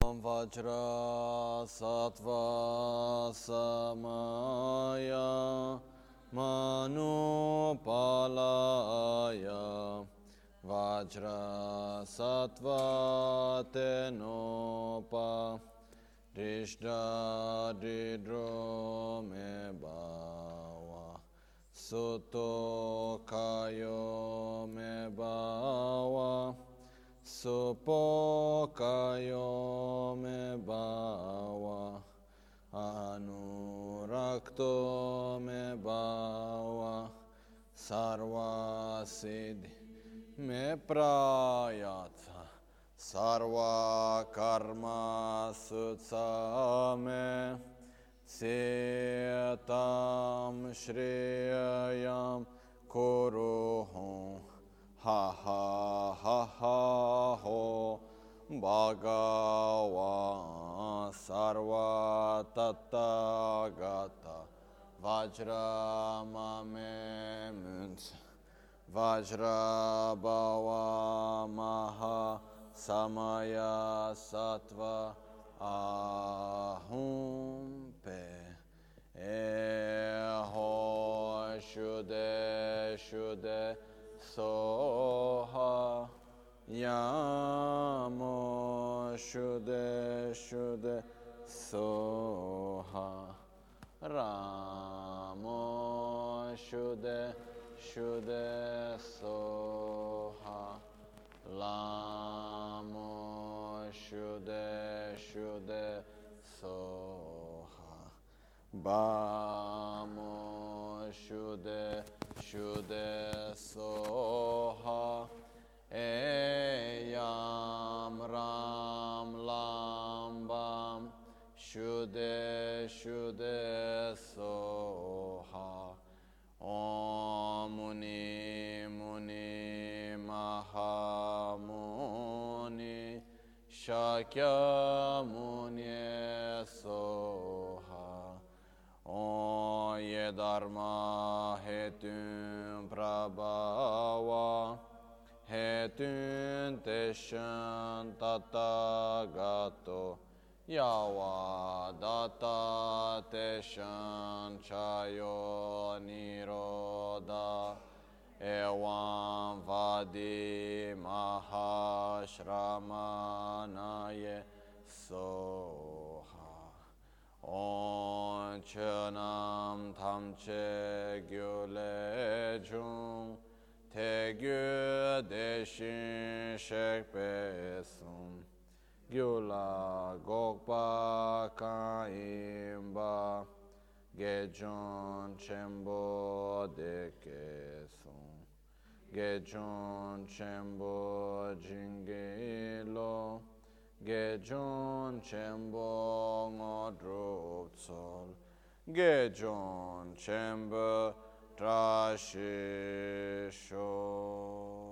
Vajra Sattva Samaya Manupalaya Vajra Sattva Tenopa Rishda Didro Me Bawa Suto Kayo Me Bawa Supo Kayo Me Bawa Anurakto Me Bawa Sarva Siddhi Me Prayatha Sarva Karma Sutsame Setam Shriyayam Kuruhum Ha ha ha ha ho Bhagavan Sarva Tathagata Vajra Mame Muns Vajra Bhava Maha Samaya Sattva Ahum Pe Eho Shude Shude Soha Yamo Shude Shude Soha Ramo Shude Shude Soha Lamo Shude Shude Soha Bamo Shude Shude Soha Eyam Ram Lam Bam Shude Shude Soha Om Muni Muni Maha Muni Shakya Muni Soha O Ye Dharma Hetun Prabhava Hetun Teshan Tathagato Yawa Data Teshan Chayo Niroda Evam Vadi Mahashramanaye Soha On Chanam Tamche Gyule Jung Te Gyu Deshin Shekpesum Gyula Gokpa Kaimba Gejon Chembo Dekesum Gejon Chembo Jingelo Gejon Chembo Ngodrupsol Gejon Chembo Trashisho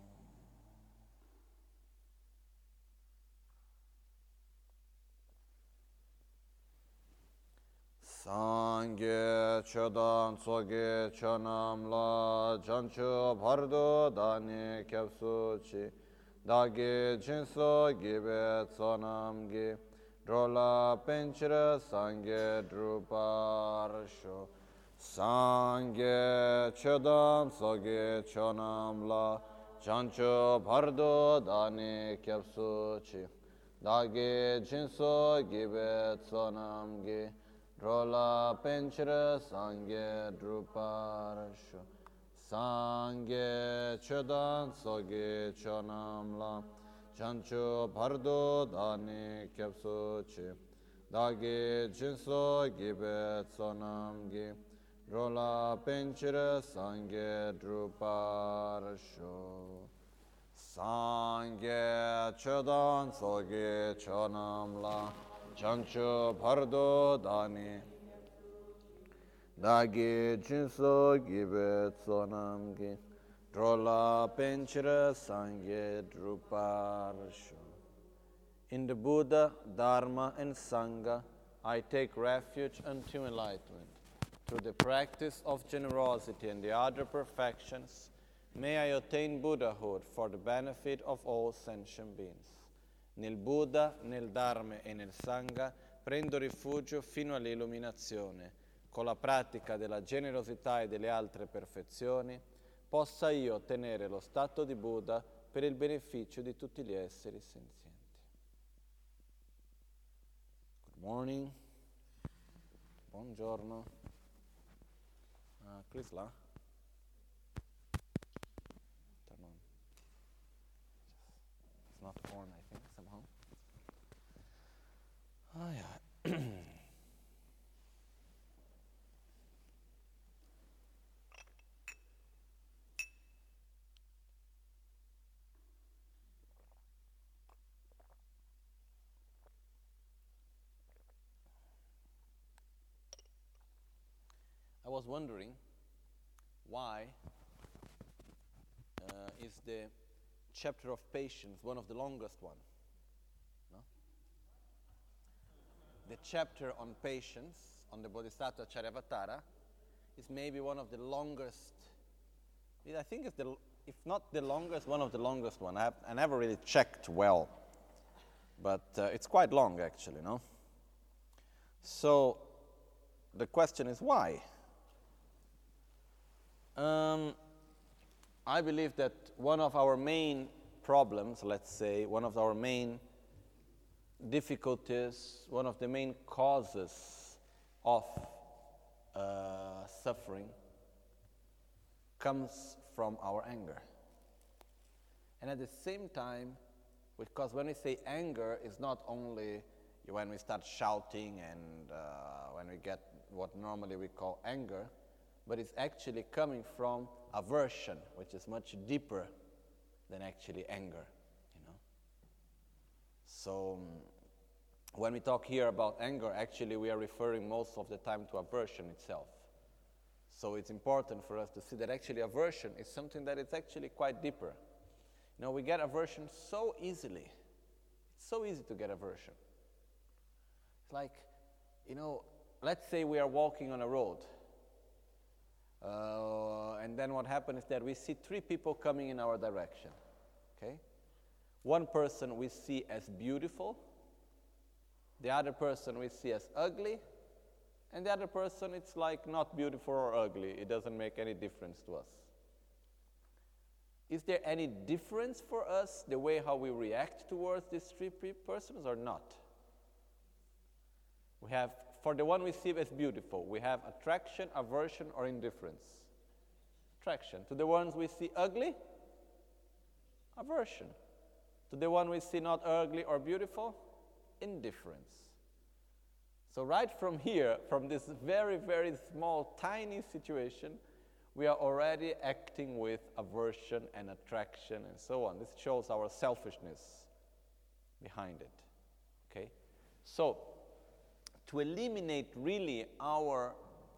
Sangye Chodan Soge Chonam La Jancho Bardo Dani Kyapsuchi Dagi Jinso Gibe Tsonam Gi Drola Penchira Sangye Druparsho Sangye Chodan Soge Chonam La Jancho Bardo Dani Kyapsuchi Dagi Jinso Gibe Tsonam Gi Drola Penchira Sangye Druparsho Sangye Chodan Soge Chonam La Chancho Bardo Dani Kyapsuchi Dagi Jinso Gibe Tsonam Gi Drola Penchira Sangye Druparsho Sangye Chodan Soge Chonam La Chancho Bardo Dani Dagi Jinso Gibe Tsonam Gi Drola Penchira Sangye Druparsho. In the Buddha, Dharma and Sangha, I take refuge unto enlightenment. Through the practice of generosity and the other perfections, may I attain Buddhahood for the benefit of all sentient beings. Nel Buddha, nel Dharma e nel Sangha prendo rifugio fino all'illuminazione. Con la pratica della generosità e delle altre perfezioni possa io ottenere lo stato di Buddha per il beneficio di tutti gli esseri senzienti. Good morning. Buongiorno. Chris là? Turn on. It's not on, I think, somehow. Oh, yeah. I was wondering why is the chapter of patience one of the longest one? No? The chapter on patience, on the Bodhisattva Charyavatara, is maybe one of the longest. I think it's if not the longest, one of the longest one. I never really checked well, but it's quite long actually, no? So the question is why? I believe that one of our main problems, let's say, one of our main difficulties, one of the main causes of suffering comes from our anger. And at the same time, because when we say anger, it's not only when we start shouting and when we get what normally we call anger, but it's actually coming from aversion, which is much deeper than actually anger, you know. So when we talk here about anger, actually we are referring most of the time to aversion itself. So it's important for us to see that actually aversion is something that is actually quite deeper. You know, we get aversion so easily. It's so easy to get aversion. It's like, you know, let's say we are walking on a road. And then what happens is that we see three people coming in our direction, okay? One person we see as beautiful, the other person we see as ugly, and the other person it's like not beautiful or ugly. It doesn't make any difference to us. Is there any difference for us the way how we react towards these three persons or not? We have, for the one we see as beautiful, we have attraction, aversion, or indifference. Attraction. To the ones we see ugly, aversion. To the one we see not ugly or beautiful, indifference. So right from here, from this very, very small, tiny situation, we are already acting with aversion and attraction and so on. This shows our selfishness behind it. Okay? So, to eliminate really our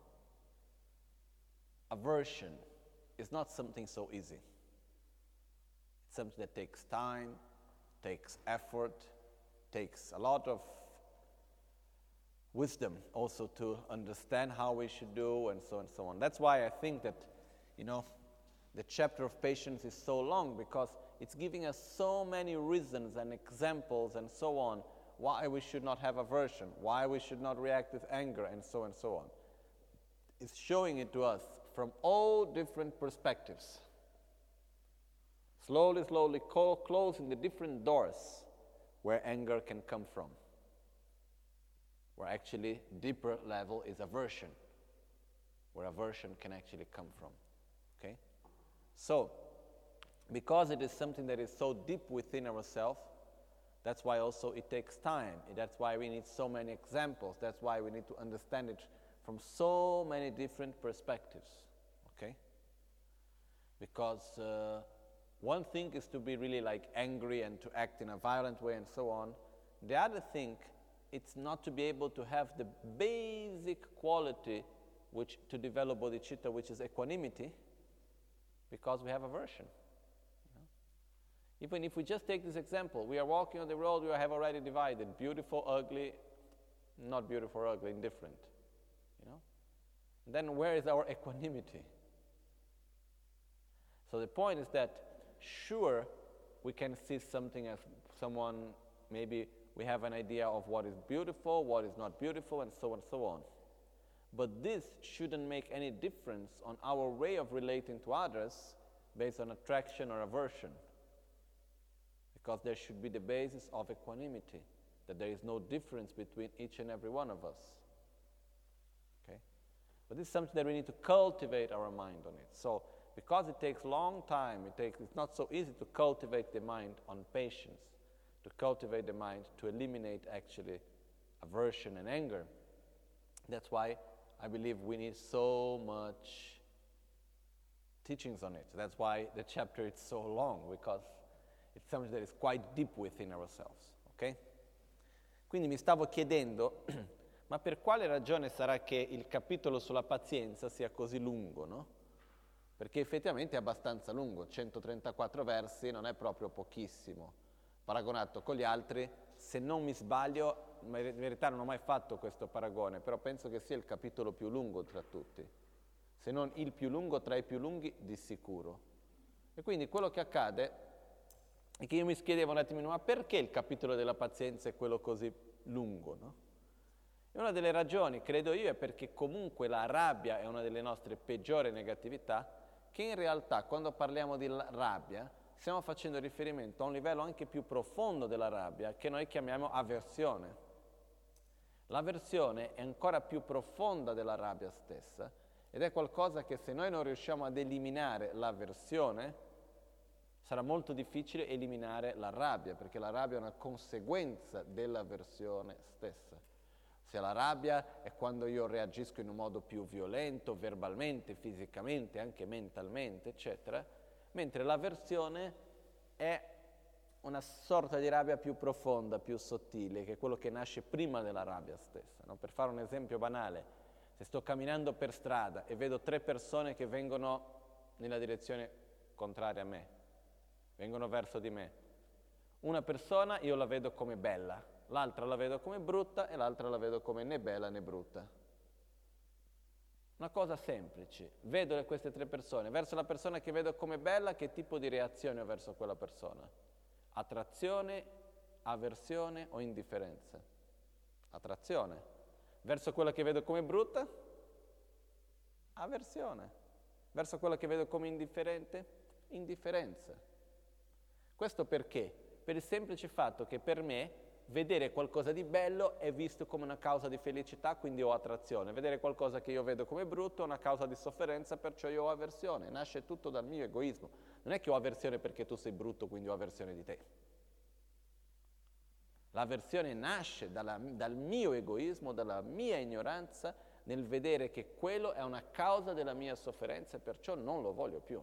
aversion is not something so easy. It's something that takes time, takes effort, takes a lot of wisdom also to understand how we should do and so on. That's why I think that, you know, the chapter of patience is so long, because it's giving us so many reasons and examples and so on why we should not have aversion, why we should not react with anger, and so on. It's showing it to us from all different perspectives. Slowly, closing the different doors where anger can come from. Where actually deeper level is aversion. Where aversion can actually come from. Okay? So, because it is something that is so deep within ourselves, that's why also it takes time. That's why we need so many examples. That's why we need to understand it from so many different perspectives. Okay? Because one thing is to be really like angry and to act in a violent way and so on. The other thing, it's not to be able to have the basic quality which to develop bodhicitta, which is equanimity, because we have aversion. Even if we just take this example, we are walking on the road, we have already divided beautiful, ugly, not beautiful or ugly, indifferent. You know? And then where is our equanimity? So the point is that, sure, we can see something as someone maybe we have an idea of what is beautiful, what is not beautiful, and so on and so on. But this shouldn't make any difference on our way of relating to others based on attraction or aversion. Because there should be the basis of equanimity, that there is no difference between each and every one of us. Okay? But this is something that we need to cultivate our mind on it. So, because it takes a long time, it's not so easy to cultivate the mind on patience, to cultivate the mind to eliminate actually aversion and anger. That's why I believe we need so much teachings on it. That's why the chapter is so long, because it's something that is quite deep within ourselves, ok? Quindi mi stavo chiedendo, ma per quale ragione sarà che il capitolo sulla pazienza sia così lungo, no? Perché effettivamente è abbastanza lungo, 134 versi, non è proprio pochissimo. Paragonato con gli altri, se non mi sbaglio, in verità non ho mai fatto questo paragone, però penso che sia il capitolo più lungo tra tutti, se non il più lungo tra i più lunghi di sicuro. E quindi quello che accade è che io mi chiedevo un attimino, ma perché il capitolo della pazienza è quello così lungo, no? E una delle ragioni, credo io, è perché comunque la rabbia è una delle nostre peggiori negatività, che in realtà quando parliamo di rabbia stiamo facendo riferimento a un livello anche più profondo della rabbia, che noi chiamiamo avversione. L'avversione è ancora più profonda della rabbia stessa, ed è qualcosa che se noi non riusciamo ad eliminare l'avversione, sarà molto difficile eliminare la rabbia, perché la rabbia è una conseguenza dell'avversione stessa. Se la rabbia è quando io reagisco in un modo più violento, verbalmente, fisicamente, anche mentalmente, eccetera, mentre l'avversione è una sorta di rabbia più profonda, più sottile, che è quello che nasce prima della rabbia stessa. No? Per fare un esempio banale, se sto camminando per strada e vedo 3 persone che vengono nella direzione contraria a me, vengono verso di me, una persona io la vedo come bella, l'altra la vedo come brutta e l'altra la vedo come né bella né brutta. Una cosa semplice, vedo queste 3 persone, verso la persona che vedo come bella, che tipo di reazione ho verso quella persona? Attrazione, avversione o indifferenza? Attrazione. Verso quella che vedo come brutta? Avversione. Verso quella che vedo come indifferente? Indifferenza. Questo perché? Per il semplice fatto che per me vedere qualcosa di bello è visto come una causa di felicità, quindi ho attrazione. Vedere qualcosa che io vedo come brutto è una causa di sofferenza, perciò io ho avversione. Nasce tutto dal mio egoismo. Non è che ho avversione perché tu sei brutto, quindi ho avversione di te. L'avversione nasce dal mio egoismo, dalla mia ignoranza, nel vedere che quello è una causa della mia sofferenza e perciò non lo voglio più.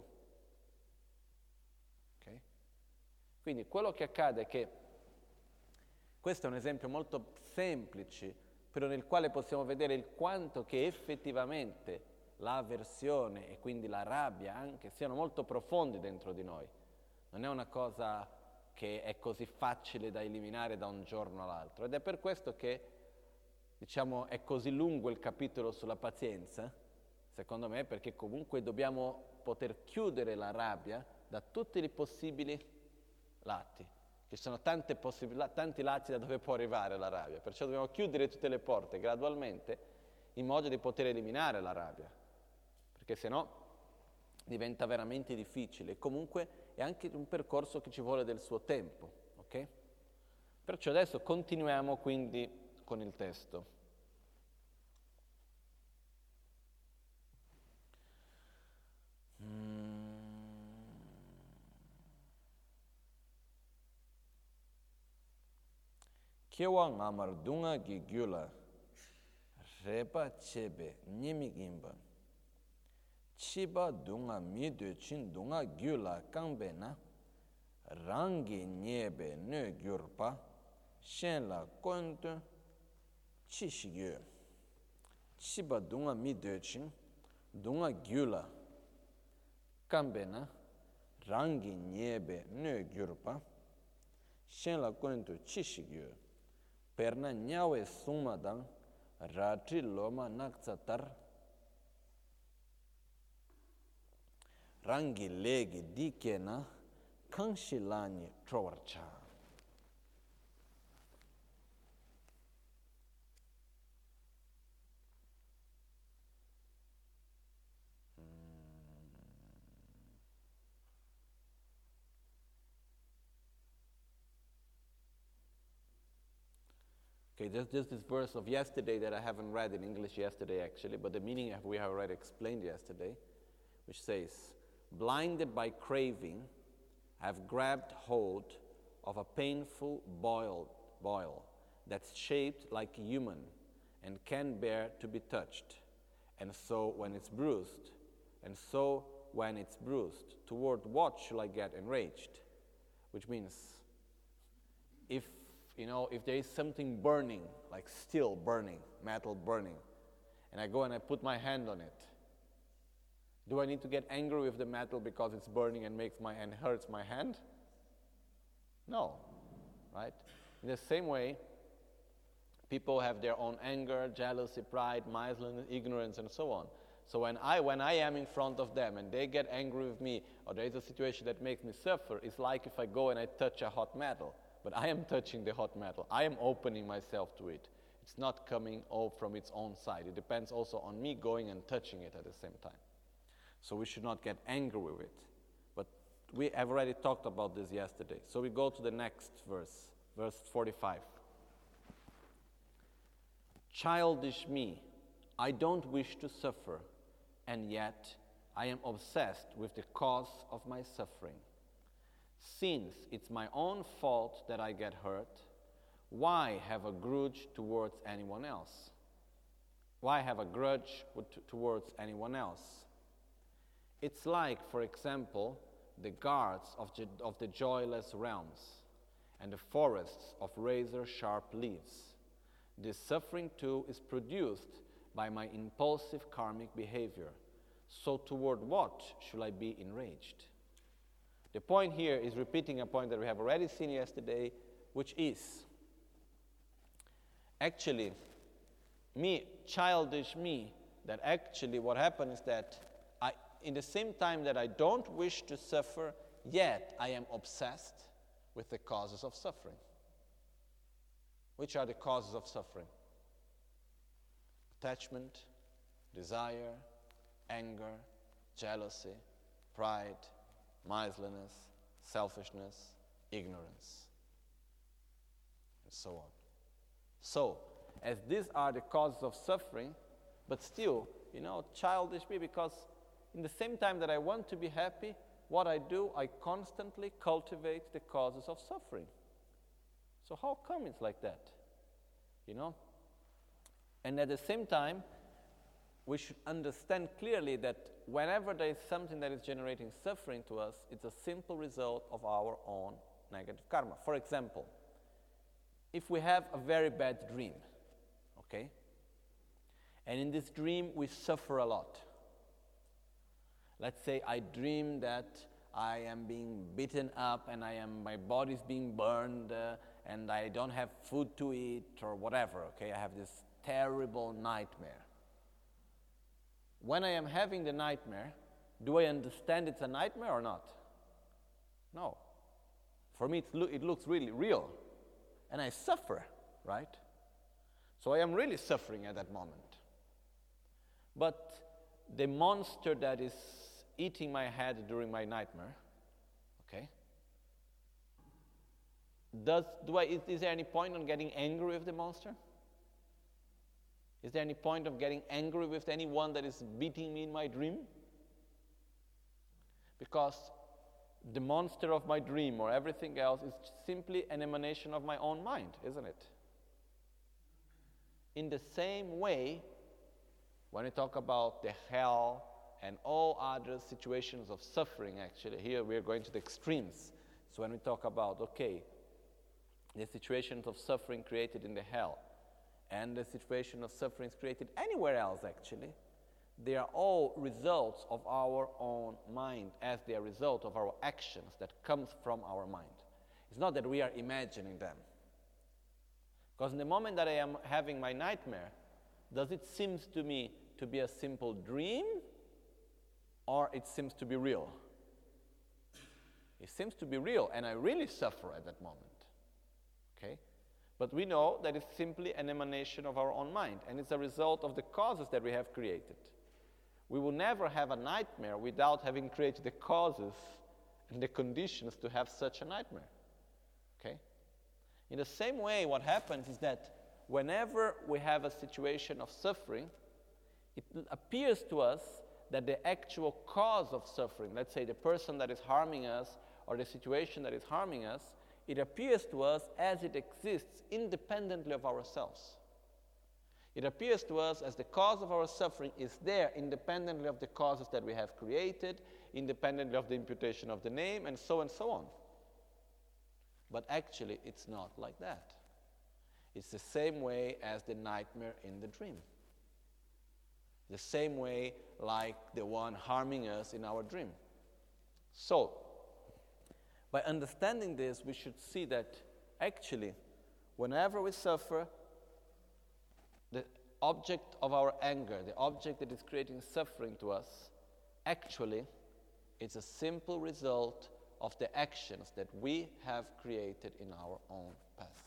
Okay? Quindi quello che accade è che questo è un esempio molto semplice, però nel quale possiamo vedere il quanto che effettivamente l'avversione e quindi la rabbia anche siano molto profondi dentro di noi. Non è una cosa che è così facile da eliminare da un giorno all'altro. Ed è per questo che, diciamo, è così lungo il capitolo sulla pazienza, secondo me, perché comunque dobbiamo poter chiudere la rabbia da tutti i possibili lati. Ci sono tanti lati da dove può arrivare la rabbia, perciò dobbiamo chiudere tutte le porte gradualmente in modo di poter eliminare la rabbia, perché sennò diventa veramente difficile. Comunque è anche un percorso che ci vuole del suo tempo, ok? Perciò adesso continuiamo quindi con il testo. Kewa ngamar dunga gi gyula repa chebe nimi gimba chiba dunga midu chin dunga gyula kangbe na rangi nyebe ne gyurpa shen la kontu chi shigyu chiba dunga midu chin dunga gyula kangbe na rangi nyebe ne gyurpa shen la kontu chi shigyu perna nyawe sumadang ratri loma naksatar rangi legi dikena kangshilani trowarcha. Okay, there's just this verse of yesterday that I haven't read in English yesterday actually, but the meaning we have already explained yesterday, which says, blinded by craving, I have grabbed hold of a painful boil that's shaped like a human and can bear to be touched. And so when it's bruised, toward what shall I get enraged? Which means, if there is something burning, like steel burning, metal burning, and I go and I put my hand on it, do I need to get angry with the metal because it's burning and hurts my hand? No, right? In the same way, people have their own anger, jealousy, pride, miserliness, ignorance, and so on. So when I am in front of them and they get angry with me, or there is a situation that makes me suffer, it's like if I go and I touch a hot metal. But I am touching the hot metal. I am opening myself to it. It's not coming all from its own side. It depends also on me going and touching it at the same time. So we should not get angry with it. But we have already talked about this yesterday. So we go to the next verse, verse 45. Childish me, I don't wish to suffer, and yet I am obsessed with the cause of my suffering. Since it's my own fault that I get hurt, why have a grudge towards anyone else? Why have a grudge towards anyone else? It's like, for example, the guards of the joyless realms and the forests of razor-sharp leaves. This suffering too is produced by my impulsive karmic behavior. So toward what should I be enraged? The point here is repeating a point that we have already seen yesterday, which is, actually, childish me, that actually what happened is that in the same time that I don't wish to suffer, yet I am obsessed with the causes of suffering. Which are the causes of suffering? Attachment, desire, anger, jealousy, pride, miserliness, selfishness, ignorance, and so on. So, as these are the causes of suffering, but still, childish me, because in the same time that I want to be happy, what I do, I constantly cultivate the causes of suffering. So how come it's like that? And at the same time, we should understand clearly that whenever there is something that is generating suffering to us, it's a simple result of our own negative karma. For example, if we have a very bad dream, okay? And in this dream, we suffer a lot. Let's say I dream that I am being beaten up and my body's being burned and I don't have food to eat or whatever, okay? I have this terrible nightmare. When I am having the nightmare, do I understand it's a nightmare or not? No. For me, it looks really real. And I suffer, right? So I am really suffering at that moment. But the monster that is eating my head during my nightmare, okay? Is there any point on getting angry with the monster? Is there any point of getting angry with anyone that is beating me in my dream? Because the monster of my dream or everything else is simply an emanation of my own mind, isn't it? In the same way, when we talk about the hell and all other situations of suffering, actually, here we are going to the extremes. So when we talk about, the situations of suffering created in the hell, and the situation of suffering created anywhere else, actually, they are all results of our own mind, as they are a result of our actions that comes from our mind. It's not that we are imagining them. Because in the moment that I am having my nightmare, does it seem to me to be a simple dream, or it seems to be real? It seems to be real, and I really suffer at that moment. Okay? But we know that it's simply an emanation of our own mind, and it's a result of the causes that we have created. We will never have a nightmare without having created the causes and the conditions to have such a nightmare. Okay? In the same way, what happens is that whenever we have a situation of suffering, it appears to us that the actual cause of suffering, let's say the person that is harming us or the situation that is harming us, it appears to us as it exists independently of ourselves. It appears to us as the cause of our suffering is there independently of the causes that we have created, independently of the imputation of the name, and so on. But actually, it's not like that. It's the same way as the nightmare in the dream. The same way like the one harming us in our dream. So, by understanding this, we should see that actually, whenever we suffer, the object of our anger, the object that is creating suffering to us, actually, it's a simple result of the actions that we have created in our own past.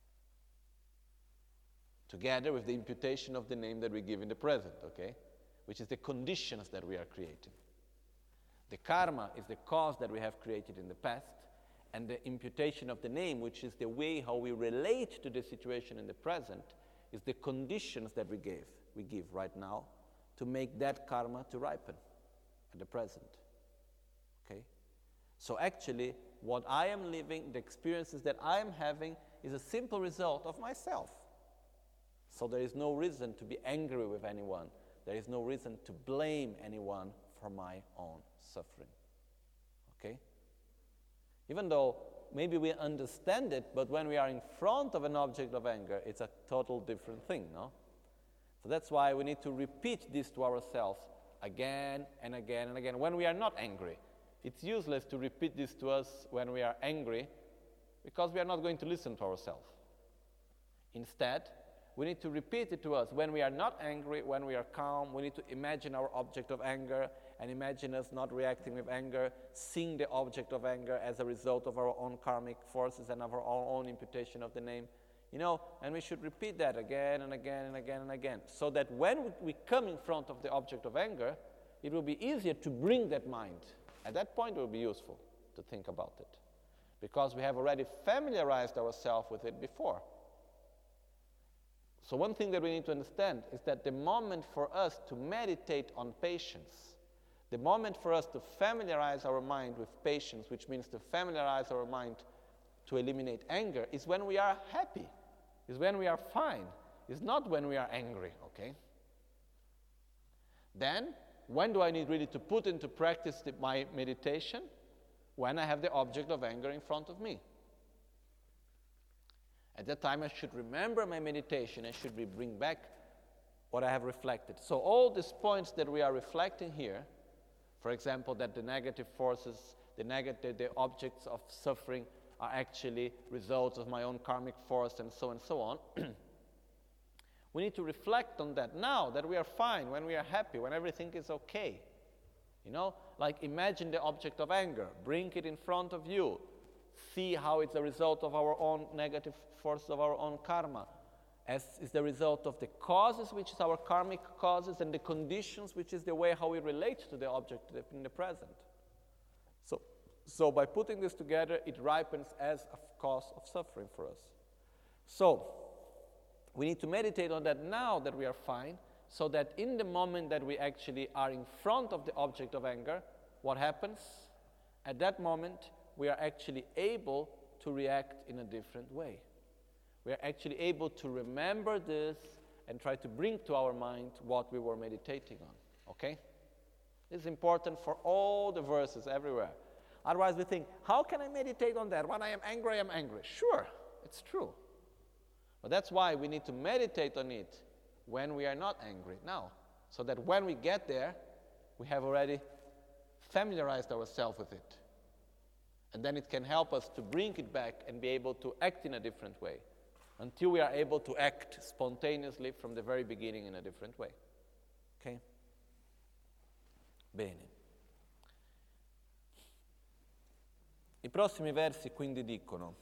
Together with the imputation of the name that we give in the present, okay? Which is the conditions that we are creating. The karma is the cause that we have created in the past, and the imputation of the name, which is the way how we relate to the situation in the present, is the conditions that we give right now to make that karma to ripen at the present. Okay? So actually, what I am living, the experiences that I am having, is a simple result of myself. So there is no reason to be angry with anyone. There is no reason to blame anyone for my own suffering. Okay? Even though maybe we understand it, but when we are in front of an object of anger, it's a total different thing, no? So that's why we need to repeat this to ourselves again and again and again. When we are not angry, it's useless to repeat this to us when we are angry, because we are not going to listen to ourselves. Instead, we need to repeat it to us when we are not angry, when we are calm. We need to imagine our object of anger and imagine us not reacting with anger, seeing the object of anger as a result of our own karmic forces and of our own imputation of the name. You know, and we should repeat that again and again and again and again, so that when we come in front of the object of anger, it will be easier to bring that mind. At that point, it will be useful to think about it, because we have already familiarized ourselves with it before. So one thing that we need to understand is that the moment for us to meditate on patience, the moment for us to familiarize our mind with patience, which means to familiarize our mind to eliminate anger, is when we are happy, is when we are fine, is not when we are angry, okay? Then, when do I need really to put into practice my meditation? When I have the object of anger in front of me. At that time, I should remember my meditation and should bring back what I have reflected. So all these points that we are reflecting here, for example, that the negative forces, the objects of suffering are actually results of my own karmic force and so on, we need to reflect on that now that we are fine, when we are happy, when everything is okay. You know, like imagine the object of anger, bring it in front of you, see how it's a result of our own negative force of our own karma, as is the result of the causes, which is our karmic causes, and the conditions, which is the way how we relate to the object in the present. So by putting this together, it ripens as a cause of suffering for us. So we need to meditate on that now that we are fine, so that in the moment that we actually are in front of the object of anger, what happens? At that moment, we are actually able to react in a different way. We are actually able to remember this and try to bring to our mind what we were meditating on, okay? This is important for all the verses everywhere. Otherwise we think, how can I meditate on that? When I am angry, I am angry. Sure, it's true. But that's why we need to meditate on it when we are not angry now, so that when we get there, we have already familiarized ourselves with it. And then it can help us to bring it back and be able to act in a different way, until we are able to act spontaneously from the very beginning in a different way. Ok? Bene. I prossimi versi quindi dicono: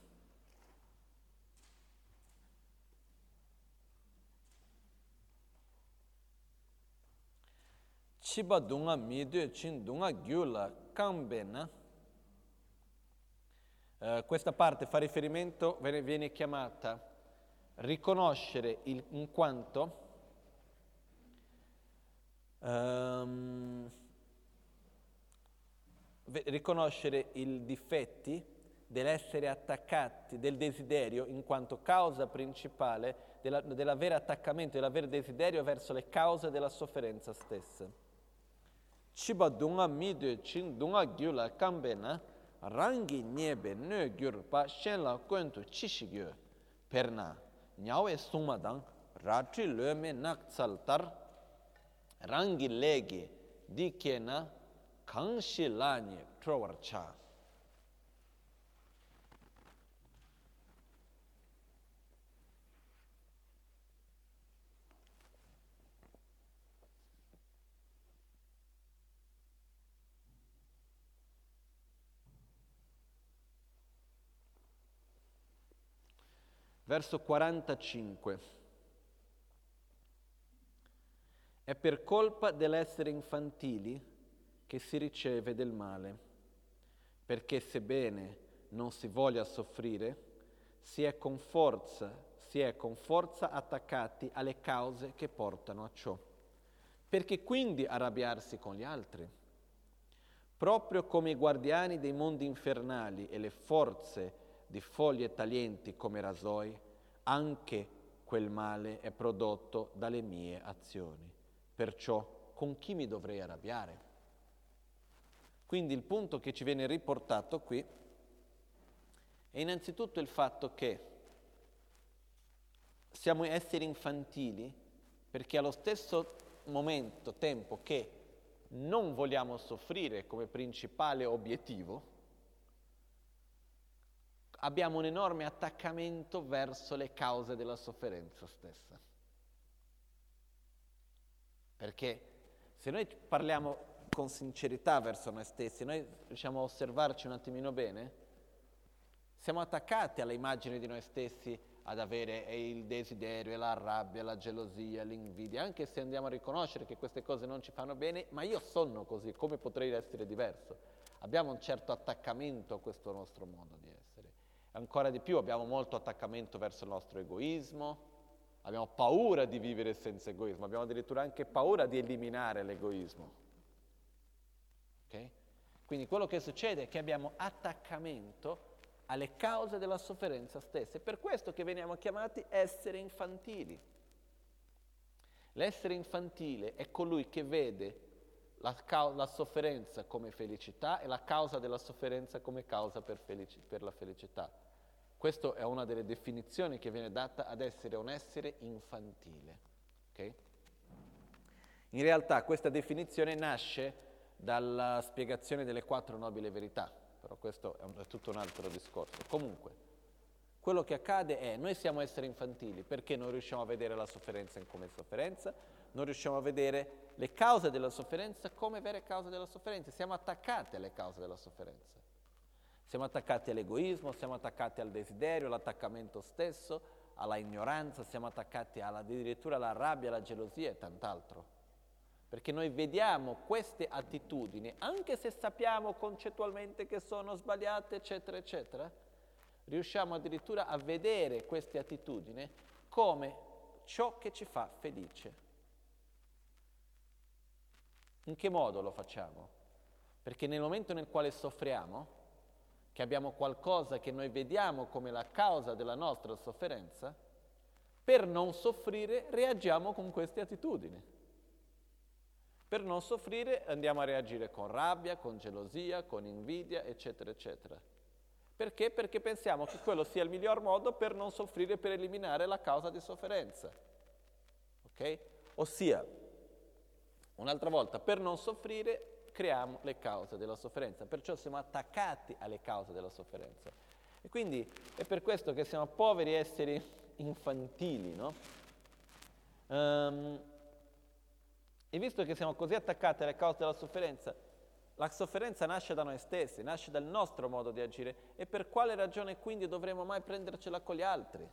Chiba dunga midue chin dunga gyula kambena. Questa parte fa riferimento, viene chiamata riconoscere in quanto riconoscere i difetti dell'essere attaccati, del desiderio, in quanto causa principale dell'avere attaccamento, dell'avere desiderio verso le cause della sofferenza stessa. Chiba dunga midwe chin dunga gyula kambena rangi nyebe ne gyurpa shenla kwentu chishigyo perna nyawe sumadang ratri leme naksaltar rangi legi dikena kangshi lanye trowarcha. Verso 45. È per colpa dell'essere infantili che si riceve del male, perché sebbene non si voglia soffrire, si è con forza attaccati alle cause che portano a ciò. Perché quindi arrabbiarsi con gli altri? Proprio come i guardiani dei mondi infernali e le forze di foglie taglienti come rasoi, anche quel male è prodotto dalle mie azioni. Perciò, con chi mi dovrei arrabbiare? Quindi il punto che ci viene riportato qui è innanzitutto il fatto che siamo esseri infantili perché allo stesso tempo che non vogliamo soffrire come principale obiettivo, abbiamo un enorme attaccamento verso le cause della sofferenza stessa. Perché se noi parliamo con sincerità verso noi stessi, noi riusciamo a osservarci un attimino bene, siamo attaccati all'immagine di noi stessi ad avere il desiderio, la rabbia, la gelosia, l'invidia, anche se andiamo a riconoscere che queste cose non ci fanno bene, ma io sono così, come potrei essere diverso? Abbiamo un certo attaccamento a questo nostro modo di essere. Ancora di più abbiamo molto attaccamento verso il nostro egoismo, abbiamo paura di vivere senza egoismo, abbiamo addirittura anche paura di eliminare l'egoismo. Okay? Quindi quello che succede è che abbiamo attaccamento alle cause della sofferenza stessa. È per questo che veniamo chiamati esseri infantili. L'essere infantile è colui che vede la sofferenza come felicità e la causa della sofferenza come causa per la felicità. Questa è una delle definizioni che viene data ad essere un essere infantile. Okay? In realtà questa definizione nasce dalla spiegazione delle 4 nobili verità, però questo è tutto un altro discorso. Comunque, quello che accade è noi siamo esseri infantili perché non riusciamo a vedere la sofferenza come sofferenza, non riusciamo a vedere le cause della sofferenza come vere cause della sofferenza, siamo attaccati alle cause della sofferenza. Siamo attaccati all'egoismo, siamo attaccati al desiderio, all'attaccamento stesso, alla ignoranza, siamo attaccati addirittura alla rabbia, alla gelosia e tant'altro. Perché noi vediamo queste attitudini, anche se sappiamo concettualmente che sono sbagliate, eccetera, eccetera, riusciamo addirittura a vedere queste attitudini come ciò che ci fa felice. In che modo lo facciamo? Perché nel momento nel quale soffriamo, che abbiamo qualcosa che noi vediamo come la causa della nostra sofferenza, per non soffrire reagiamo con queste attitudini. Per non soffrire andiamo a reagire con rabbia, con gelosia, con invidia, eccetera, eccetera. Perché? Perché pensiamo che quello sia il miglior modo per non soffrire, per eliminare la causa di sofferenza. Ok? Ossia, un'altra volta, per non soffrire creiamo le cause della sofferenza, perciò siamo attaccati alle cause della sofferenza. E quindi è per questo che siamo poveri esseri infantili, no? E visto che siamo così attaccati alle cause della sofferenza, la sofferenza nasce da noi stessi, nasce dal nostro modo di agire, e per quale ragione quindi dovremmo mai prendercela con gli altri?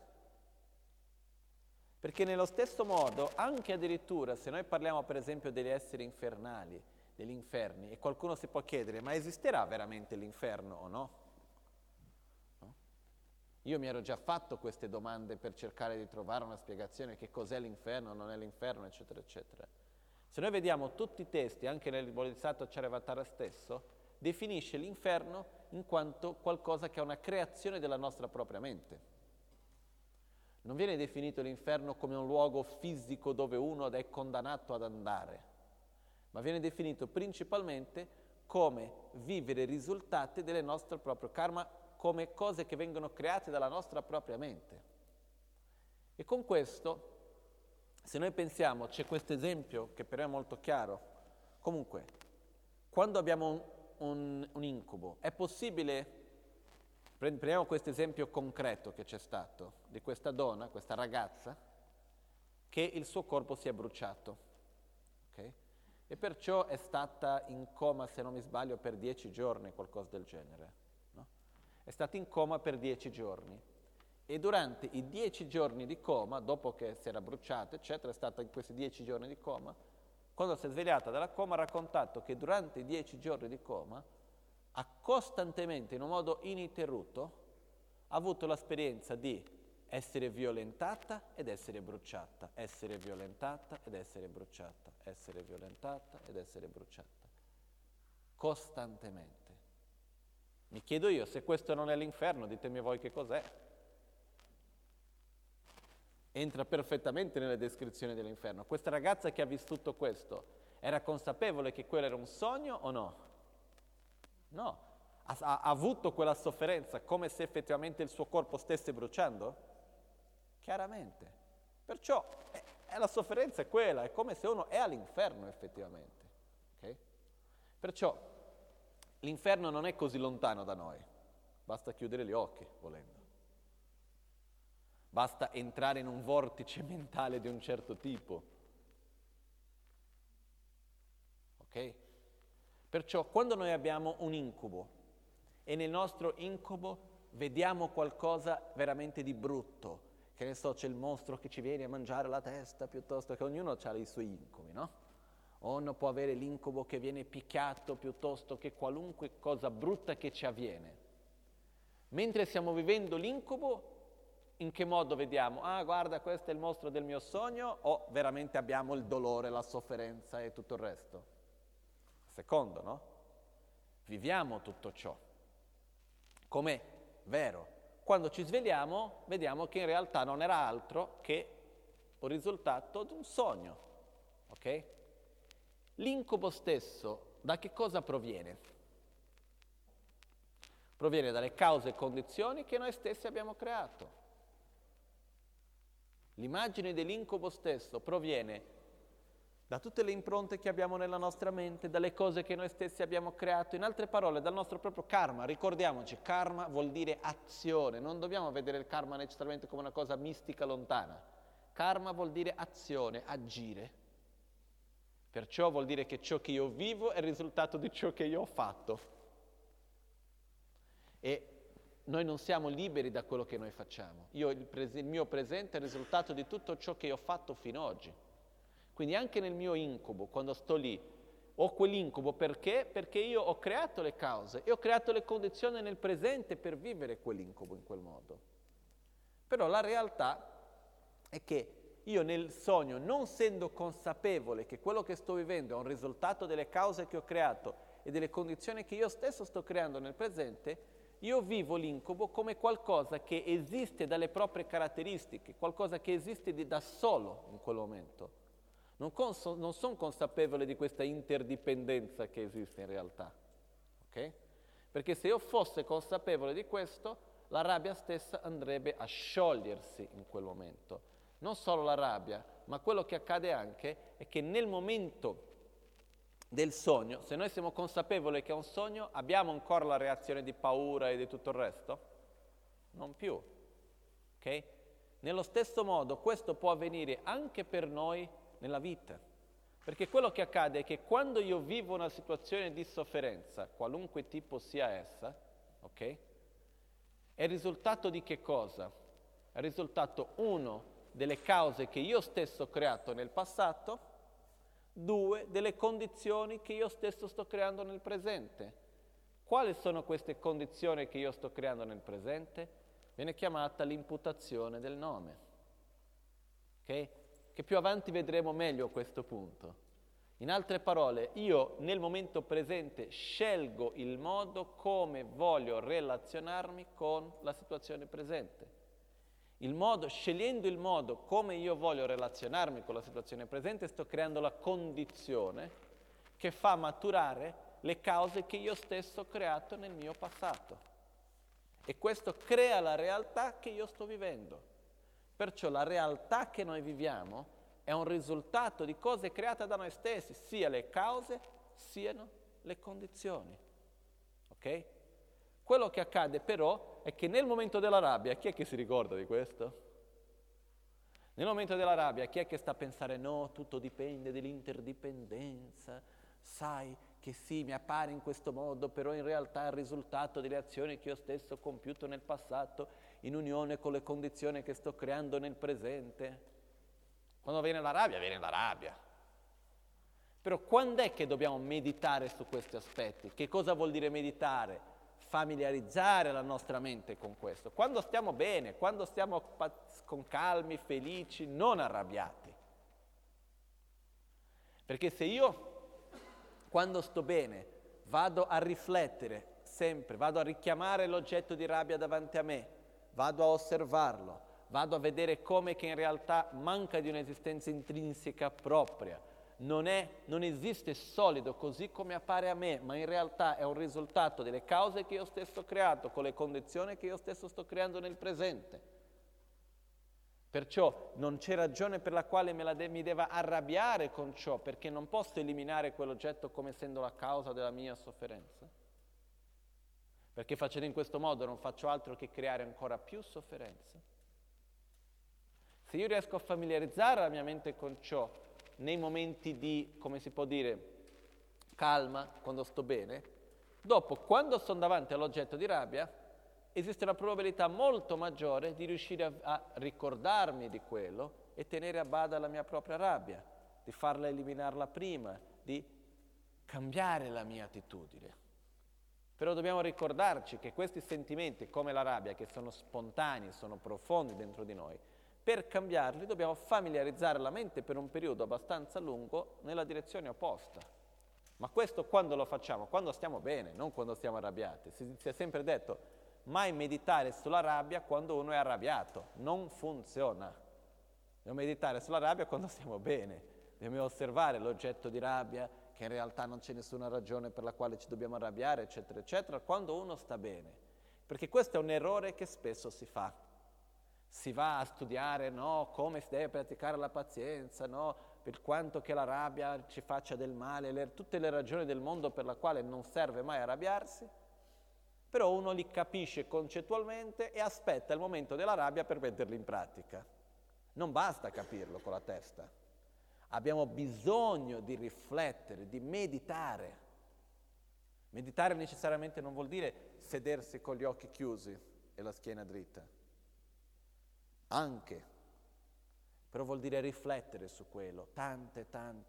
Perché nello stesso modo, anche addirittura, se noi parliamo per esempio degli esseri infernali, degli inferni, e qualcuno si può chiedere, ma esisterà veramente l'inferno o no? No? Io mi ero già fatto queste domande per cercare di trovare una spiegazione che cos'è l'inferno, non è l'inferno, eccetera, eccetera. Se noi vediamo tutti i testi, anche nel Bodhisattva Charyavatara stesso, definisce l'inferno in quanto qualcosa che è una creazione della nostra propria mente. Non viene definito l'inferno come un luogo fisico dove uno è condannato ad andare, ma viene definito principalmente come vivere i risultati del nostro proprio karma, come cose che vengono create dalla nostra propria mente. E con questo, se noi pensiamo, c'è questo esempio che però è molto chiaro, comunque, quando abbiamo un incubo, è possibile, prendiamo questo esempio concreto che c'è stato, di questa donna, questa ragazza, che il suo corpo si è bruciato, ok? E perciò è stata in coma, se non mi sbaglio, per 10 giorni, qualcosa del genere, no? È stata in coma per 10 giorni. E durante i 10 giorni di coma, dopo che si era bruciata, eccetera, è stata in questi 10 giorni di coma, quando si è svegliata dalla coma ha raccontato che durante i 10 giorni di coma ha costantemente, in un modo ininterrotto, avuto l'esperienza di essere violentata ed essere bruciata, essere violentata ed essere bruciata, essere violentata ed essere bruciata. Costantemente. Mi chiedo io, se questo non è l'inferno, ditemi voi che cos'è. Entra perfettamente nelle descrizioni dell'inferno. Questa ragazza che ha vissuto questo, era consapevole che quello era un sogno o no? No. Ha avuto quella sofferenza come se effettivamente il suo corpo stesse bruciando? Chiaramente. Perciò la sofferenza è quella, è come se uno è all'inferno effettivamente. Okay? Perciò l'inferno non è così lontano da noi, basta chiudere gli occhi volendo. Basta entrare in un vortice mentale di un certo tipo. Ok? Perciò quando noi abbiamo un incubo e nel nostro incubo vediamo qualcosa veramente di brutto, che ne so, c'è il mostro che ci viene a mangiare la testa, piuttosto che ognuno ha i suoi incubi, no? O uno può avere l'incubo che viene picchiato, piuttosto che qualunque cosa brutta che ci avviene. Mentre stiamo vivendo l'incubo, in che modo vediamo? Ah, guarda, questo è il mostro del mio sogno, o veramente abbiamo il dolore, la sofferenza e tutto il resto? Secondo, no? Viviamo tutto ciò. Com'è vero? Quando ci svegliamo, vediamo che in realtà non era altro che un risultato di un sogno, ok? L'incubo stesso, da che cosa proviene? Proviene dalle cause e condizioni che noi stessi abbiamo creato. L'immagine dell'incubo stesso proviene da tutte le impronte che abbiamo nella nostra mente, dalle cose che noi stessi abbiamo creato, in altre parole, dal nostro proprio karma. Ricordiamoci, karma vuol dire azione, non dobbiamo vedere il karma necessariamente come una cosa mistica lontana. Karma vuol dire azione, agire. Perciò vuol dire che ciò che io vivo è il risultato di ciò che io ho fatto. E noi non siamo liberi da quello che noi facciamo. Il mio presente è il risultato di tutto ciò che io ho fatto fino ad oggi. Quindi anche nel mio incubo, quando sto lì, ho quell'incubo perché? Perché io ho creato le cause e ho creato le condizioni nel presente per vivere quell'incubo in quel modo. Però la realtà è che io nel sogno, non essendo consapevole che quello che sto vivendo è un risultato delle cause che ho creato e delle condizioni che io stesso sto creando nel presente, io vivo l'incubo come qualcosa che esiste dalle proprie caratteristiche, qualcosa che esiste da solo in quel momento. Non sono consapevole di questa interdipendenza che esiste in realtà, ok? Perché se io fosse consapevole di questo, la rabbia stessa andrebbe a sciogliersi in quel momento. Non solo la rabbia, ma quello che accade anche è che nel momento del sogno, se noi siamo consapevoli che è un sogno, abbiamo ancora la reazione di paura e di tutto il resto? Non più, ok? Nello stesso modo questo può avvenire anche per noi nella vita, perché quello che accade è che quando io vivo una situazione di sofferenza, qualunque tipo sia essa, ok? È il risultato di che cosa? È il risultato, uno, delle cause che io stesso ho creato nel passato, due, delle condizioni che io stesso sto creando nel presente. Quali sono queste condizioni che io sto creando nel presente? Viene chiamata l'imputazione del nome, ok? Che più avanti vedremo meglio a questo punto. In altre parole, io nel momento presente scelgo il modo come voglio relazionarmi con la situazione presente. Scegliendo il modo come io voglio relazionarmi con la situazione presente, sto creando la condizione che fa maturare le cause che io stesso ho creato nel mio passato. E questo crea la realtà che io sto vivendo. Perciò la realtà che noi viviamo è un risultato di cose create da noi stessi, sia le cause, siano le condizioni. Ok? Quello che accade però è che nel momento della rabbia, chi è che si ricorda di questo? Nel momento della rabbia, chi è che sta a pensare no, tutto dipende dell'interdipendenza, sai che sì, mi appare in questo modo, però in realtà è il risultato delle azioni che io stesso ho compiuto nel passato, in unione con le condizioni che sto creando nel presente. Quando viene la rabbia, viene la rabbia. Però quando è che dobbiamo meditare su questi aspetti? Che cosa vuol dire meditare? Familiarizzare la nostra mente con questo. Quando stiamo bene, quando stiamo con calmi, felici, non arrabbiati. Perché se io, quando sto bene, vado a riflettere sempre, vado a richiamare l'oggetto di rabbia davanti a me, vado a osservarlo, vado a vedere come che in realtà manca di un'esistenza intrinseca propria, non esiste solido così come appare a me, ma in realtà è un risultato delle cause che io stesso ho creato, con le condizioni che io stesso sto creando nel presente. Perciò non c'è ragione per la quale mi deva arrabbiare con ciò, perché non posso eliminare quell'oggetto come essendo la causa della mia sofferenza. Perché facendo in questo modo non faccio altro che creare ancora più sofferenza. Se io riesco a familiarizzare la mia mente con ciò nei momenti di, come si può dire, calma, quando sto bene, dopo, quando sono davanti all'oggetto di rabbia, esiste una probabilità molto maggiore di riuscire a ricordarmi di quello e tenere a bada la mia propria rabbia, di farla eliminarla prima, di cambiare la mia attitudine. Però dobbiamo ricordarci che questi sentimenti, come la rabbia, che sono spontanei, sono profondi dentro di noi, per cambiarli dobbiamo familiarizzare la mente per un periodo abbastanza lungo nella direzione opposta. Ma questo quando lo facciamo? Quando stiamo bene, non quando stiamo arrabbiati. Si è sempre detto, mai meditare sulla rabbia quando uno è arrabbiato. Non funziona. Dobbiamo meditare sulla rabbia quando stiamo bene. Dobbiamo osservare l'oggetto di rabbia, che in realtà non c'è nessuna ragione per la quale ci dobbiamo arrabbiare, eccetera, eccetera, quando uno sta bene. Perché questo è un errore che spesso si fa. Si va a studiare, no, come si deve praticare la pazienza, no, per quanto che la rabbia ci faccia del male, tutte le ragioni del mondo per la quale non serve mai arrabbiarsi, però uno li capisce concettualmente e aspetta il momento della rabbia per metterli in pratica. Non basta capirlo con la testa. Abbiamo bisogno di riflettere, di meditare. Meditare necessariamente non vuol dire sedersi con gli occhi chiusi e la schiena dritta. Anche, però vuol dire riflettere su quello tante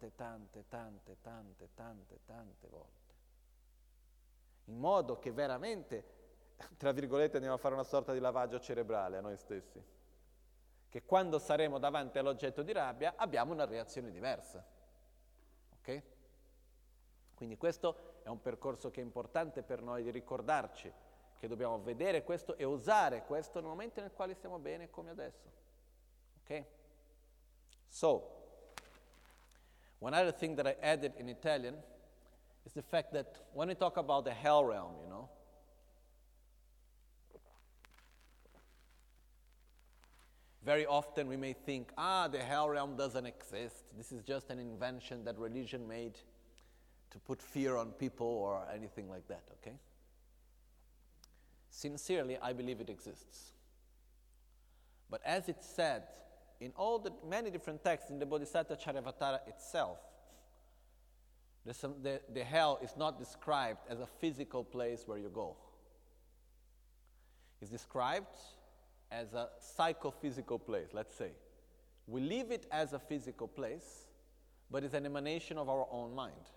volte, in modo che veramente, tra virgolette, andiamo a fare una sorta di lavaggio cerebrale a noi stessi, che quando saremo davanti all'oggetto di rabbia abbiamo una reazione diversa, ok? Quindi questo è un percorso che è importante per noi di ricordarci, che dobbiamo vedere questo e usare questo nel momento nel quale stiamo bene come adesso. Ok? So, one other thing that I added in Italian is the fact that when we talk about the hell realm, very often we may think, the hell realm doesn't exist. This is just an invention that religion made to put fear on people or anything like that, okay? Sincerely, I believe it exists. But as it's said in all the many different texts in the Bodhisattva Charyavatara itself, the hell is not described as a physical place where you go. It's described as a psychophysical place, let's say. We leave it as a physical place, but it's an emanation of our own mind.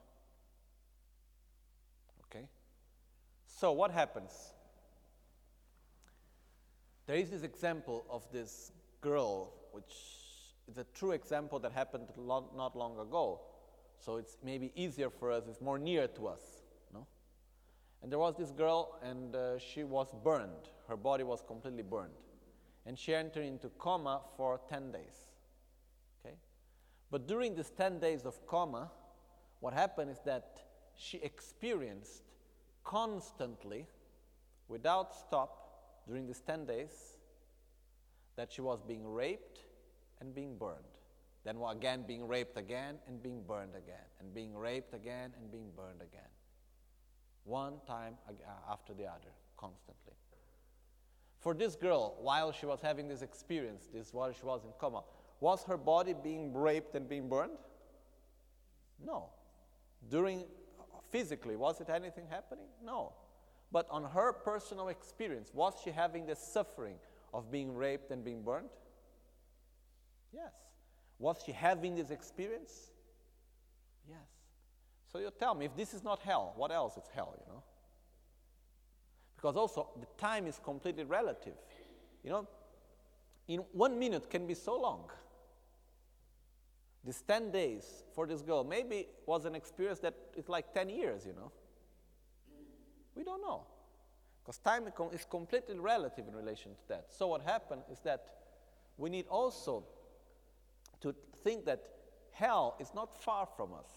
Okay? So what happens? There is this example of this girl, which is a true example that happened not long ago. So it's maybe easier for us, it's more near to us, no? And there was this girl, and she was burned. Her body was completely burned. And she entered into coma for 10 days, okay? But during these 10 days of coma, what happened is that she experienced constantly, without stop, during these 10 days, that she was being raped and being burned. Then again being raped again and being burned again, and being raped again and being burned again. One time after the other, constantly. For this girl, while she was having this experience, while she was in coma, was her body being raped and being burned? No. Physically, was it anything happening? No. But on her personal experience, was she having the suffering of being raped and being burned? Yes. Was she having this experience? Yes. So you tell me, if this is not hell, what else is hell, you know? Because also, the time is completely relative. You know, in 1 minute can be so long. These 10 days for this girl maybe was an experience that is like 10 years, you know. We don't know. Because time is completely relative in relation to that. So what happened is that we need also to think that hell is not far from us.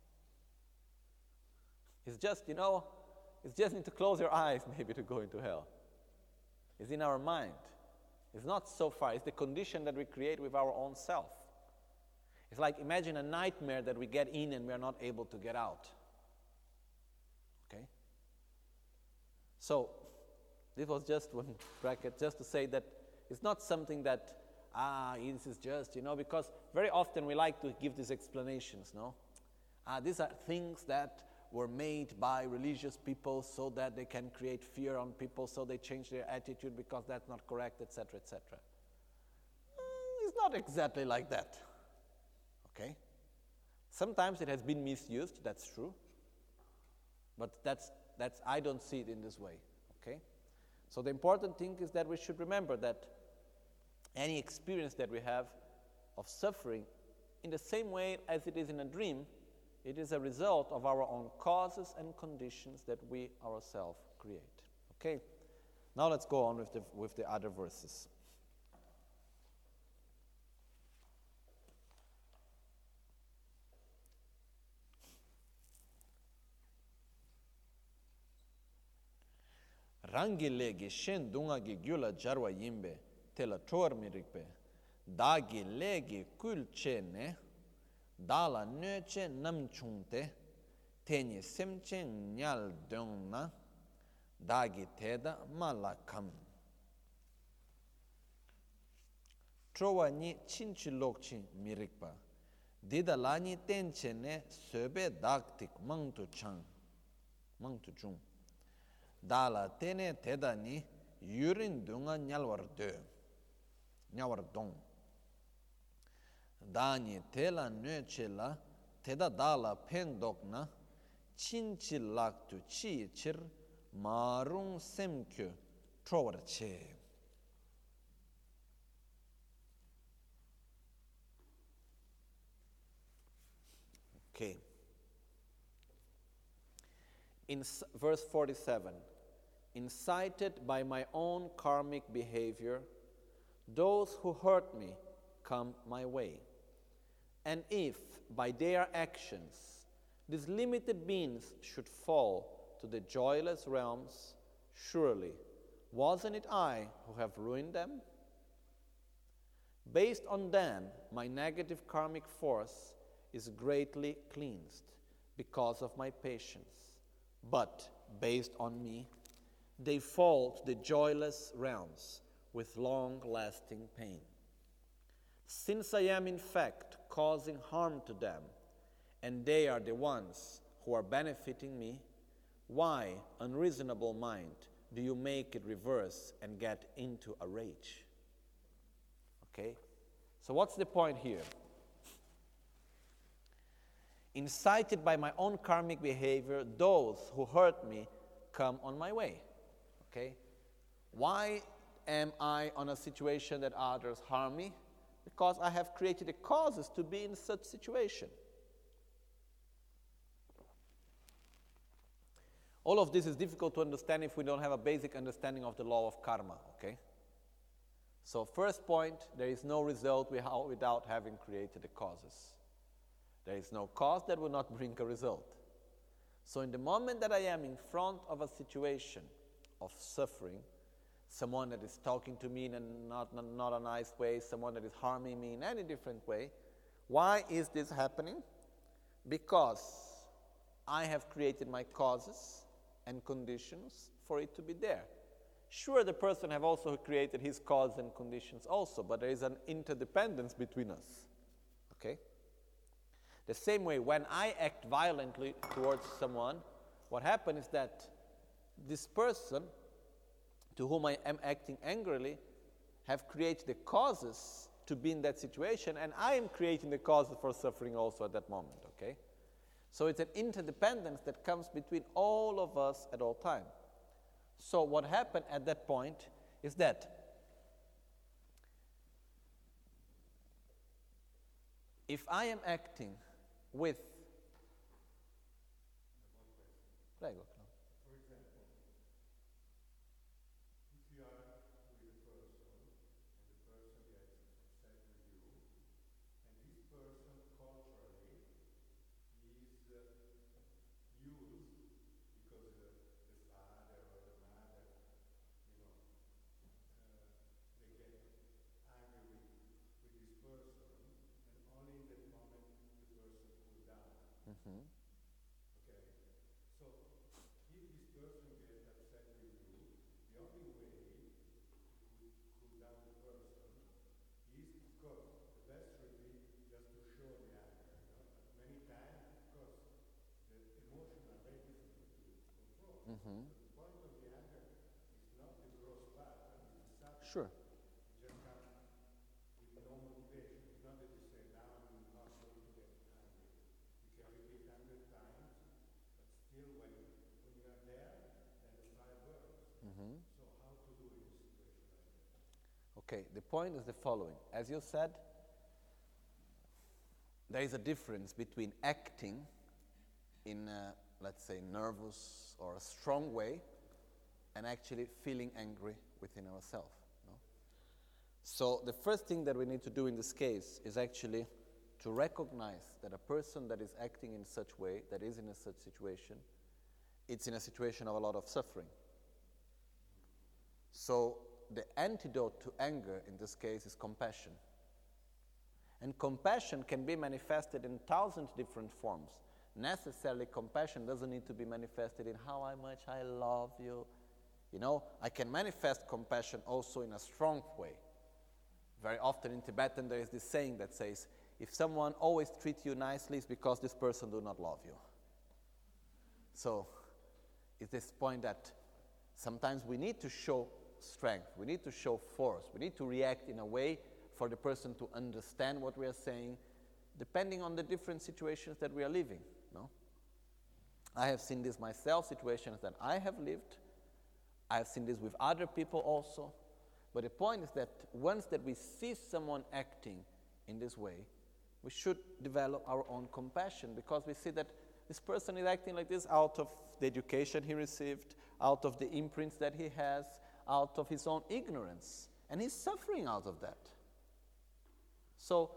It's just, you know, it's just need to close your eyes maybe to go into hell. It's in our mind. It's not so far. It's the condition that we create with our own self. It's like imagine a nightmare that we get in and we are not able to get out. Okay? So, this was just one bracket, just to say that it's not something that, this is just, you know, because very often we like to give these explanations, no? These are things that were made by religious people so that they can create fear on people, so they change their attitude because that's not correct, etc., etc. It's not exactly like that. Okay? Sometimes it has been misused, that's true. But that's I don't see it in this way. Okay? So the important thing is that we should remember that any experience that we have of suffering, in the same way as it is in a dream, it is a result of our own causes and conditions that we ourselves create. Okay? Now let's go on with the other verses. Rangi legi shen dunga gi gyula jarwa yimbe tela chor mirikpe dagi legi kul che ne dala nö che nam chungte teni semche nyal dongna dagi teda malakam chowa ni chinchi lokchi mirikpa dida lani tenche ne söbe daktik mangtu chung dala tene teda ni yurin dunga nyalwar dong dani tela nöche la teda dala pendok na chinchi lak tu chi chir marung semkyo trowar che. Okay. In verse 47, incited by my own karmic behavior, those who hurt me come my way. And if, by their actions, these limited beings should fall to the joyless realms, surely, wasn't it I who have ruined them? Based on them, my negative karmic force is greatly cleansed because of my patience. But, based on me, they fall to the joyless realms with long-lasting pain. Since I am in fact causing harm to them, and they are the ones who are benefiting me, why, unreasonable mind, do you make it reverse and get into a rage? Okay? So what's the point here? Incited by my own karmic behavior, those who hurt me come on my way. Okay? Why am I on a situation that others harm me? Because I have created the causes to be in such situation. All of this is difficult to understand if we don't have a basic understanding of the law of karma, okay? So first point, there is no result without having created the causes. There is no cause that will not bring a result. So in the moment that I am in front of a situation of suffering, someone that is talking to me in not a nice way, someone that is harming me in any different way, why is this happening? Because I have created my causes and conditions for it to be there. Sure, the person have also created his cause and conditions also, but there is an interdependence between us, okay? The same way, when I act violently towards someone, what happens is that this person to whom I am acting angrily have created the causes to be in that situation, and I am creating the causes for suffering also at that moment, okay? So it's an interdependence that comes between all of us at all time. So what happened at that point is that if I am acting with... Prego. For example, if you are with a person and the person gets upset with you, and this person culturally is used because the father or the mother, they get angry with this person, and only in that moment the person cool down. Mm-hmm. Okay? So, if this person gets upset with you, the only way to cool down the person is, of course, the best would be just to show the anger. But many times, of course, the emotions are very difficult to control. Mm-hmm. So the point of the anger is not the gross part, but it's the subtle. Sure. It just comes with no motivation. It's not that you say, now I'm not going to get angry. You can repeat 100 times, but still when you are there, then the fire burns. Mm-hmm. So how to do in a situation like that? Okay, the point is the following. As you said, there is a difference between acting in a, let's say, nervous or a strong way and actually feeling angry within ourselves. No? So the first thing that we need to do in this case is actually to recognize that a person that is acting in such way, that is in a such situation, it's in a situation of a lot of suffering. So the antidote to anger in this case is compassion. And compassion can be manifested in 1,000 different forms. Necessarily, compassion doesn't need to be manifested in how much I love you. You know, I can manifest compassion also in a strong way. Very often in Tibetan there is this saying that says, if someone always treats you nicely, it's because this person do not love you. So, it's this point that sometimes we need to show strength, we need to show force, we need to react in a way for the person to understand what we are saying, depending on the different situations that we are living. No? I have seen this myself, situations that I have lived. I have seen this with other people also. But the point is that once that we see someone acting in this way, we should develop our own compassion, because we see that this person is acting like this out of the education he received, out of the imprints that he has, out of his own ignorance. And he's suffering out of that. So,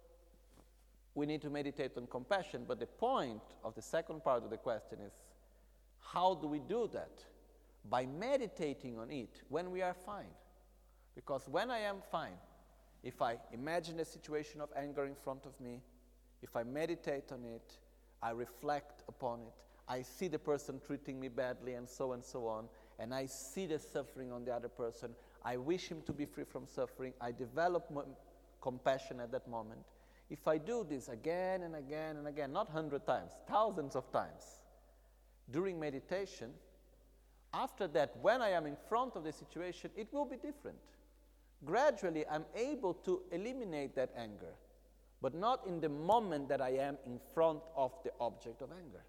we need to meditate on compassion, but the point of the second part of the question is, how do we do that? By meditating on it when we are fine. Because when I am fine, if I imagine a situation of anger in front of me, if I meditate on it, I reflect upon it, I see the person treating me badly and so on, and I see the suffering on the other person, I wish him to be free from suffering, I develop compassion at that moment. If I do this again and again and again, not 100 times, thousands of times, during meditation, after that, when I am in front of the situation, it will be different. Gradually, I'm able to eliminate that anger, but not in the moment that I am in front of the object of anger.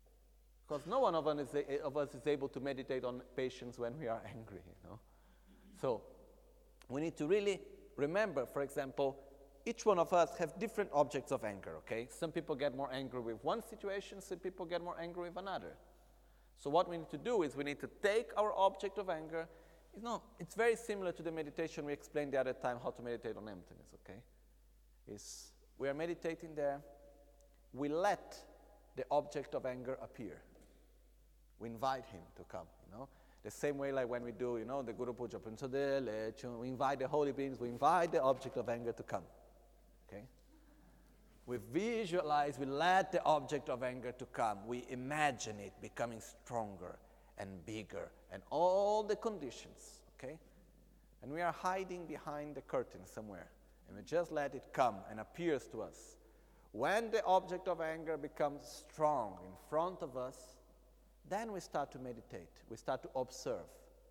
Because no one of us is able to meditate on patience when we are angry, you know. So we need to really remember, for example, each one of us have different objects of anger, okay? Some people get more angry with one situation, some people get more angry with another. So what we need to do is we need to take our object of anger. It's very similar to the meditation we explained the other time, how to meditate on emptiness, okay? We are meditating there. We let the object of anger appear. We invite him to come, The same way like when we do, the Guru Puja, we invite the holy beings, we invite the object of anger to come, okay? We visualize, we let the object of anger to come. We imagine it becoming stronger and bigger and all the conditions, okay? And we are hiding behind the curtain somewhere. And we just let it come and appears to us. When the object of anger becomes strong in front of us, then we start to meditate. We start to observe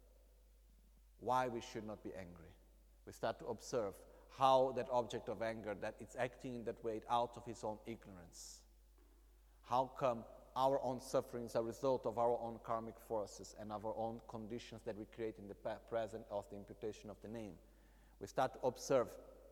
why we should not be angry. We start to observe how that object of anger, that it's acting in that way out of his own ignorance. How come our own sufferings are a result of our own karmic forces and of our own conditions that we create in the present of the imputation of the name. We start to observe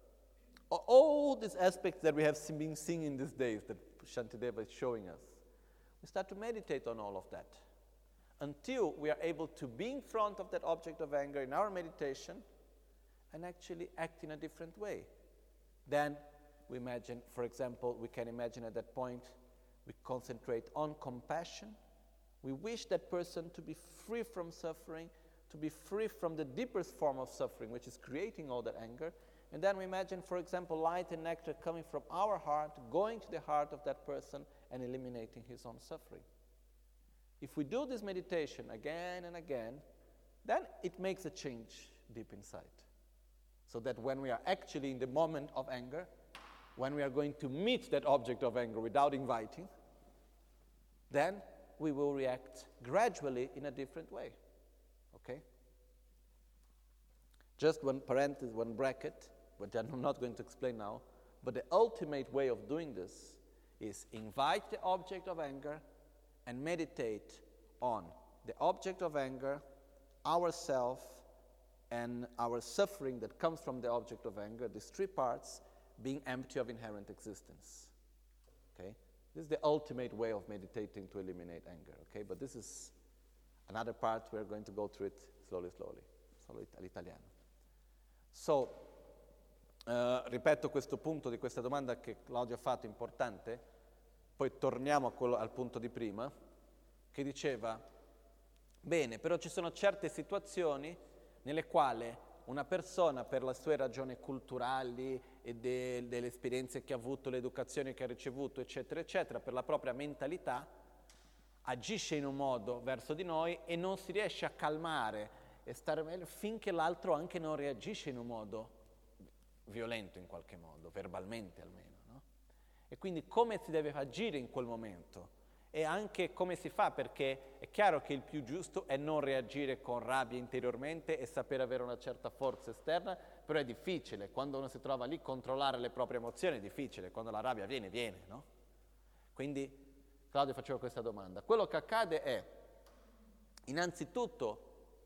all these aspects that we have been seeing in these days that Shantideva is showing us. We start to meditate on all of that until we are able to be in front of that object of anger in our meditation and actually act in a different way. Then we imagine, for example, we can imagine at that point we concentrate on compassion. We wish that person to be free from suffering, to be free from the deepest form of suffering, which is creating all that anger. And then we imagine, for example, light and nectar coming from our heart, going to the heart of that person and eliminating his own suffering. If we do this meditation again and again, then it makes a change deep inside. So that when we are actually in the moment of anger, when we are going to meet that object of anger without inviting, then we will react gradually in a different way. Okay? Just one parenthesis, one bracket, which I'm not going to explain now, but the ultimate way of doing this is invite the object of anger and meditate on the object of anger, ourself, and our suffering that comes from the object of anger, these three parts, being empty of inherent existence. Okay? This is the ultimate way of meditating to eliminate anger. Okay? But this is another part. We're going to go through it slowly, all'italiano. So, ripeto questo punto di questa domanda che Claudio ha fatto, importante, poi torniamo al punto di prima, che diceva, bene, però ci sono certe situazioni nelle quali una persona, per le sue ragioni culturali e delle esperienze che ha avuto, l'educazione che ha ricevuto, eccetera, eccetera, per la propria mentalità, agisce in un modo verso di noi e non si riesce a calmare e stare meglio finché l'altro anche non reagisce in un modo violento in qualche modo, verbalmente almeno, no? E quindi come si deve agire in quel momento? E anche come si fa, perché è chiaro che il più giusto è non reagire con rabbia interiormente e sapere avere una certa forza esterna, però è difficile, quando uno si trova lì, controllare le proprie emozioni è difficile, quando la rabbia viene, no? Quindi Claudio faceva questa domanda. Quello che accade è, innanzitutto,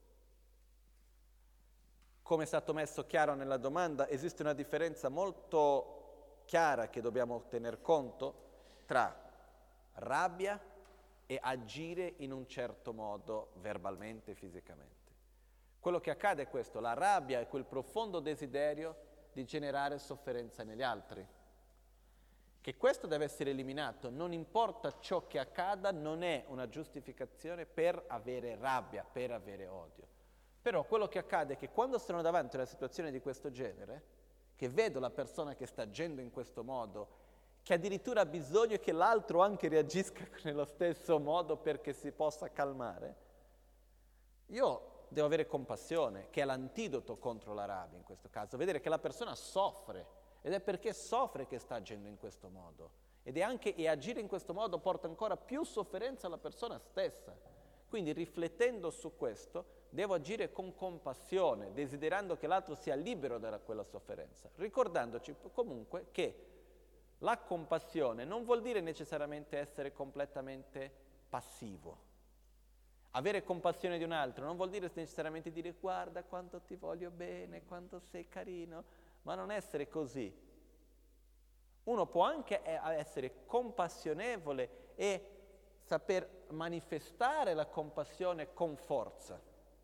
come è stato messo chiaro nella domanda, esiste una differenza molto chiara che dobbiamo tener conto tra rabbia e agire in un certo modo verbalmente e fisicamente. Quello che accade è questo, la rabbia è quel profondo desiderio di generare sofferenza negli altri. Che questo deve essere eliminato, non importa ciò che accada, non è una giustificazione per avere rabbia, per avere odio. Però quello che accade è che quando sono davanti a una situazione di questo genere, che vedo la persona che sta agendo in questo modo, che addirittura ha bisogno che l'altro anche reagisca nello stesso modo perché si possa calmare, io devo avere compassione, che è l'antidoto contro la rabbia in questo caso, vedere che la persona soffre, ed è perché soffre che sta agendo in questo modo, e agire in questo modo porta ancora più sofferenza alla persona stessa. Quindi riflettendo su questo, devo agire con compassione, desiderando che l'altro sia libero da quella sofferenza, ricordandoci comunque che la compassione non vuol dire necessariamente essere completamente passivo. Avere compassione di un altro non vuol dire necessariamente dire guarda quanto ti voglio bene, quanto sei carino, ma non essere così. Uno può anche essere compassionevole e saper manifestare la compassione con forza.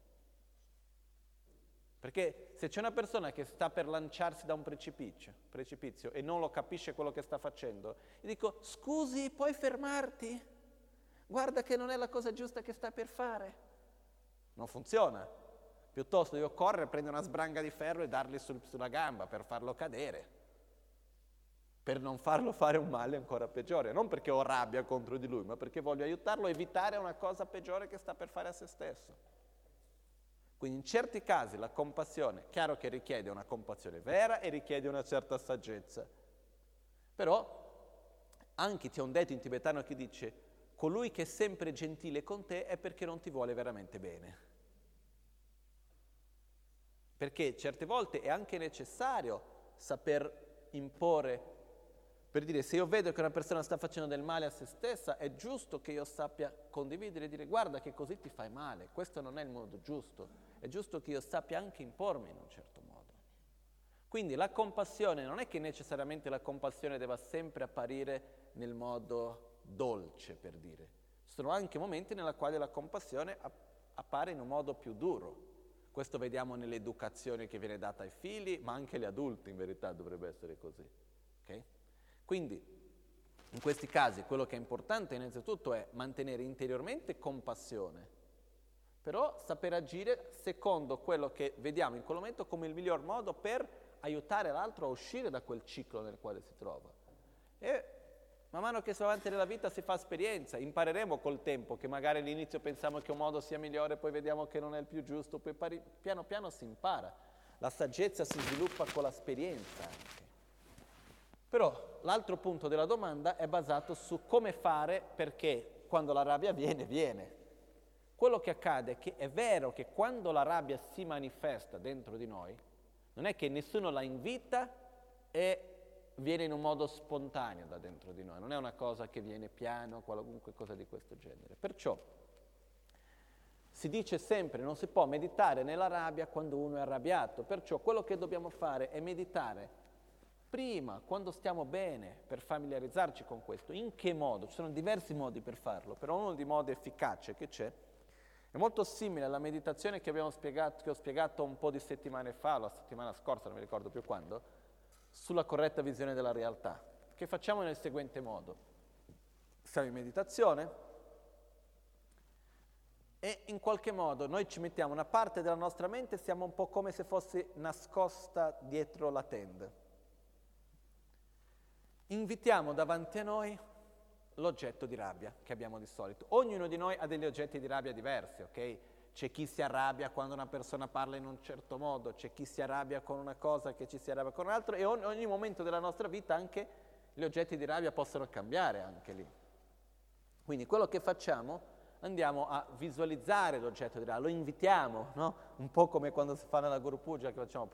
Perché se c'è una persona che sta per lanciarsi da un precipizio e non lo capisce quello che sta facendo, gli dico scusi, puoi fermarti? Guarda che non è la cosa giusta che sta per fare. Non funziona. Piuttosto io correre, prendere una sbranga di ferro e dargli sulla gamba per farlo cadere, per non farlo fare un male ancora peggiore. Non perché ho rabbia contro di lui, ma perché voglio aiutarlo a evitare una cosa peggiore che sta per fare a se stesso. Quindi in certi casi la compassione, chiaro che richiede una compassione vera e richiede una certa saggezza. Però anche c'è un detto in tibetano che dice colui che è sempre gentile con te è perché non ti vuole veramente bene. Perché certe volte è anche necessario saper imporre, per dire se io vedo che una persona sta facendo del male a se stessa, è giusto che io sappia condividere e dire guarda che così ti fai male, questo non è il modo giusto, è giusto che io sappia anche impormi in un certo modo. Quindi la compassione non è che necessariamente la compassione debba sempre apparire nel modo dolce, per dire. Ci sono anche momenti nella quale la compassione appare in un modo più duro. Questo vediamo nell'educazione che viene data ai figli, ma anche agli adulti in verità dovrebbe essere così. Okay? Quindi in questi casi quello che è importante innanzitutto è mantenere interiormente compassione, però saper agire secondo quello che vediamo in quel momento come il miglior modo per aiutare l'altro a uscire da quel ciclo nel quale si trova. E man mano che si va avanti nella vita si fa esperienza, impareremo col tempo che magari all'inizio pensiamo che un modo sia migliore, poi vediamo che non è il più giusto, poi piano piano si impara. La saggezza si sviluppa con l'esperienza anche. Però l'altro punto della domanda è basato su come fare perché quando la rabbia viene. Quello che accade è che è vero che quando la rabbia si manifesta dentro di noi, non è che nessuno la invita e viene in un modo spontaneo da dentro di noi, non è una cosa che viene piano, qualunque cosa di questo genere. Perciò si dice sempre non si può meditare nella rabbia quando uno è arrabbiato, perciò quello che dobbiamo fare è meditare prima, quando stiamo bene, per familiarizzarci con questo. In che modo? Ci sono diversi modi per farlo, però uno dei modi efficaci che c'è è molto simile alla meditazione che ho spiegato un po' di settimane fa, la settimana scorsa, non mi ricordo più quando, sulla corretta visione della realtà, che facciamo nel seguente modo. Siamo in meditazione e in qualche modo noi ci mettiamo una parte della nostra mente, siamo un po' come se fosse nascosta dietro la tenda. Invitiamo davanti a noi l'oggetto di rabbia che abbiamo di solito. Ognuno di noi ha degli oggetti di rabbia diversi, ok? C'è chi si arrabbia quando una persona parla in un certo modo, c'è chi si arrabbia con una cosa, che ci si arrabbia con un altro, e ogni momento della nostra vita anche gli oggetti di rabbia possono cambiare anche lì. Quindi quello che facciamo, andiamo a visualizzare l'oggetto di rabbia, lo invitiamo, no? Un po' come quando si fa nella Guru Puja che facciamo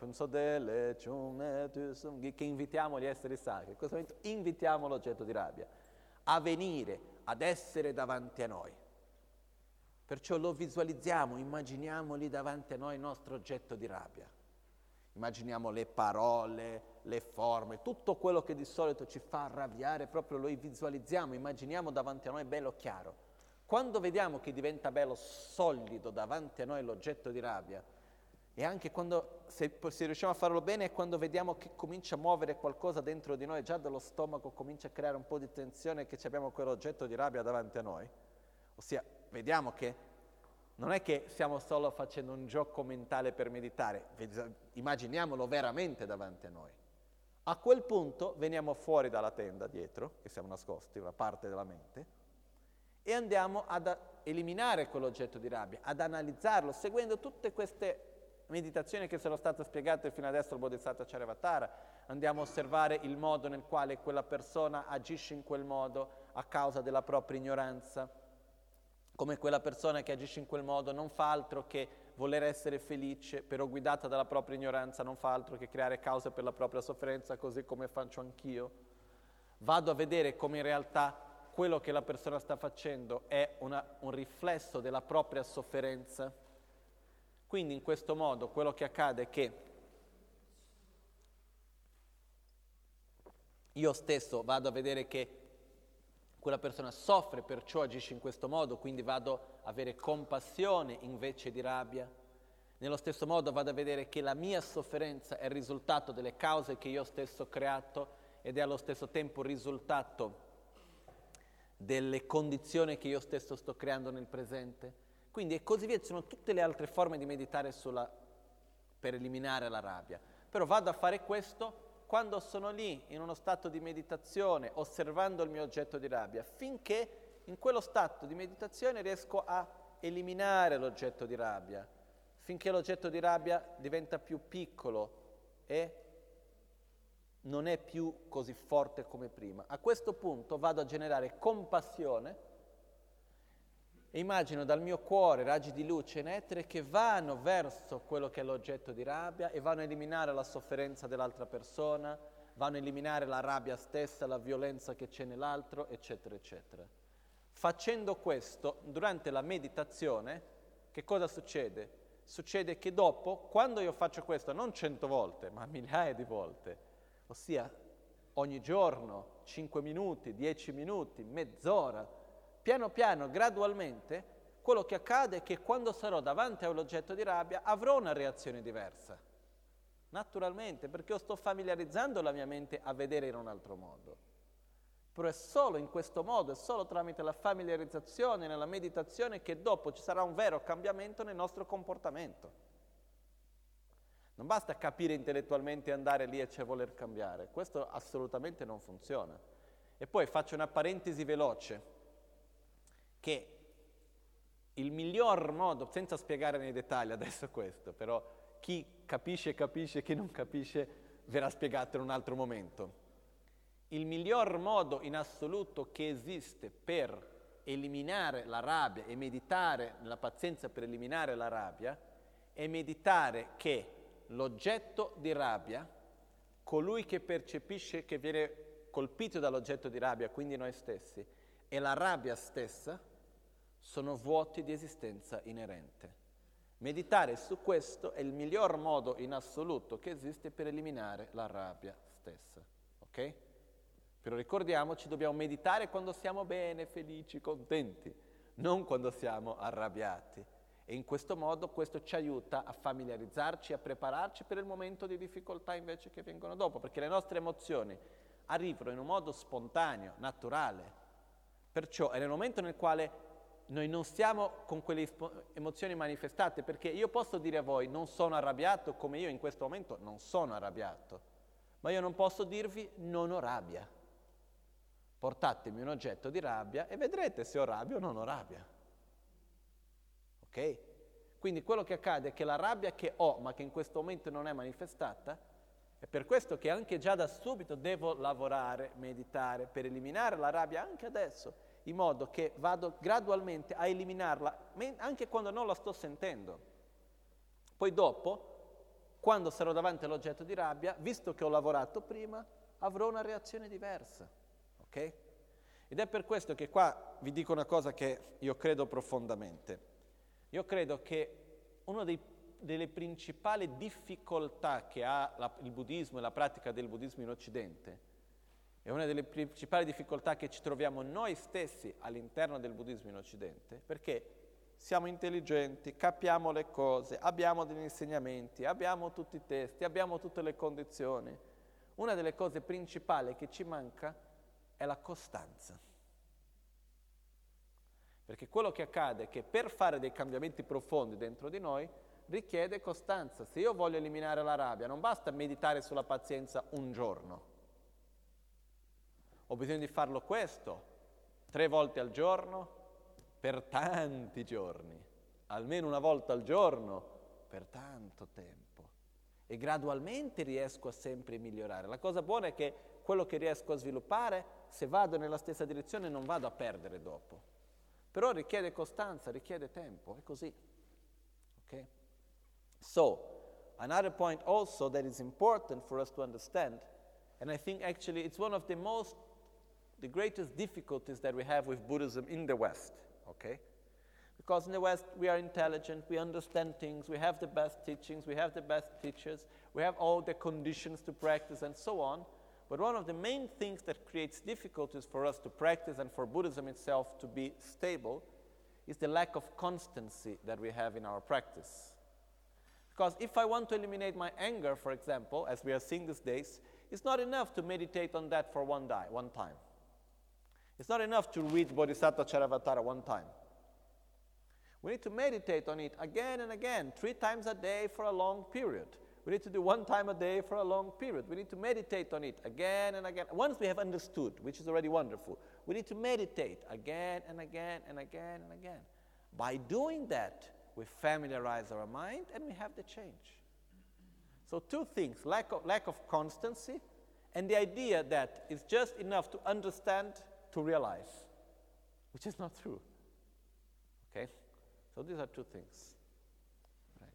che invitiamo gli esseri sacri. In questo momento invitiamo l'oggetto di rabbia a venire, ad essere davanti a noi. Perciò lo visualizziamo, immaginiamo lì davanti a noi il nostro oggetto di rabbia. Immaginiamo le parole, le forme, tutto quello che di solito ci fa arrabbiare, proprio lo visualizziamo, immaginiamo davanti a noi bello chiaro. Quando vediamo che diventa bello solido davanti a noi l'oggetto di rabbia, e anche quando, se riusciamo a farlo bene, è quando vediamo che comincia a muovere qualcosa dentro di noi, già dallo stomaco comincia a creare un po' di tensione che abbiamo quell'oggetto di rabbia davanti a noi. Ossia, vediamo che non è che stiamo solo facendo un gioco mentale per meditare, immaginiamolo veramente davanti a noi. A quel punto veniamo fuori dalla tenda dietro, che siamo nascosti, una parte della mente, e andiamo ad eliminare quell'oggetto di rabbia, ad analizzarlo, seguendo tutte queste meditazioni che sono state spiegate fino adesso al Bodhisattva Charyavatara. Andiamo a osservare il modo nel quale quella persona agisce in quel modo a causa della propria ignoranza, come quella persona che agisce in quel modo non fa altro che voler essere felice, però guidata dalla propria ignoranza non fa altro che creare cause per la propria sofferenza, così come faccio anch'io. Vado a vedere come in realtà quello che la persona sta facendo è un riflesso della propria sofferenza. Quindi in questo modo quello che accade è che io stesso vado a vedere che quella persona soffre, perciò agisce in questo modo, quindi vado a avere compassione invece di rabbia. Nello stesso modo vado a vedere che la mia sofferenza è il risultato delle cause che io stesso ho creato ed è allo stesso tempo il risultato delle condizioni che io stesso sto creando nel presente. Quindi e così via, ci sono tutte le altre forme di meditare per eliminare la rabbia. Però vado a fare questo quando sono lì in uno stato di meditazione, osservando il mio oggetto di rabbia, finché in quello stato di meditazione riesco a eliminare l'oggetto di rabbia, finché l'oggetto di rabbia diventa più piccolo e non è più così forte come prima. A questo punto vado a generare compassione e immagino dal mio cuore raggi di luce in etere che vanno verso quello che è l'oggetto di rabbia e vanno a eliminare la sofferenza dell'altra persona, vanno a eliminare la rabbia stessa, la violenza che c'è nell'altro, eccetera, eccetera. Facendo questo, durante la meditazione, che cosa succede? Succede che dopo, quando io faccio questo, non 100 volte, ma migliaia di volte, ossia ogni giorno, 5 minuti, 10 minuti, mezz'ora, piano piano, gradualmente, quello che accade è che quando sarò davanti a un oggetto di rabbia avrò una reazione diversa. Naturalmente, perché io sto familiarizzando la mia mente a vedere in un altro modo. Però è solo in questo modo, è solo tramite la familiarizzazione, nella meditazione, che dopo ci sarà un vero cambiamento nel nostro comportamento. Non basta capire intellettualmente e andare lì e voler cambiare. Questo assolutamente non funziona. E poi faccio una parentesi veloce, che il miglior modo, senza spiegare nei dettagli adesso questo, però chi capisce, chi non capisce verrà spiegato in un altro momento. Il miglior modo in assoluto che esiste per eliminare la rabbia e meditare nella pazienza per eliminare la rabbia è meditare che l'oggetto di rabbia, colui che percepisce che viene colpito dall'oggetto di rabbia, quindi noi stessi, e la rabbia stessa sono vuoti di esistenza inerente. Meditare su questo è il miglior modo in assoluto che esiste per eliminare la rabbia stessa, ok? Però ricordiamoci, dobbiamo meditare quando siamo bene, felici, contenti, non quando siamo arrabbiati. E in questo modo questo ci aiuta a familiarizzarci, a prepararci per il momento di difficoltà invece che vengono dopo, perché le nostre emozioni arrivano in un modo spontaneo, naturale. Perciò è nel momento nel quale noi non stiamo con quelle emozioni manifestate, perché io posso dire a voi non sono arrabbiato come io in questo momento non sono arrabbiato, ma io non posso dirvi non ho rabbia. Portatemi un oggetto di rabbia e vedrete se ho rabbia o non ho rabbia. Ok? Quindi quello che accade è che la rabbia che ho, ma che in questo momento non è manifestata, è per questo che anche già da subito devo lavorare, meditare, per eliminare la rabbia anche adesso, in modo che vado gradualmente a eliminarla, anche quando non la sto sentendo. Poi dopo, quando sarò davanti all'oggetto di rabbia, visto che ho lavorato prima, avrò una reazione diversa. Ok? Ed è per questo che qua vi dico una cosa che io credo profondamente. Io credo che una delle principali difficoltà che ha il buddismo e la pratica del buddismo in Occidente è una delle principali difficoltà che ci troviamo noi stessi all'interno del buddismo in Occidente, perché siamo intelligenti, capiamo le cose, abbiamo degli insegnamenti, abbiamo tutti i testi, abbiamo tutte le condizioni. Una delle cose principali che ci manca è la costanza. Perché quello che accade è che per fare dei cambiamenti profondi dentro di noi richiede costanza. Se io voglio eliminare la rabbia, non basta meditare sulla pazienza un giorno. Ho bisogno di farlo questo 3 volte al giorno per tanti giorni, almeno una volta al giorno per tanto tempo. E gradualmente riesco a sempre migliorare. La cosa buona è che quello che riesco a sviluppare, se vado nella stessa direzione, non vado a perdere dopo. Però richiede costanza, richiede tempo, è così. Ok? So, another point also that is important for us to understand, and I think actually it's one of the most the greatest difficulties that we have with Buddhism in the West, okay? Because in the West, we are intelligent, we understand things, we have the best teachings, we have the best teachers, we have all the conditions to practice and so on. But one of the main things that creates difficulties for us to practice and for Buddhism itself to be stable is the lack of constancy that we have in our practice. Because if I want to eliminate my anger, for example, as we are seeing these days, it's not enough to meditate on that for one time. It's not enough to read Bodhisattva Charavatara one time. We need to meditate on it again and again, 3 times a day for a long period. We need to do 1 time a day for a long period. We need to meditate on it again and again. Once we have understood, which is already wonderful, we need to meditate again and again and again and again. By doing that, we familiarize our mind and we have the change. So 2 things, lack of constancy and the idea that it's just enough to understand to realize, which is not true. Okay? So these are 2 things. Right.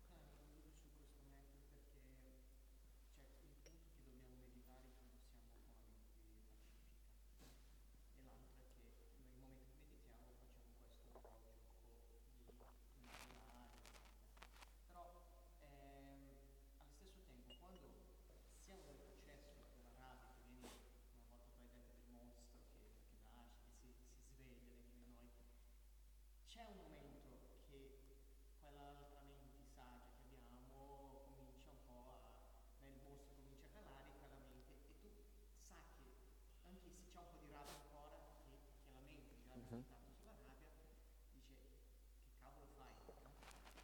C'è un momento che quell'altra mente saggia che abbiamo comincia un po' nel mostro comincia a calare quella mente e tu sai che anche se c'è un po' di rabbia ancora, che la mente già ha meditato sulla rabbia, dice che cavolo fai? No?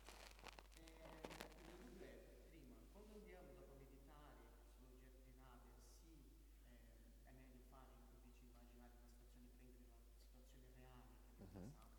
Il dubbio è, prima, quando andiamo dopo a meditare sull'oggetto di rabbia, sì, è meglio fare, come dice, immaginare una situazione, prendere la situazione reale che abbiamo passato.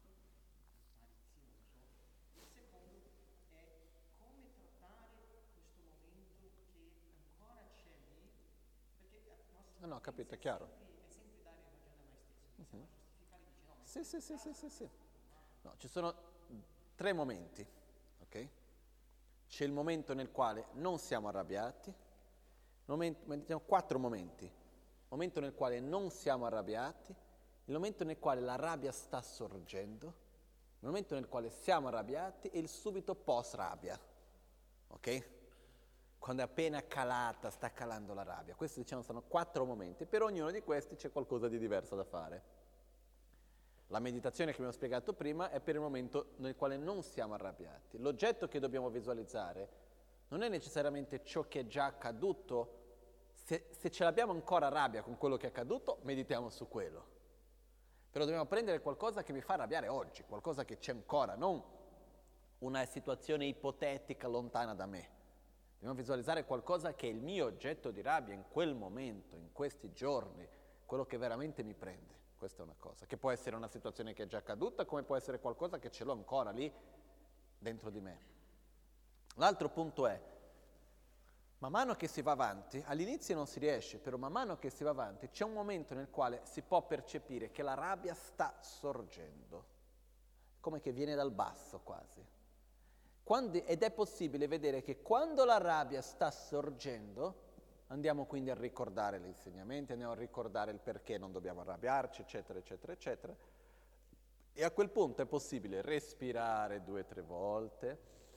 No, capito, è chiaro. È sempre dare ragione a noi stessi, iniziamo a giustificare, dice no. Sì. No, ci sono 3 momenti, ok? C'è il momento nel quale non siamo arrabbiati, meditiamo 4 momenti. Il momento nel quale non siamo arrabbiati, il momento nel quale la rabbia sta sorgendo, il momento nel quale siamo arrabbiati e il subito post rabbia, ok? Quando è appena calata, sta calando la rabbia. Questi, diciamo, sono 4 momenti. Per ognuno di questi c'è qualcosa di diverso da fare. La meditazione che abbiamo spiegato prima è per il momento nel quale non siamo arrabbiati. L'oggetto che dobbiamo visualizzare non è necessariamente ciò che è già accaduto. Se ce l'abbiamo ancora rabbia con quello che è accaduto, meditiamo su quello. Però dobbiamo prendere qualcosa che mi fa arrabbiare oggi, qualcosa che c'è ancora, non una situazione ipotetica lontana da me. Dobbiamo visualizzare qualcosa che è il mio oggetto di rabbia in quel momento, in questi giorni, quello che veramente mi prende. Questa è una cosa, che può essere una situazione che è già accaduta, come può essere qualcosa che ce l'ho ancora lì dentro di me. L'altro punto è, man mano che si va avanti, all'inizio non si riesce, però man mano che si va avanti c'è un momento nel quale si può percepire che la rabbia sta sorgendo, come che viene dal basso quasi. Ed è possibile vedere che quando la rabbia sta sorgendo, andiamo quindi a ricordare gli insegnamenti, andiamo a ricordare il perché non dobbiamo arrabbiarci, eccetera, eccetera, eccetera. E a quel punto è possibile respirare 2-3 volte.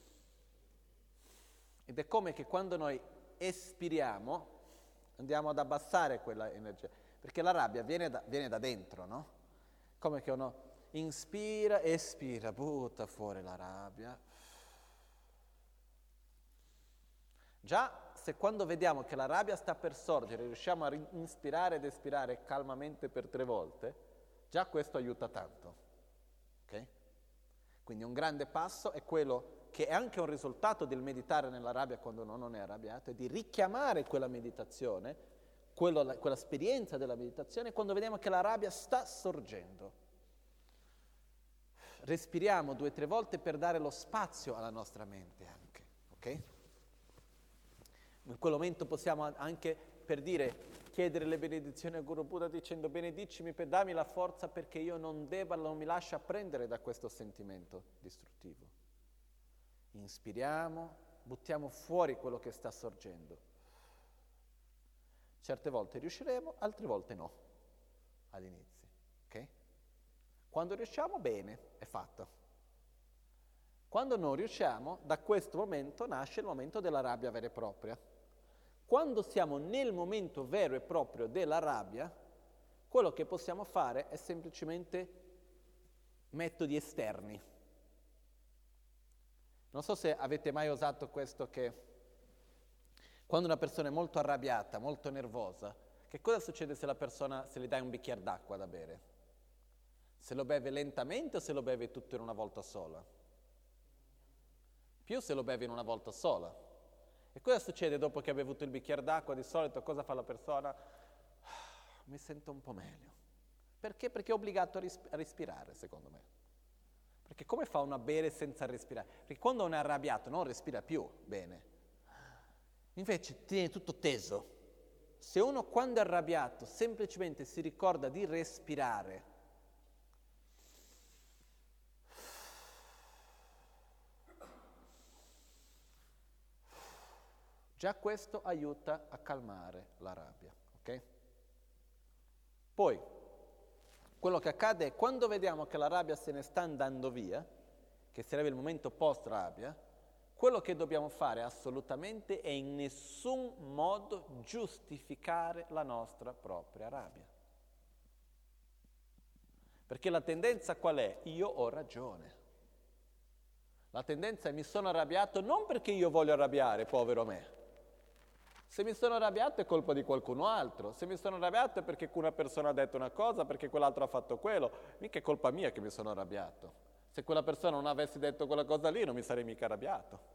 Ed è come che quando noi espiriamo, andiamo ad abbassare quella energia. Perché la rabbia viene da dentro, no? Come che uno inspira, espira, butta fuori la rabbia. Già se quando vediamo che la rabbia sta per sorgere, riusciamo a inspirare ed espirare calmamente per 3 volte, già questo aiuta tanto. Ok? Quindi un grande passo è quello che è anche un risultato del meditare nella rabbia quando uno non è arrabbiato, è di richiamare quella meditazione, quell'esperienza della meditazione quando vediamo che la rabbia sta sorgendo. Respiriamo 2-3 volte per dare lo spazio alla nostra mente anche, ok? In quel momento possiamo anche, per dire, chiedere le benedizioni al Guru Buddha dicendo benedicimi per darmi la forza perché io non mi lascia prendere da questo sentimento distruttivo. Inspiriamo, buttiamo fuori quello che sta sorgendo. Certe volte riusciremo, altre volte no. all'inizio, ok? Quando riusciamo, bene, è fatta. Quando non riusciamo, da questo momento nasce il momento della rabbia vera e propria. Quando siamo nel momento vero e proprio della rabbia, quello che possiamo fare è semplicemente metodi esterni. Non so se avete mai usato questo, che quando una persona è molto arrabbiata, molto nervosa, che cosa succede se la persona, se le dai un bicchiere d'acqua da bere? Se lo beve lentamente o se lo beve tutto in una volta sola? Più se lo beve in una volta sola. E cosa succede dopo che ha bevuto il bicchiere d'acqua? Di solito cosa fa la persona? Mi sento un po' meglio. Perché? Perché è obbligato a respirare, secondo me. Perché come fa uno a bere senza respirare? Perché quando uno è arrabbiato non respira più bene. Invece tiene tutto teso. Se uno quando è arrabbiato semplicemente si ricorda di respirare, già questo aiuta a calmare la rabbia, ok? Poi, quello che accade è quando vediamo che la rabbia se ne sta andando via, che sarebbe il momento post-rabbia, quello che dobbiamo fare assolutamente è in nessun modo giustificare la nostra propria rabbia. Perché la tendenza qual è? Io ho ragione. La tendenza è mi sono arrabbiato non perché io voglio arrabbiare, povero me. Se mi sono arrabbiato è colpa di qualcun altro. Se mi sono arrabbiato è perché una persona ha detto una cosa, perché quell'altro ha fatto quello. Mica è colpa mia che mi sono arrabbiato. Se quella persona non avesse detto quella cosa lì non mi sarei mica arrabbiato.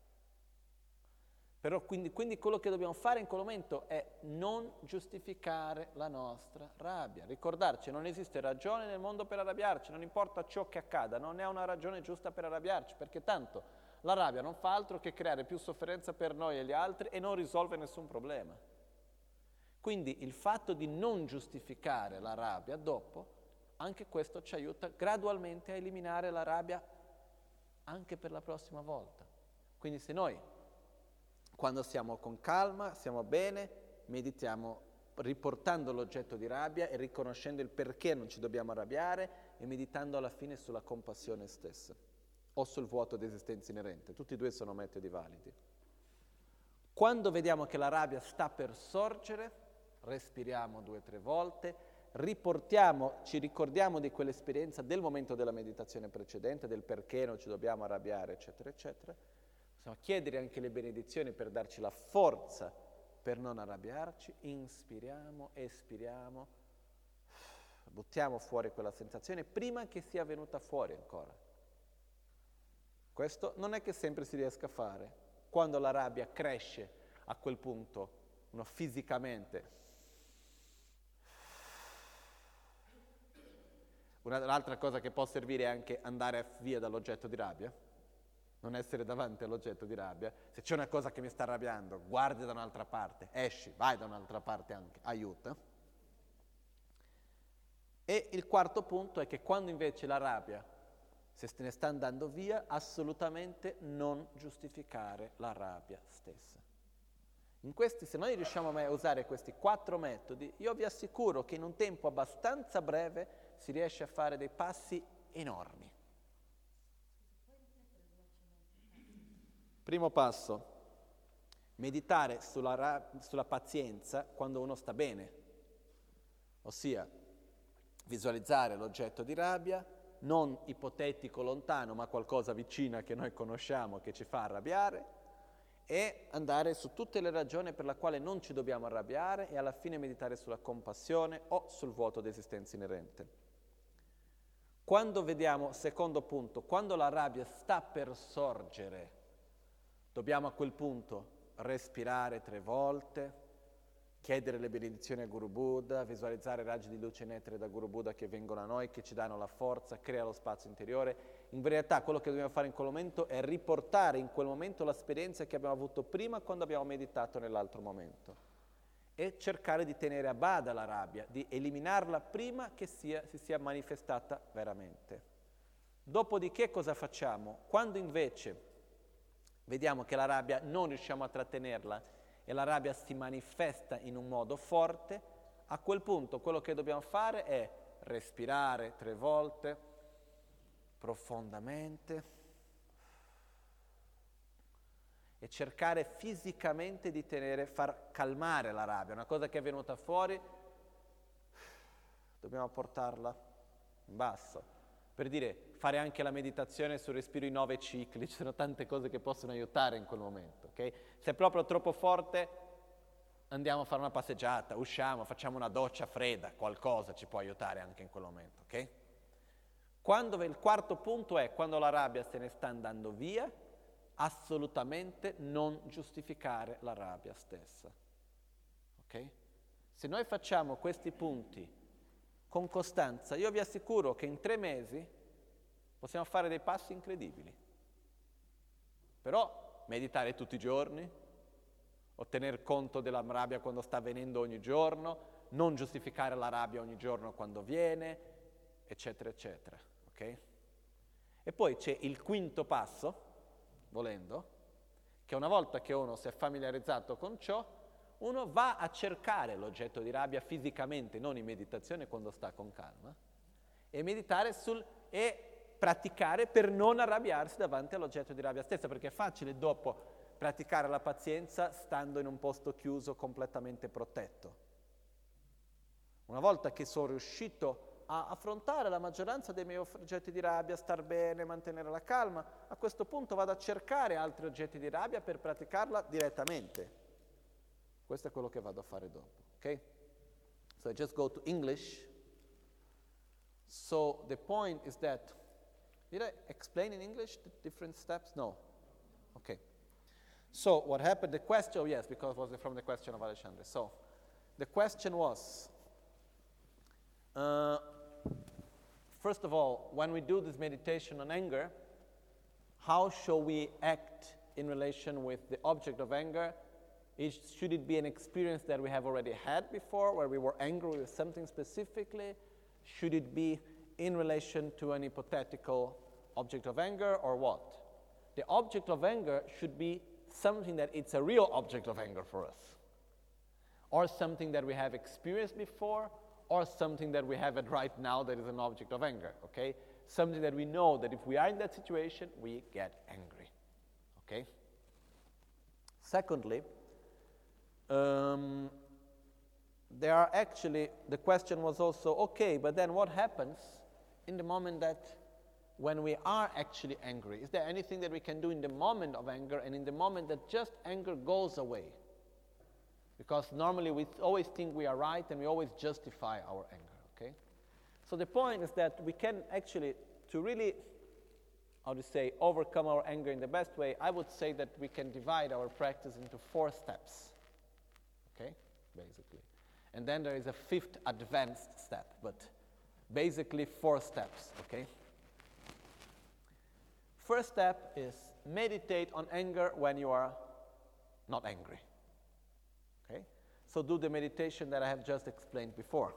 Però quindi quello che dobbiamo fare in quel momento è non giustificare la nostra rabbia. Ricordarci, non esiste ragione nel mondo per arrabbiarci, non importa ciò che accada, non è una ragione giusta per arrabbiarci, perché tanto la rabbia non fa altro che creare più sofferenza per noi e gli altri e non risolve nessun problema. Quindi il fatto di non giustificare la rabbia dopo, anche questo ci aiuta gradualmente a eliminare la rabbia anche per la prossima volta. Quindi se noi, quando siamo con calma, siamo bene, meditiamo riportando l'oggetto di rabbia e riconoscendo il perché non ci dobbiamo arrabbiare e meditando alla fine sulla compassione stessa o sul vuoto di esistenza inerente. Tutti e due sono metodi validi. Quando vediamo che la rabbia sta per sorgere, respiriamo 2 o 3 volte, ci ricordiamo di quell'esperienza del momento della meditazione precedente, del perché non ci dobbiamo arrabbiare, eccetera, eccetera. Possiamo chiedere anche le benedizioni per darci la forza per non arrabbiarci. Inspiriamo, espiriamo, buttiamo fuori quella sensazione prima che sia venuta fuori ancora. Questo non è che sempre si riesca a fare. Quando la rabbia cresce a quel punto, uno fisicamente. Un'altra cosa che può servire è anche andare via dall'oggetto di rabbia, non essere davanti all'oggetto di rabbia. Se c'è una cosa che mi sta arrabbiando, guardi da un'altra parte, esci, vai da un'altra parte anche, aiuta. E il quarto punto è che quando invece la rabbia se se ne sta andando via, assolutamente non giustificare la rabbia stessa. Se noi riusciamo a usare questi 4 metodi, io vi assicuro che in un tempo abbastanza breve si riesce a fare dei passi enormi. Primo passo, meditare sulla pazienza quando uno sta bene, ossia visualizzare l'oggetto di rabbia, non ipotetico lontano, ma qualcosa vicina che noi conosciamo che ci fa arrabbiare, e andare su tutte le ragioni per la quale non ci dobbiamo arrabbiare e alla fine meditare sulla compassione o sul vuoto di esistenza inerente. Quando vediamo, secondo punto, quando la rabbia sta per sorgere, dobbiamo a quel punto respirare 3 volte, chiedere le benedizioni a Guru Buddha, visualizzare raggi di luce nettere da Guru Buddha che vengono a noi, che ci danno la forza, crea lo spazio interiore. In verità quello che dobbiamo fare in quel momento è riportare in quel momento l'esperienza che abbiamo avuto prima quando abbiamo meditato nell'altro momento e cercare di tenere a bada la rabbia, di eliminarla prima che si sia manifestata veramente. Dopodiché cosa facciamo? Quando invece vediamo che la rabbia non riusciamo a trattenerla e la rabbia si manifesta in un modo forte, A quel punto quello che dobbiamo fare è respirare 3 volte profondamente e cercare fisicamente di far calmare la rabbia. Una cosa che è venuta fuori, dobbiamo portarla in basso. Per dire, fare anche la meditazione sul respiro in 9 cicli, ci sono tante cose che possono aiutare in quel momento, ok? Se è proprio troppo forte, andiamo a fare una passeggiata, usciamo, facciamo una doccia fredda, qualcosa ci può aiutare anche in quel momento, ok? Il quarto punto è, quando la rabbia se ne sta andando via, assolutamente non giustificare la rabbia stessa, ok? Se noi facciamo questi punti con costanza, io vi assicuro che in 3 mesi possiamo fare dei passi incredibili. Però meditare tutti i giorni, o tener conto della rabbia quando sta avvenendo ogni giorno, non giustificare la rabbia ogni giorno quando viene, eccetera, eccetera, ok? E poi c'è il quinto passo, volendo, che una volta che uno si è familiarizzato con ciò, uno va a cercare l'oggetto di rabbia fisicamente, non in meditazione quando sta con calma, e meditare e praticare per non arrabbiarsi davanti all'oggetto di rabbia stessa, perché è facile dopo praticare la pazienza stando in un posto chiuso completamente protetto. Una volta che sono riuscito a affrontare la maggioranza dei miei oggetti di rabbia, star bene, mantenere la calma, a questo punto vado a cercare altri oggetti di rabbia per praticarla direttamente. Questo è quello che vado a fare dopo, ok? So I just go to English. So the point is that, did I explain in English the different steps? No. Okay. So what happened, the question, yes, because it was from the question of Alexandre. So the question was, first of all, when we do this meditation on anger, how shall we act in relation with the object of anger? Should it be an experience that we have already had before, where we were angry with something specifically? Should it be in relation to an hypothetical object of anger, or what? The object of anger should be something that it's a real object of anger for us, or something that we have experienced before, or something that we have it right now that is an object of anger, okay? Something that we know that if we are in that situation, we get angry, okay? Secondly, there are actually, the question was also, okay, but then what happens in the moment that when we are actually angry? Is there anything that we can do in the moment of anger and in the moment that just anger goes away? Because normally we always think we are right and we always justify our anger, okay? So the point is that we can actually, to really, how to say, overcome our anger in the best way, I would say that we can divide our practice into 4 steps, okay, basically. And then there is a 5th advanced step, but basically 4 steps, okay? First step is meditate on anger when you are not angry. Okay? So do the meditation that I have just explained before.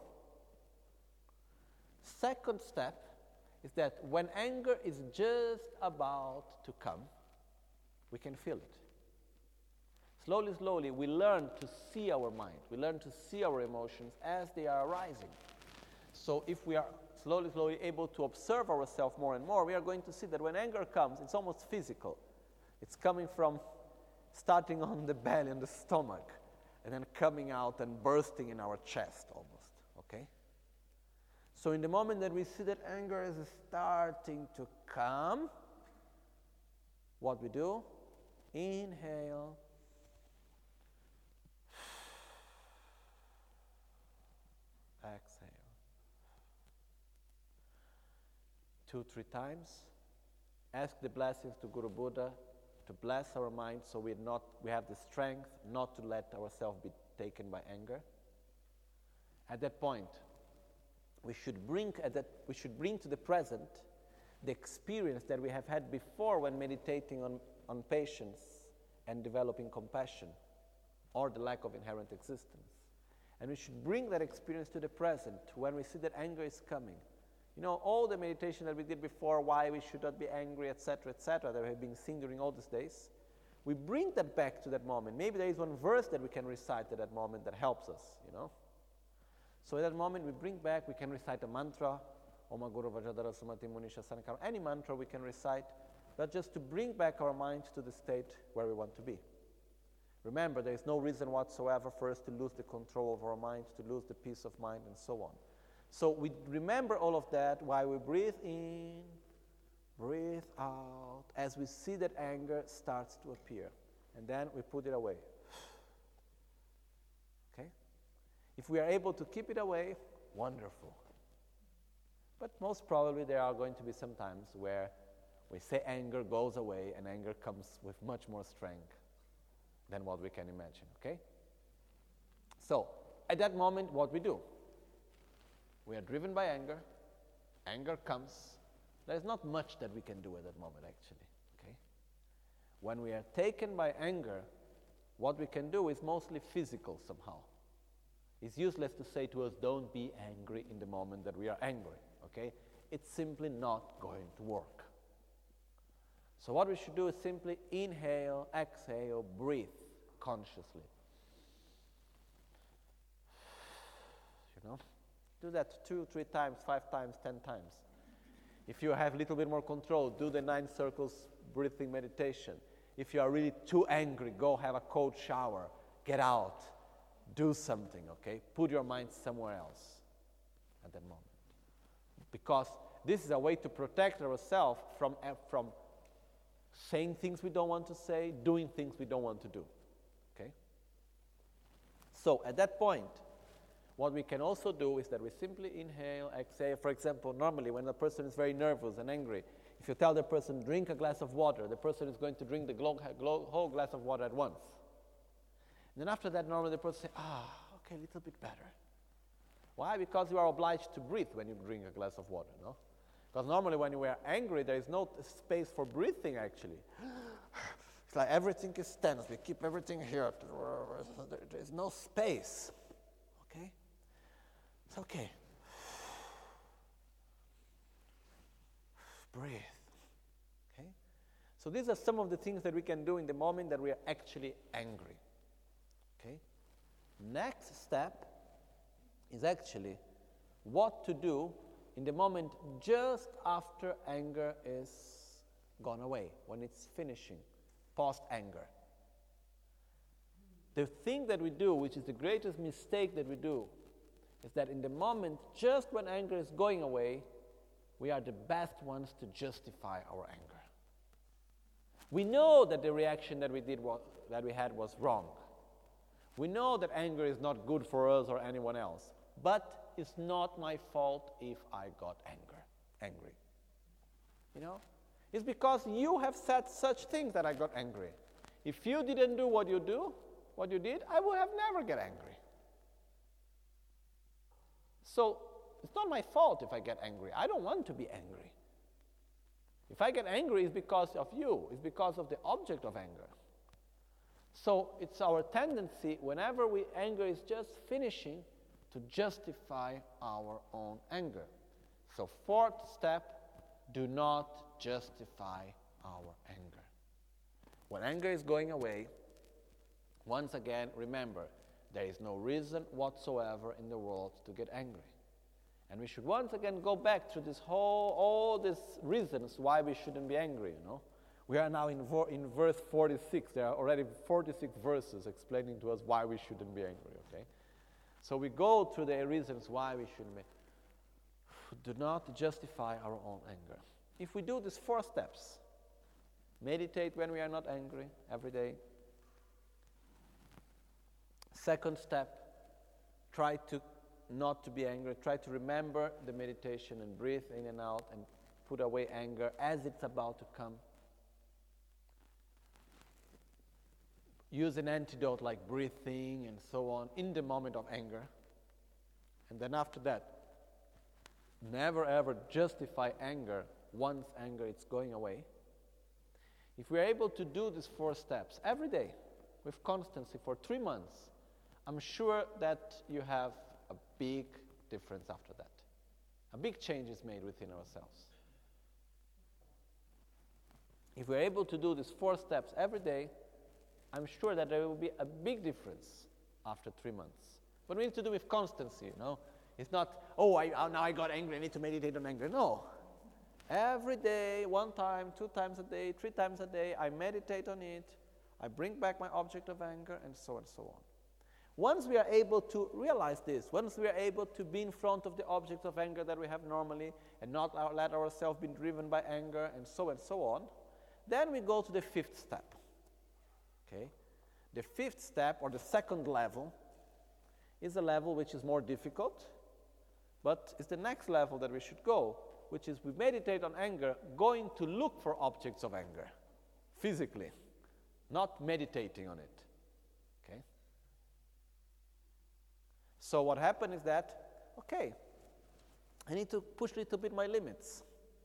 Second step is that when anger is just about to come, we can feel it. Slowly, slowly, we learn to see our mind. We learn to see our emotions as they are arising. So if we are slowly, slowly able to observe ourselves more and more, we are going to see that when anger comes, it's almost physical. It's coming from starting on the belly and the stomach, and then coming out and bursting in our chest almost, okay? So in the moment that we see that anger is starting to come, what we do? Inhale. Exhale. 2-3 times. Ask the blessings to Guru Buddha to bless our mind so we have the strength not to let ourselves be taken by anger. At that point, we should bring to the present the experience that we have had before when meditating on patience and developing compassion, or the lack of inherent existence. And we should bring that experience to the present when we see that anger is coming. You know, all the meditation that we did before, why we should not be angry, etc., that we have been seeing during all these days, we bring that back to that moment. Maybe there is one verse that we can recite at that moment that helps us, you know. So at that moment we bring back, we can recite a mantra, Om Guru Vajradhara Sumati Munisha Sankara, any mantra we can recite, but just to bring back our mind to the state where we want to be. Remember, there is no reason whatsoever for us to lose the control of our mind, to lose the peace of mind, and so on. So we remember all of that while we breathe in, breathe out, as we see that anger starts to appear. And then we put it away. Okay? If we are able to keep it away, wonderful. But most probably there are going to be some times where we say anger goes away and anger comes with much more strength than what we can imagine, okay? So, at that moment, what we do? We are driven by anger. Anger comes. There is not much that we can do at that moment, actually, okay? When we are taken by anger, what we can do is mostly physical somehow. It's useless to say to us, don't be angry in the moment that we are angry, okay? It's simply not going to work. So what we should do is simply inhale, exhale, breathe consciously. You know? Do that 2, 3 times, 5 times, 10 times. If you have a little bit more control, do the 9 circles breathing meditation. If you are really too angry, go have a cold shower, get out, do something, okay? Put your mind somewhere else at that moment. Because this is a way to protect ourselves from saying things we don't want to say, doing things we don't want to do, okay? So at that point, what we can also do is that we simply inhale, exhale. For example, normally when a person is very nervous and angry, if you tell the person, drink a glass of water, the person is going to drink the whole glass of water at once. And then after that, normally the person says, okay, a little bit better. Why? Because you are obliged to breathe when you drink a glass of water, no? Because normally when you are angry, there is no space for breathing, actually. It's like everything is tense. We keep everything here. There is no space, okay? It's okay. Breathe, okay? So these are some of the things that we can do in the moment that we are actually angry, okay? Next step is actually what to do in the moment just after anger is gone away, when it's finishing, post-anger. The thing that we do, which is the greatest mistake that we do, is that in the moment, just when anger is going away, we are the best ones to justify our anger. We know that the reaction that we had was wrong. We know that anger is not good for us or anyone else, but it's not my fault if I got angry. You know? It's because you have said such things that I got angry. If you didn't do what you did, I would have never get angry. So, it's not my fault if I get angry. I don't want to be angry. If I get angry, it's because of you. It's because of the object of anger. So, it's our tendency, whenever anger is just finishing, to justify our own anger. So 4th step, do not justify our anger. When anger is going away, once again, remember, there is no reason whatsoever in the world to get angry. And we should once again go back to all these reasons why we shouldn't be angry, you know. We are now in verse 46. There are already 46 verses explaining to us why we shouldn't be angry, okay? So we go through the reasons why we shouldn't be. Do not justify our own anger. If we do these 4 steps, meditate when we are not angry every day. 2nd step, try to not to be angry. Try to remember the meditation and breathe in and out and put away anger as it's about to come. Use an antidote like breathing and so on in the moment of anger. And then after that, never ever justify anger once anger is going away. If we are able to do these 4 steps every day with constancy for 3 months, I'm sure that you have a big difference after that. A big change is made within ourselves. If we're able to do these 4 steps every day, I'm sure that there will be a big difference after 3 months. But we need to do with constancy, you know. It's not, now I got angry, I need to meditate on anger. No. Every day, 1 time, 2 times a day, 3 times a day, I meditate on it. I bring back my object of anger, and so on. Once we are able to realize this, once we are able to be in front of the object of anger that we have normally and not let ourselves be driven by anger and so on, then we go to the 5th step. Okay? The 5th step, or the 2nd level, is a level which is more difficult, but it's the next level that we should go, which is we meditate on anger, going to look for objects of anger, physically, not meditating on it. Okay? So what happened is that, okay, I need to push a little bit my limits.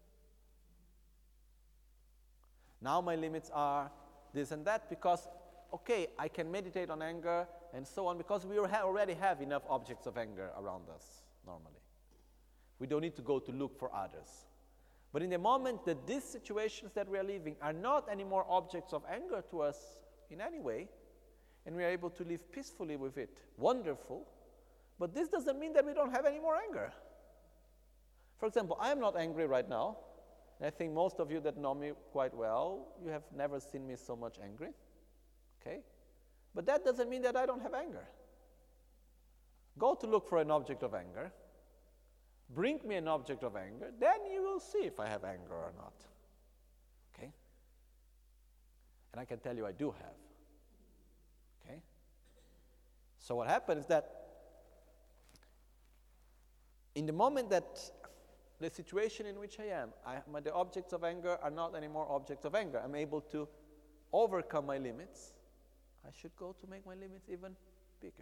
Now my limits are this and that because, okay, I can meditate on anger and so on because we already have enough objects of anger around us normally. We don't need to go to look for others. But in the moment that these situations that we are living are not anymore objects of anger to us in any way, and we are able to live peacefully with it, wonderful, but this doesn't mean that we don't have any more anger. For example, I am not angry right now. And I think most of you that know me quite well, you have never seen me so much angry. Okay? But that doesn't mean that I don't have anger. Go to look for an object of anger. Bring me an object of anger. Then you will see if I have anger or not. Okay? And I can tell you I do have. Okay? So what happens is that in the moment that the situation in which I am, the objects of anger are not anymore objects of anger. I'm able to overcome my limits. I should go to make my limits even bigger.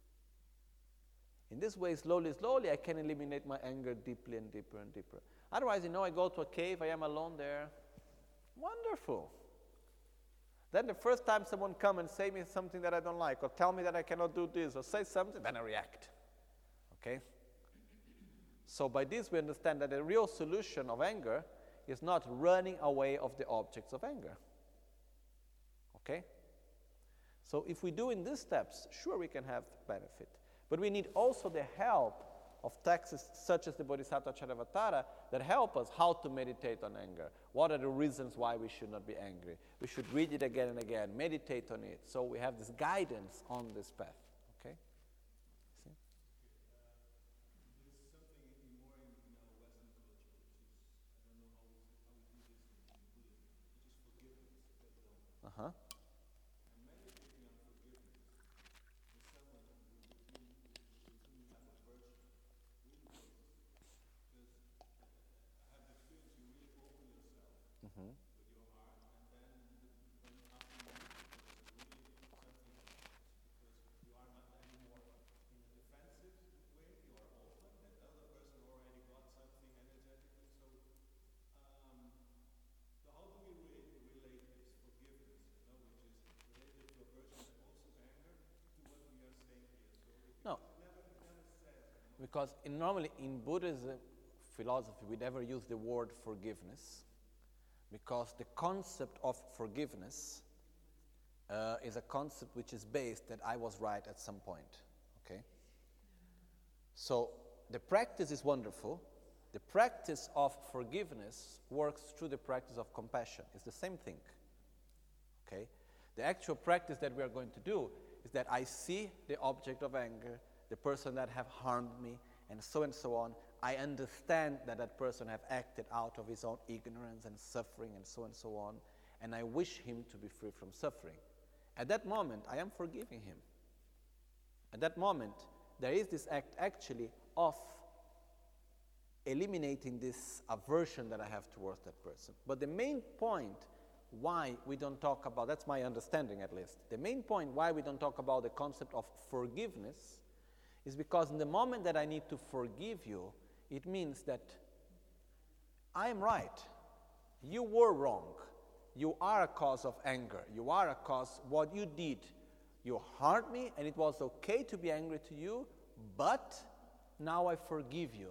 In this way, slowly, I can eliminate my anger deeply and deeper and deeper. Otherwise, I go to a cave, I am alone there. Wonderful. Then the first time someone comes and say me something that I don't like, or tell me that I cannot do this, or say something, then I react. Okay? So by this we understand that the real solution of anger is not running away of the objects of anger. Okay? So if we do in these steps, sure we can have benefit. But we need also the help of texts such as the Bodhisattva Charyavatara that help us how to meditate on anger. What are the reasons why we should not be angry? We should read it again and again, meditate on it, so we have this guidance on this path. Okay? See? There's something more in our Western culture, which is, I don't know how we do this in Buddhism, which is forgiveness. Uh-huh. And meditating on forgiveness is someone with whom you have aversion really works. Because I have the experience you really open yourself Mm-hmm. with your heart, and then when after you meet the person, really something happens because you are not anymore in a defensive way, you are open, and the other person already got something energetically. So how do we relate this forgiveness, which is related to aversion and also anger, to what we are saying here? So it No. never says. Because normally in Buddhism philosophy, we never use the word forgiveness, because the concept of forgiveness is a concept which is based that I was right at some point. Okay? So the practice is wonderful. The practice of forgiveness works through the practice of compassion. It's the same thing. Okay? The actual practice that we are going to do is that I see the object of anger, the person that have harmed me, and so on. I understand that that person have acted out of his own ignorance and suffering and so on, and I wish him to be free from suffering. At that moment, I am forgiving him. At that moment, there is this act actually of eliminating this aversion that I have towards that person. But the main point why we don't talk about, that's my understanding at least, the main point why we don't talk about the concept of forgiveness is because in the moment that I need to forgive you, it means that I am right. You were wrong. You are a cause of anger. You are a cause, what you did. You harmed me, and it was okay to be angry to you, but now I forgive you.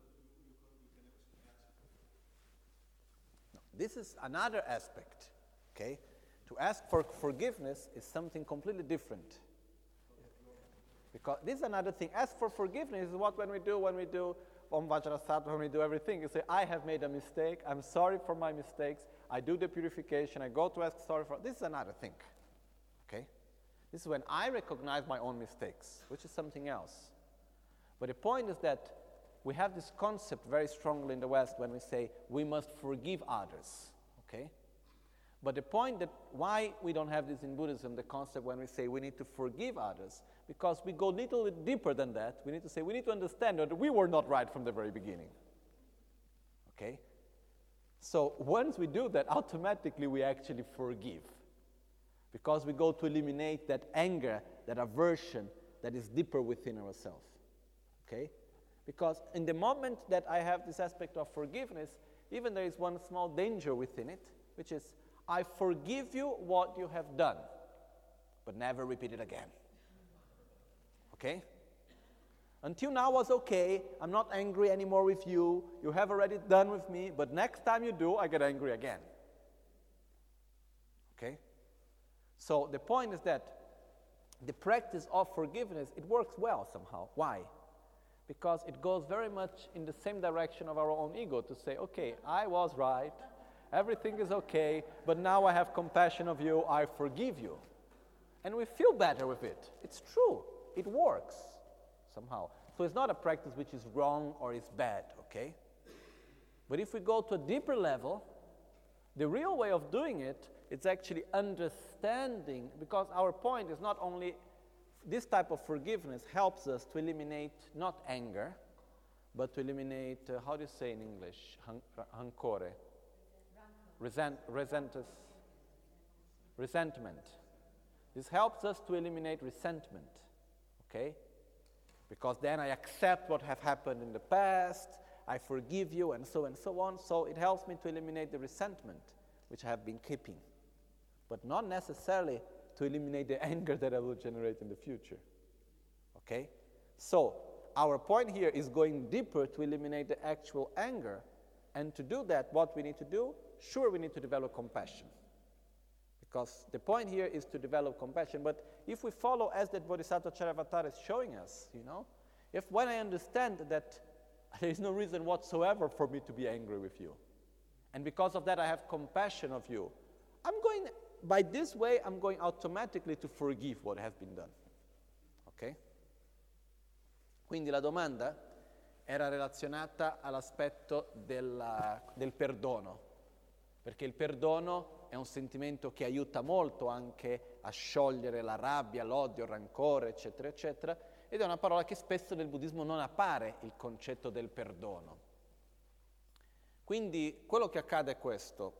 No, this is another aspect, okay? To ask for forgiveness is something completely different. Because this is another thing. As for forgiveness, is what when we do Om Vajrasattva, when we do everything, you say, I have made a mistake, I'm sorry for my mistakes, I do the purification, I go to ask sorry for, this is another thing, okay? This is when I recognize my own mistakes, which is something else. But the point is that we have this concept very strongly in the West when we say we must forgive others, okay? But the point that why we don't have this in Buddhism, the concept when we say we need to forgive others, because we go a little bit deeper than that. We need to say we need to understand that we were not right from the very beginning, okay? So once we do that, automatically we actually forgive, because we go to eliminate that anger, that aversion that is deeper within ourselves, okay? Because in the moment that I have this aspect of forgiveness, even there is one small danger within it, which is, I forgive you what you have done, but never repeat it again, okay? Until now was okay, I'm not angry anymore with you, you have already done with me, but next time you do, I get angry again, okay? So the point is that the practice of forgiveness, it works well somehow. Why? Because it goes very much in the same direction of our own ego to say, okay, I was right, everything is okay, but now I have compassion of you, I forgive you. And we feel better with it. It's true, it works somehow. So it's not a practice which is wrong or is bad, okay? But if we go to a deeper level, the real way of doing it, it's actually understanding, because our point is not only this type of forgiveness helps us to eliminate not anger, but to eliminate, how do you say in English, rancore? Resentment. This helps us to eliminate resentment, okay? Because then I accept what have happened in the past, I forgive you, and so on. So it helps me to eliminate the resentment which I have been keeping, but not necessarily to eliminate the anger that I will generate in the future, okay? So our point here is going deeper to eliminate the actual anger, and to do that, what we need to do, sure, we need to develop compassion, because the point here is to develop compassion. But if we follow as that Bodhisattva Charyavatara is showing us, you know, if when I understand that there is no reason whatsoever for me to be angry with you, and because of that I have compassion of you, by this way I'm going automatically to forgive what has been done, ok? Quindi la domanda era relazionata all'aspetto del perdono, perché il perdono è un sentimento che aiuta molto anche a sciogliere la rabbia, l'odio, il rancore, eccetera, eccetera, ed è una parola che spesso nel buddismo non appare, il concetto del perdono. Quindi quello che accade è questo.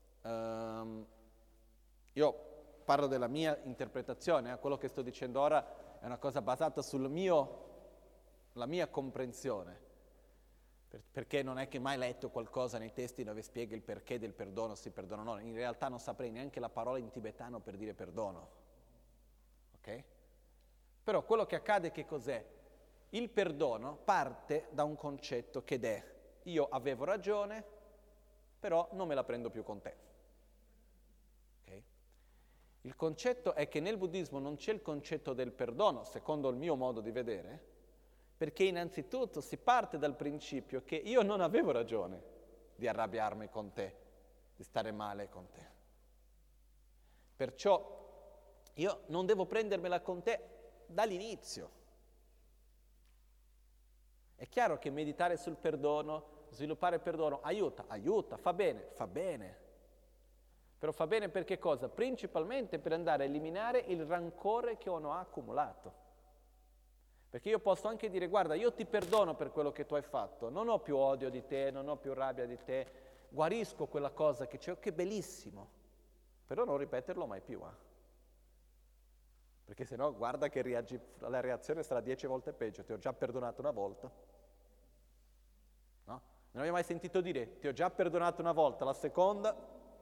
Io parlo della mia interpretazione, quello che sto dicendo ora è una cosa basata sulla mia comprensione, perché non è che mai letto qualcosa nei testi dove spiega il perché del perdono, si perdona o no. In realtà non saprei neanche la parola in tibetano per dire perdono, ok? Però quello che accade che cos'è? Il perdono parte da un concetto che è: io avevo ragione, però non me la prendo più con te. Okay? Il concetto è che nel buddismo non c'è il concetto del perdono, secondo il mio modo di vedere, perché innanzitutto si parte dal principio che io non avevo ragione di arrabbiarmi con te, di stare male con te. Perciò io non devo prendermela con te dall'inizio. È chiaro che meditare sul perdono, sviluppare il perdono, aiuta, fa bene. Però fa bene per che cosa? Principalmente per andare a eliminare il rancore che uno ha accumulato. Perché io posso anche dire: guarda, io ti perdono per quello che tu hai fatto, non ho più odio di te, non ho più rabbia di te, guarisco quella cosa che c'è, che bellissimo, però non ripeterlo mai più, Perché se no, guarda che la reazione sarà 10 volte peggio. Ti ho già perdonato una volta. No? Non avevi mai sentito dire: ti ho già perdonato una volta, la seconda.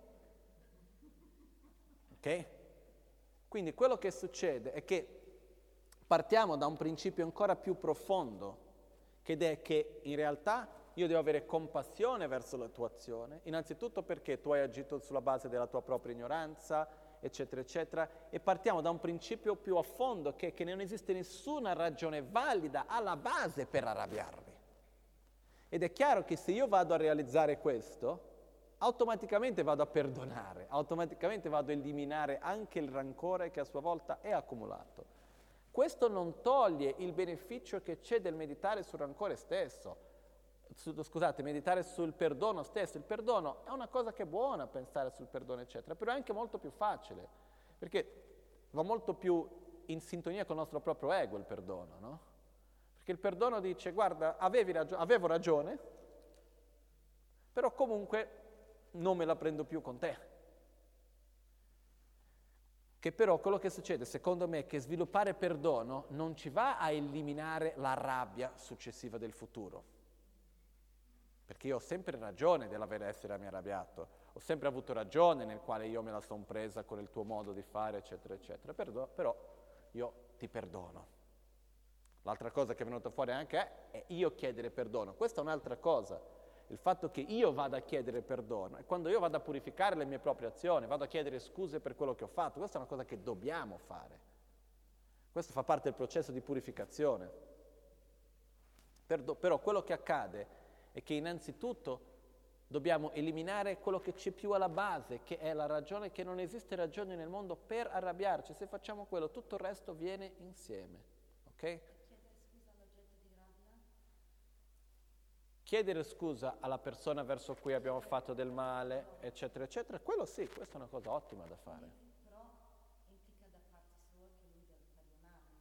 Ok? Quindi quello che succede è che partiamo da un principio ancora più profondo, ed è che in realtà io devo avere compassione verso la tua azione, innanzitutto perché tu hai agito sulla base della tua propria ignoranza, eccetera, eccetera, e partiamo da un principio più a fondo, che è che non esiste nessuna ragione valida alla base per arrabbiarmi. Ed è chiaro che se io vado a realizzare questo, automaticamente vado a perdonare, automaticamente vado a eliminare anche il rancore che a sua volta è accumulato. Questo non toglie il beneficio che c'è del meditare sul rancore stesso. Meditare sul perdono stesso. Il perdono è una cosa che è buona, pensare sul perdono, eccetera, però è anche molto più facile, perché va molto più in sintonia con il nostro proprio ego il perdono, no? Perché il perdono dice, guarda, avevo ragione, però comunque non me la prendo più con te. Che però quello che succede, secondo me, è che sviluppare perdono non ci va a eliminare la rabbia successiva del futuro. Perché io ho sempre ragione dell'essermi arrabbiato, ho sempre avuto ragione nel quale io me la sono presa con il tuo modo di fare, eccetera, eccetera. Però io ti perdono. L'altra cosa che è venuta fuori anche è io chiedere perdono. Questa è un'altra cosa. Il fatto che io vada a chiedere perdono è quando io vado a purificare le mie proprie azioni, vado a chiedere scuse per quello che ho fatto. Questa è una cosa che dobbiamo fare. Questo fa parte del processo di purificazione. Però quello che accade è che innanzitutto dobbiamo eliminare quello che c'è più alla base, che è la ragione, che non esiste ragione nel mondo per arrabbiarci. Se facciamo quello, tutto il resto viene insieme. Ok? Chiedere scusa alla persona verso cui abbiamo fatto del male, eccetera, eccetera, quello sì, questa è una cosa ottima da fare. Però implica da parte sua che lui deve perdonarmi.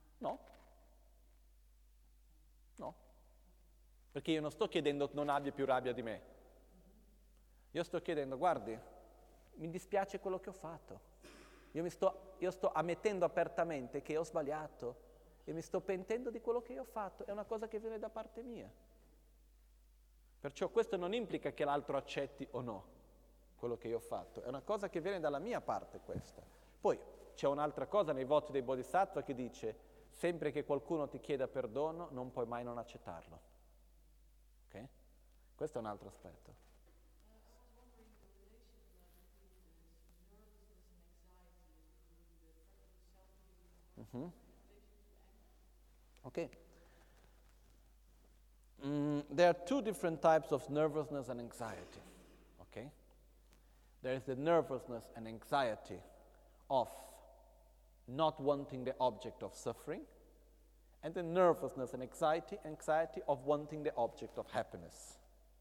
No. Perché io non sto chiedendo non abbia più rabbia di me. Io sto chiedendo, guardi, mi dispiace quello che ho fatto. Io sto ammettendo apertamente che ho sbagliato e mi sto pentendo di quello che io ho fatto. È una cosa che viene da parte mia. Perciò questo non implica che l'altro accetti o no quello che io ho fatto. È una cosa che viene dalla mia parte questa. Poi c'è un'altra cosa nei voti dei Bodhisattva che dice sempre che qualcuno ti chieda perdono non puoi mai non accettarlo. Ok? Questo è un altro aspetto. Ok. There are two different types of nervousness and anxiety. Okay? There is the nervousness and anxiety of not wanting the object of suffering, and the nervousness and anxiety of wanting the object of happiness.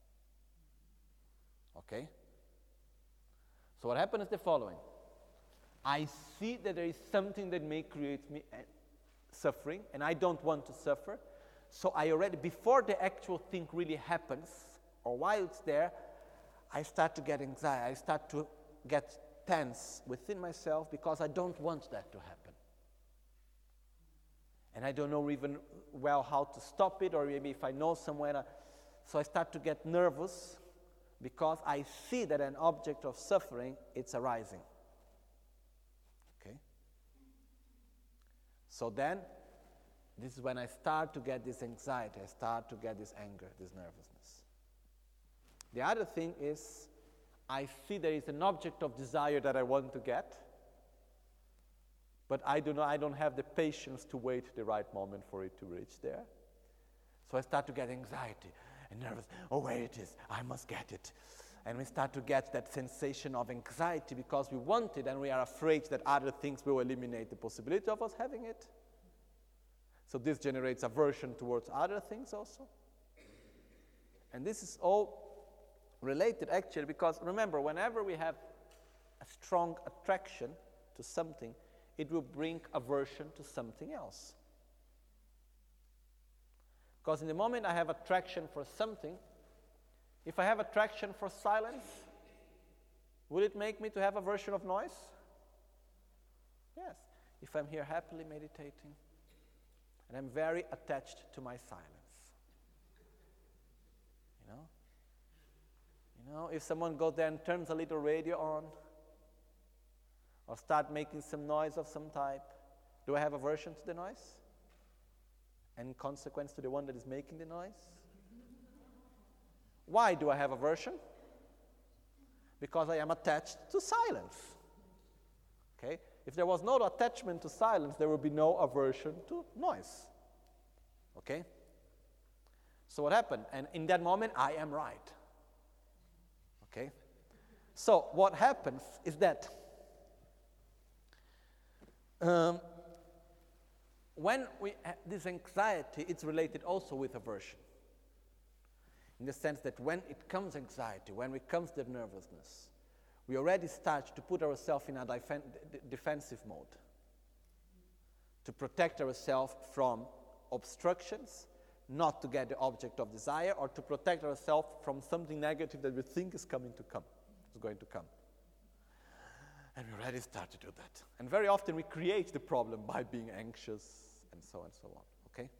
Okay? So what happens is the following. I see that there is something that may create me suffering, and I don't want to suffer. So I already, before the actual thing really happens, or while it's there, I start to get anxiety. I start to get tense within myself because I don't want that to happen. And I don't know even well how to stop it, or maybe if I know somewhere. So I start to get nervous because I see that an object of suffering, it's arising. Okay? So then, this is when I start to get this anxiety, I start to get this anger, this nervousness. The other thing is, I see there is an object of desire that I want to get, but I don't have the patience to wait the right moment for it to reach there. So I start to get anxiety and nervous. Oh, where it is, I must get it. And we start to get that sensation of anxiety because we want it and we are afraid that other things will eliminate the possibility of us having it. So this generates aversion towards other things also. And this is all related actually because remember, whenever we have a strong attraction to something, it will bring aversion to something else. Because in the moment I have attraction for something, if I have attraction for silence, will it make me to have aversion of noise? Yes. If I'm here happily meditating, and I'm very attached to my silence. You know, if someone goes there and turns a little radio on, or start making some noise of some type, do I have aversion to the noise? And in consequence to the one that is making the noise? Why do I have aversion? Because I am attached to silence. Okay? If there was no attachment to silence, there would be no aversion to noise. Okay? So what happened? And in that moment, I am right. Okay? So what happens is that when we have this anxiety, it's related also with aversion. In the sense that when it comes anxiety, when it comes the nervousness, we already start to put ourselves in a defensive mode to protect ourselves from obstructions, not to get the object of desire, or to protect ourselves from something negative that we think is going to come. And we already start to do that. And very often we create the problem by being anxious and so on, okay?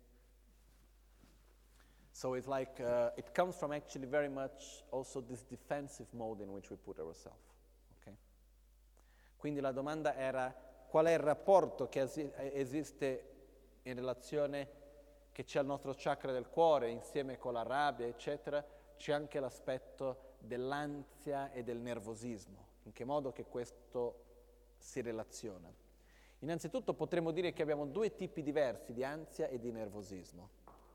So it's like, it comes from actually very much also this defensive mode in which we put ourselves, okay? Quindi la domanda era, qual è il rapporto che esiste in relazione, che c'è al nostro chakra del cuore, insieme con la rabbia, eccetera, c'è anche l'aspetto dell'ansia e del nervosismo. In che modo che questo si relaziona? Innanzitutto potremmo dire che abbiamo due tipi diversi di ansia e di nervosismo.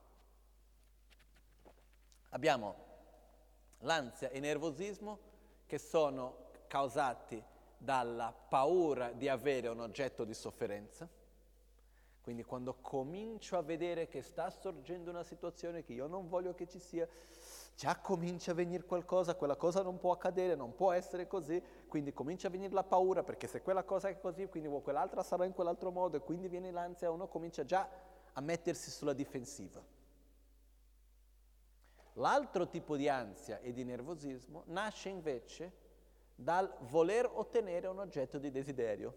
Abbiamo l'ansia e il nervosismo che sono causati dalla paura di avere un oggetto di sofferenza. Quindi quando comincio a vedere che sta sorgendo una situazione che io non voglio che ci sia, già comincia a venire qualcosa, quella cosa non può accadere, non può essere così, quindi comincia a venire la paura, perché se quella cosa è così, quindi quell'altra sarà in quell'altro modo, e quindi viene l'ansia, uno comincia già a mettersi sulla difensiva. L'altro tipo di ansia e di nervosismo nasce invece dal voler ottenere un oggetto di desiderio.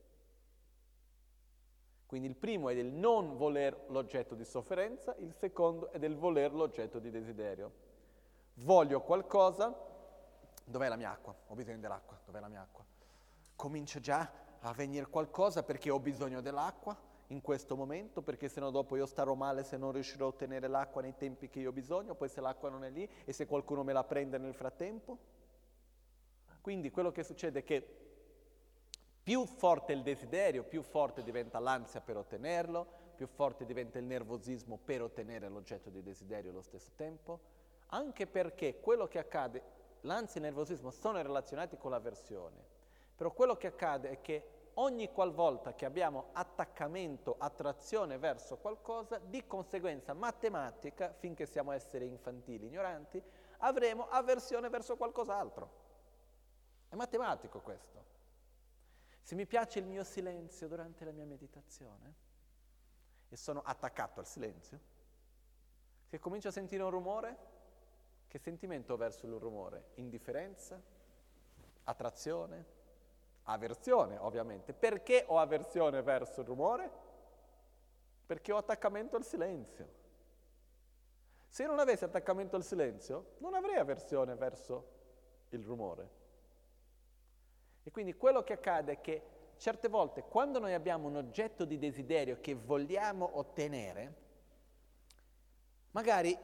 Quindi il primo è del non voler l'oggetto di sofferenza, il secondo è del voler l'oggetto di desiderio. Voglio qualcosa, dov'è la mia acqua? Ho bisogno dell'acqua, dov'è la mia acqua? Comincia già a venire qualcosa perché ho bisogno dell'acqua in questo momento, perché sennò dopo io starò male se non riuscirò a ottenere l'acqua nei tempi che io ho bisogno, poi se l'acqua non è lì e se qualcuno me la prende nel frattempo. Quindi quello che succede è che più forte è il desiderio, più forte diventa l'ansia per ottenerlo, più forte diventa il nervosismo per ottenere l'oggetto di desiderio allo stesso tempo, anche perché quello che accade, l'ansia e il nervosismo sono relazionati con l'avversione, però quello che accade è che ogni qualvolta che abbiamo attaccamento, attrazione verso qualcosa, di conseguenza matematica, finché siamo esseri infantili, ignoranti, avremo avversione verso qualcos'altro. È matematico questo. Se mi piace il mio silenzio durante la mia meditazione e sono attaccato al silenzio, se comincio a sentire un rumore, che sentimento ho verso il rumore? Indifferenza? Attrazione? Avversione, ovviamente. Perché ho avversione verso il rumore? Perché ho attaccamento al silenzio. Se io non avessi attaccamento al silenzio, non avrei avversione verso il rumore. E quindi quello che accade è che certe volte quando noi abbiamo un oggetto di desiderio che vogliamo ottenere, magari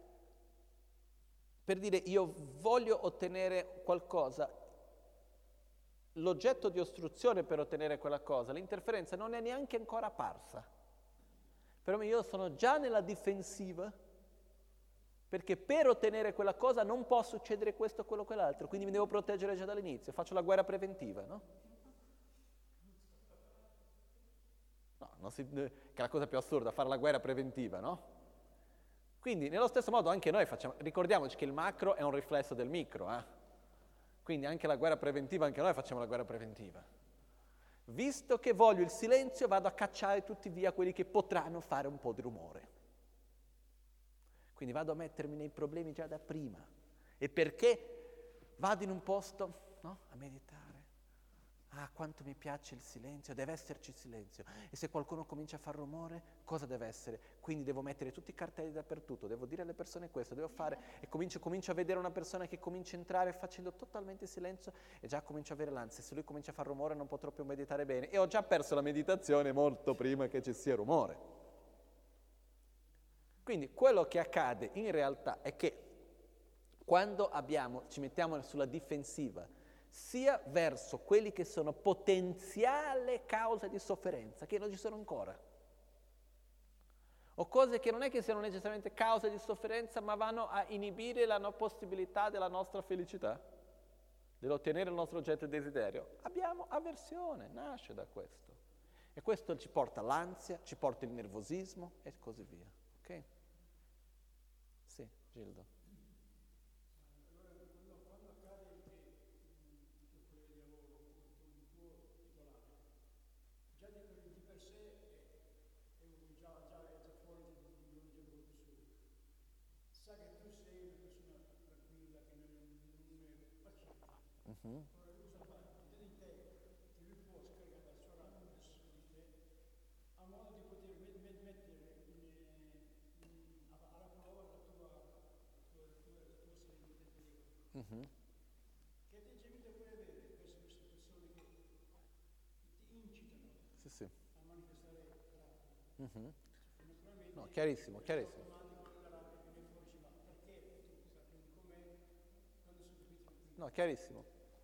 per dire io voglio ottenere qualcosa, l'oggetto di ostruzione per ottenere quella cosa, l'interferenza non è neanche ancora apparsa. Però io sono già nella difensiva, perché per ottenere quella cosa non può succedere questo, quello, quell'altro, quindi mi devo proteggere già dall'inizio, faccio la guerra preventiva, no? No, che è la cosa più assurda, fare la guerra preventiva, no? Quindi nello stesso modo anche noi facciamo, ricordiamoci che il macro è un riflesso del micro, Quindi anche la guerra preventiva, anche noi facciamo la guerra preventiva. Visto che voglio il silenzio, vado a cacciare tutti via quelli che potranno fare un po' di rumore. Quindi vado a mettermi nei problemi già da prima. E perché vado in un posto, no, a meditare? Quanto mi piace il silenzio, deve esserci silenzio. E se qualcuno comincia a far rumore, cosa deve essere? Quindi devo mettere tutti i cartelli dappertutto, devo dire alle persone questo, devo fare, e comincio a vedere una persona che comincia a entrare facendo totalmente silenzio e già comincio a avere l'ansia. Se lui comincia a far rumore non potrò più meditare bene e ho già perso la meditazione molto prima che ci sia rumore. Quindi quello che accade in realtà è che quando ci mettiamo sulla difensiva, sia verso quelli che sono potenziale causa di sofferenza, che non ci sono ancora. O cose che non è che siano necessariamente causa di sofferenza, ma vanno a inibire la possibilità della nostra felicità, dell'ottenere il nostro oggetto di desiderio. Abbiamo avversione, nasce da questo. E questo ci porta all'ansia, ci porta il nervosismo e così via. Ok? Sì, Gildo. A modo di poter mettere alla prova la tua serenità. Che atteggiamento puoi avere verso queste persone che ti incitano a manifestare rabbia? No, chiarissimo. No, chiarissimo.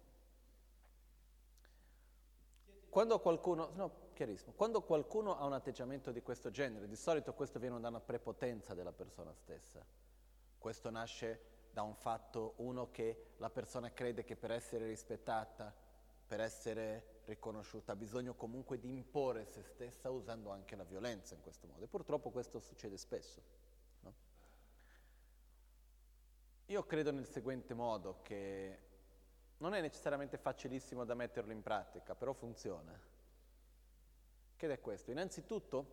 Quando qualcuno ha un atteggiamento di questo genere, di solito questo viene da una prepotenza della persona stessa. Questo nasce da un fatto, uno, che la persona crede che per essere rispettata, per essere riconosciuta, ha bisogno comunque di imporre se stessa usando anche la violenza in questo modo. E purtroppo questo succede spesso, no? Io credo nel seguente modo, che non è necessariamente facilissimo da metterlo in pratica, però funziona. Che è questo? Innanzitutto,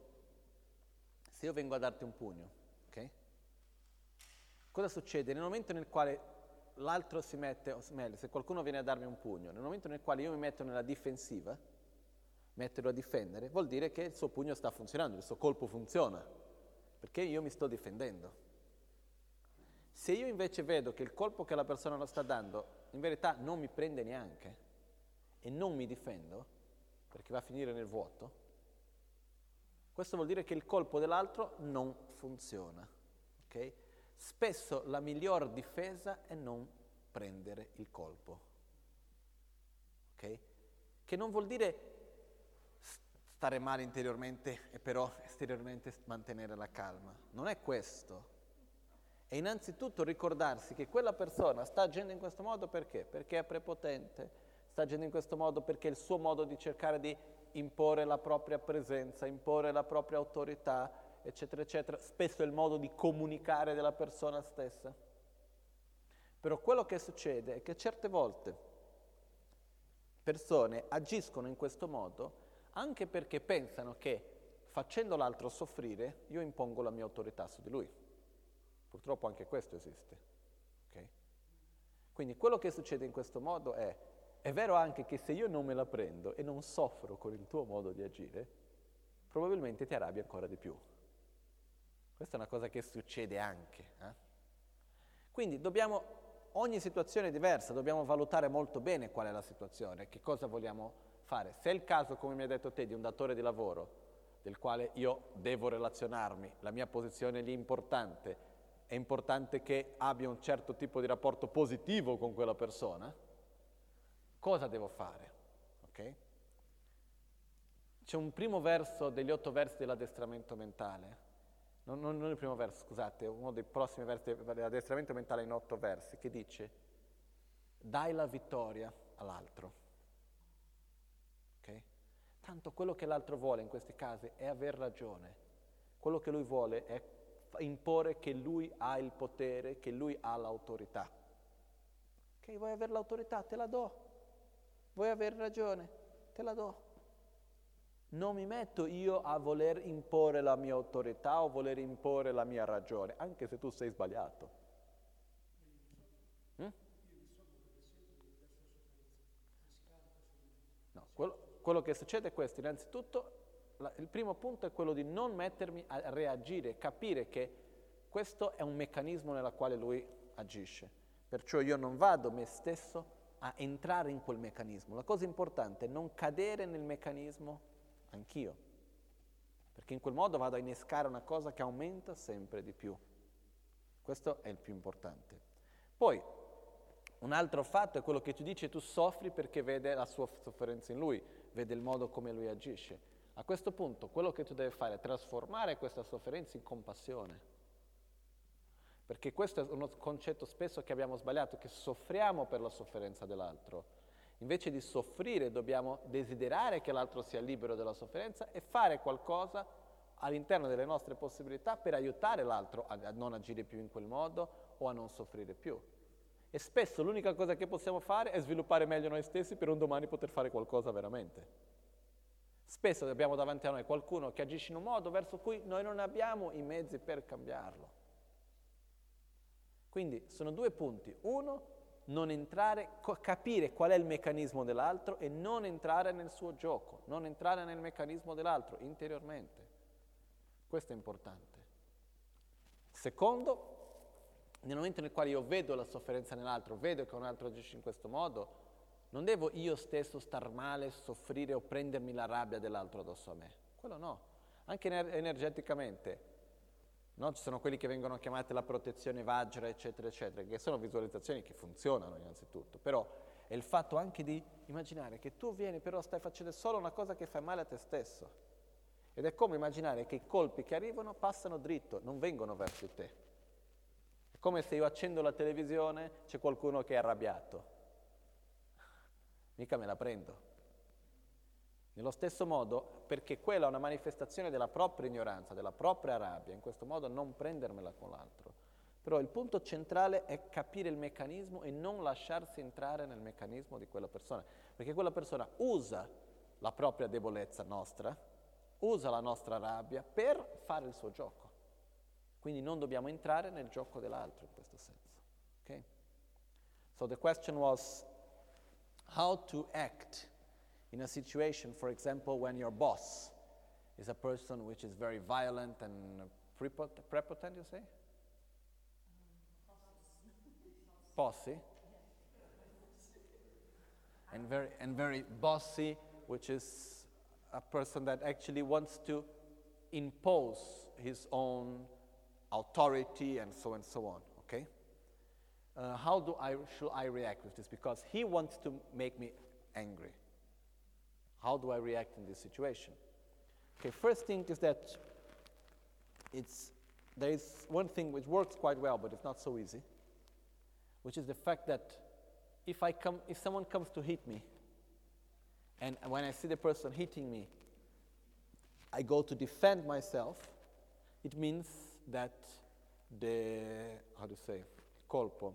se io vengo a darti un pugno, ok? Cosa succede? Nel momento nel quale l'altro si mette, o meglio, se qualcuno viene a darmi un pugno, nel momento nel quale io mi metto nella difensiva, metterlo a difendere, vuol dire che il suo pugno sta funzionando, il suo colpo funziona, perché io mi sto difendendo. Se io invece vedo che il colpo che la persona lo sta dando in verità non mi prende neanche e non mi difendo, perché va a finire nel vuoto, questo vuol dire che il colpo dell'altro non funziona, ok? Spesso la miglior difesa è non prendere il colpo, ok? Che non vuol dire stare male interiormente e però esteriormente mantenere la calma, non è questo. E innanzitutto ricordarsi che quella persona sta agendo in questo modo perché? Perché è prepotente, sta agendo in questo modo perché è il suo modo di cercare di imporre la propria presenza, imporre la propria autorità, eccetera, eccetera. Spesso è il modo di comunicare della persona stessa. Però quello che succede è che certe volte persone agiscono in questo modo anche perché pensano che facendo l'altro soffrire io impongo la mia autorità su di lui. Purtroppo anche questo esiste, ok? Quindi quello che succede in questo modo è vero anche che se io non me la prendo e non soffro con il tuo modo di agire, probabilmente ti arrabbi ancora di più. Questa è una cosa che succede anche. Quindi ogni situazione è diversa, dobbiamo valutare molto bene qual è la situazione, che cosa vogliamo fare. Se è il caso, come mi hai detto te, di un datore di lavoro, del quale io devo relazionarmi, la mia posizione lì è importante che abbia un certo tipo di rapporto positivo con quella persona, cosa devo fare? Ok? C'è un primo verso degli 8 versi dell'addestramento mentale, non il primo verso, scusate, uno dei prossimi versi dell'addestramento mentale in 8 versi, che dice: dai la vittoria all'altro. Ok? Tanto quello che l'altro vuole in questi casi è aver ragione. Quello che lui vuole è imporre che lui ha il potere, che lui ha l'autorità. Ok, vuoi avere l'autorità? Te la do. Vuoi aver ragione? Te la do. Non mi metto io a voler imporre la mia autorità o voler imporre la mia ragione, anche se tu sei sbagliato. No, quello che succede è questo. Innanzitutto, il primo punto è quello di non mettermi a reagire, capire che questo è un meccanismo nella quale lui agisce. Perciò io non vado me stesso a entrare in quel meccanismo. La cosa importante è non cadere nel meccanismo anch'io, perché in quel modo vado a innescare una cosa che aumenta sempre di più. Questo è il più importante. Poi, Un altro fatto è quello che tu dici, tu soffri perché vede la sua sofferenza in lui, vede il modo come lui agisce. A questo punto quello che tu devi fare è trasformare questa sofferenza in compassione. Perché questo è uno concetto spesso che abbiamo sbagliato, che soffriamo per la sofferenza dell'altro. Invece di soffrire dobbiamo desiderare che l'altro sia libero dalla sofferenza e fare qualcosa all'interno delle nostre possibilità per aiutare l'altro a non agire più in quel modo o a non soffrire più. E spesso l'unica cosa che possiamo fare è sviluppare meglio noi stessi per un domani poter fare qualcosa veramente. Spesso abbiamo davanti a noi qualcuno che agisce in un modo verso cui noi non abbiamo i mezzi per cambiarlo. Quindi sono due punti. Uno, non entrare, capire qual è il meccanismo dell'altro e non entrare nel suo gioco, non entrare nel meccanismo dell'altro interiormente. Questo è importante. Secondo, nel momento nel quale io vedo la sofferenza nell'altro, vedo che un altro agisce in questo modo, non devo io stesso star male, soffrire o prendermi la rabbia dell'altro addosso a me. Quello no. Anche energeticamente. No? Ci sono quelli che vengono chiamati la protezione Vajra, eccetera, eccetera, che sono visualizzazioni che funzionano innanzitutto. Però è il fatto anche di immaginare che tu vieni, però stai facendo solo una cosa che fa male a te stesso. Ed è come immaginare che i colpi che arrivano passano dritto, non vengono verso di te. È come se io accendo la televisione, c'è qualcuno che è arrabbiato. Mica me la prendo. Nello stesso modo, perché quella è una manifestazione della propria ignoranza, della propria rabbia, in questo modo non prendermela con l'altro. Però il punto centrale è capire il meccanismo e non lasciarsi entrare nel meccanismo di quella persona, perché quella persona usa la propria debolezza nostra, usa la nostra rabbia per fare il suo gioco. Quindi non dobbiamo entrare nel gioco dell'altro in questo senso. Okay? So the question was how to act in a situation, for example, when your boss is a person which is very violent and prepotent, you say? Bossy. And very bossy, which is a person that actually wants to impose his own authority and so on, okay? How should I react with this? Because he wants to make me angry. How do I react in this situation? Okay, first thing is that there is one thing which works quite well, but it's not so easy, which is the fact that if someone comes to hit me, and when I see the person hitting me, I go to defend myself, it means that colpo,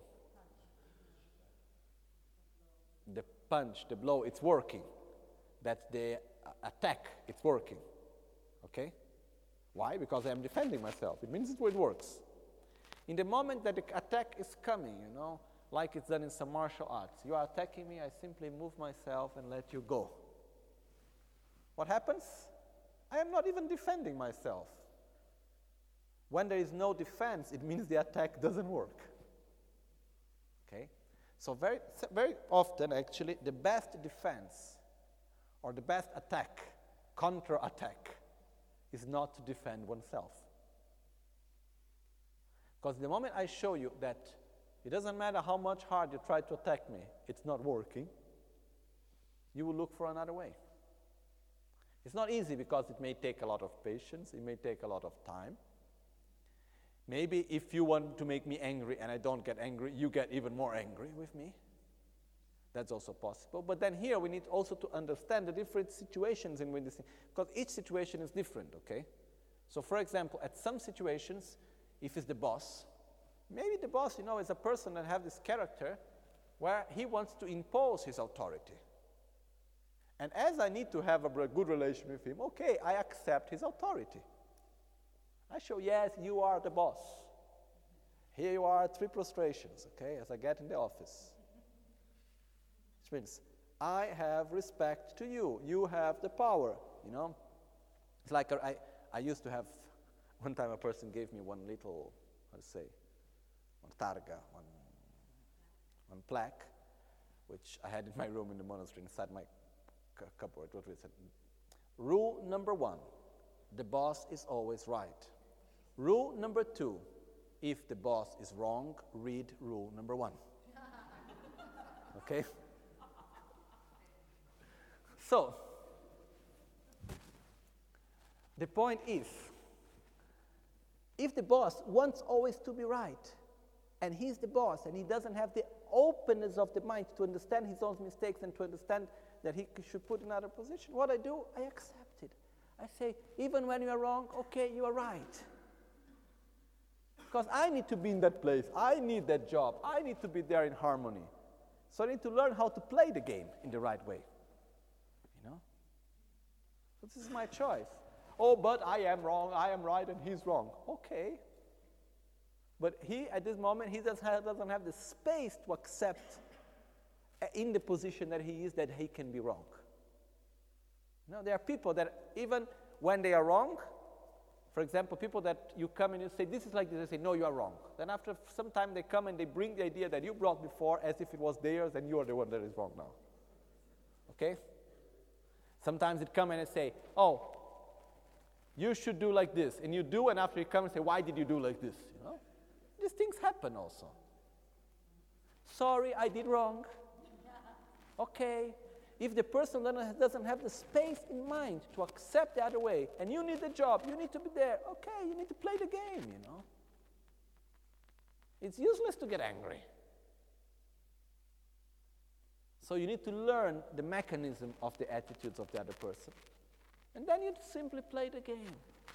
the punch, the blow, it's working. That the attack, it's working, okay? Why? Because I am defending myself. It means it works. In the moment that the attack is coming, like it's done in some martial arts, you are attacking me, I simply move myself and let you go. What happens? I am not even defending myself. When there is no defense, it means the attack doesn't work, okay? So very, very often, actually, the best defense or the best attack, counter-attack, is not to defend oneself. Because the moment I show you that it doesn't matter how much hard you try to attack me, it's not working, you will look for another way. It's not easy because it may take a lot of patience, it may take a lot of time. Maybe if you want to make me angry and I don't get angry, you get even more angry with me. That's also possible. But then here we need also to understand the different situations in which this, because each situation is different, okay? So for example, at some situations, if it's the boss, maybe the boss, is a person that has this character where he wants to impose his authority. And as I need to have a good relation with him, okay, I accept his authority. I show, yes, you are the boss. Here you are, 3 prostrations, okay, as I get in the office. Which means, I have respect to you. You have the power, It's like I used to have, one time a person gave me one little, one targa, one plaque, which I had in my room in the monastery inside my cupboard. What we said, rule number 1, the boss is always right. Rule number 2, if the boss is wrong, read rule number 1. Okay? So, the point is, if the boss wants always to be right, and he's the boss, and he doesn't have the openness of the mind to understand his own mistakes and to understand that he should put in another position, what I do, I accept it. I say, even when you are wrong, okay, you are right. Because I need to be in that place. I need that job. I need to be there in harmony. So I need to learn how to play the game in the right way. You know? So this is my choice. Oh, but I am wrong, I am right, and he's wrong. Okay. But he, at this moment, he doesn't have the space to accept in the position that he is that he can be wrong. You know, there are people that even when they are wrong, for example, people that you come and you say, this is like this, they say, no, you are wrong. Then after some time they come and they bring the idea that you brought before as if it was theirs and you are the one that is wrong now. Okay? Sometimes it come and they say, oh, you should do like this. And you do, and after you come and say, why did you do like this? You know? These things happen also. Sorry, I did wrong. Okay. If the person doesn't have the space in mind to accept the other way, and you need the job, you need to be there, okay, you need to play the game, you know. It's useless to get angry. So you need to learn the mechanism of the attitudes of the other person. And then you simply play the game.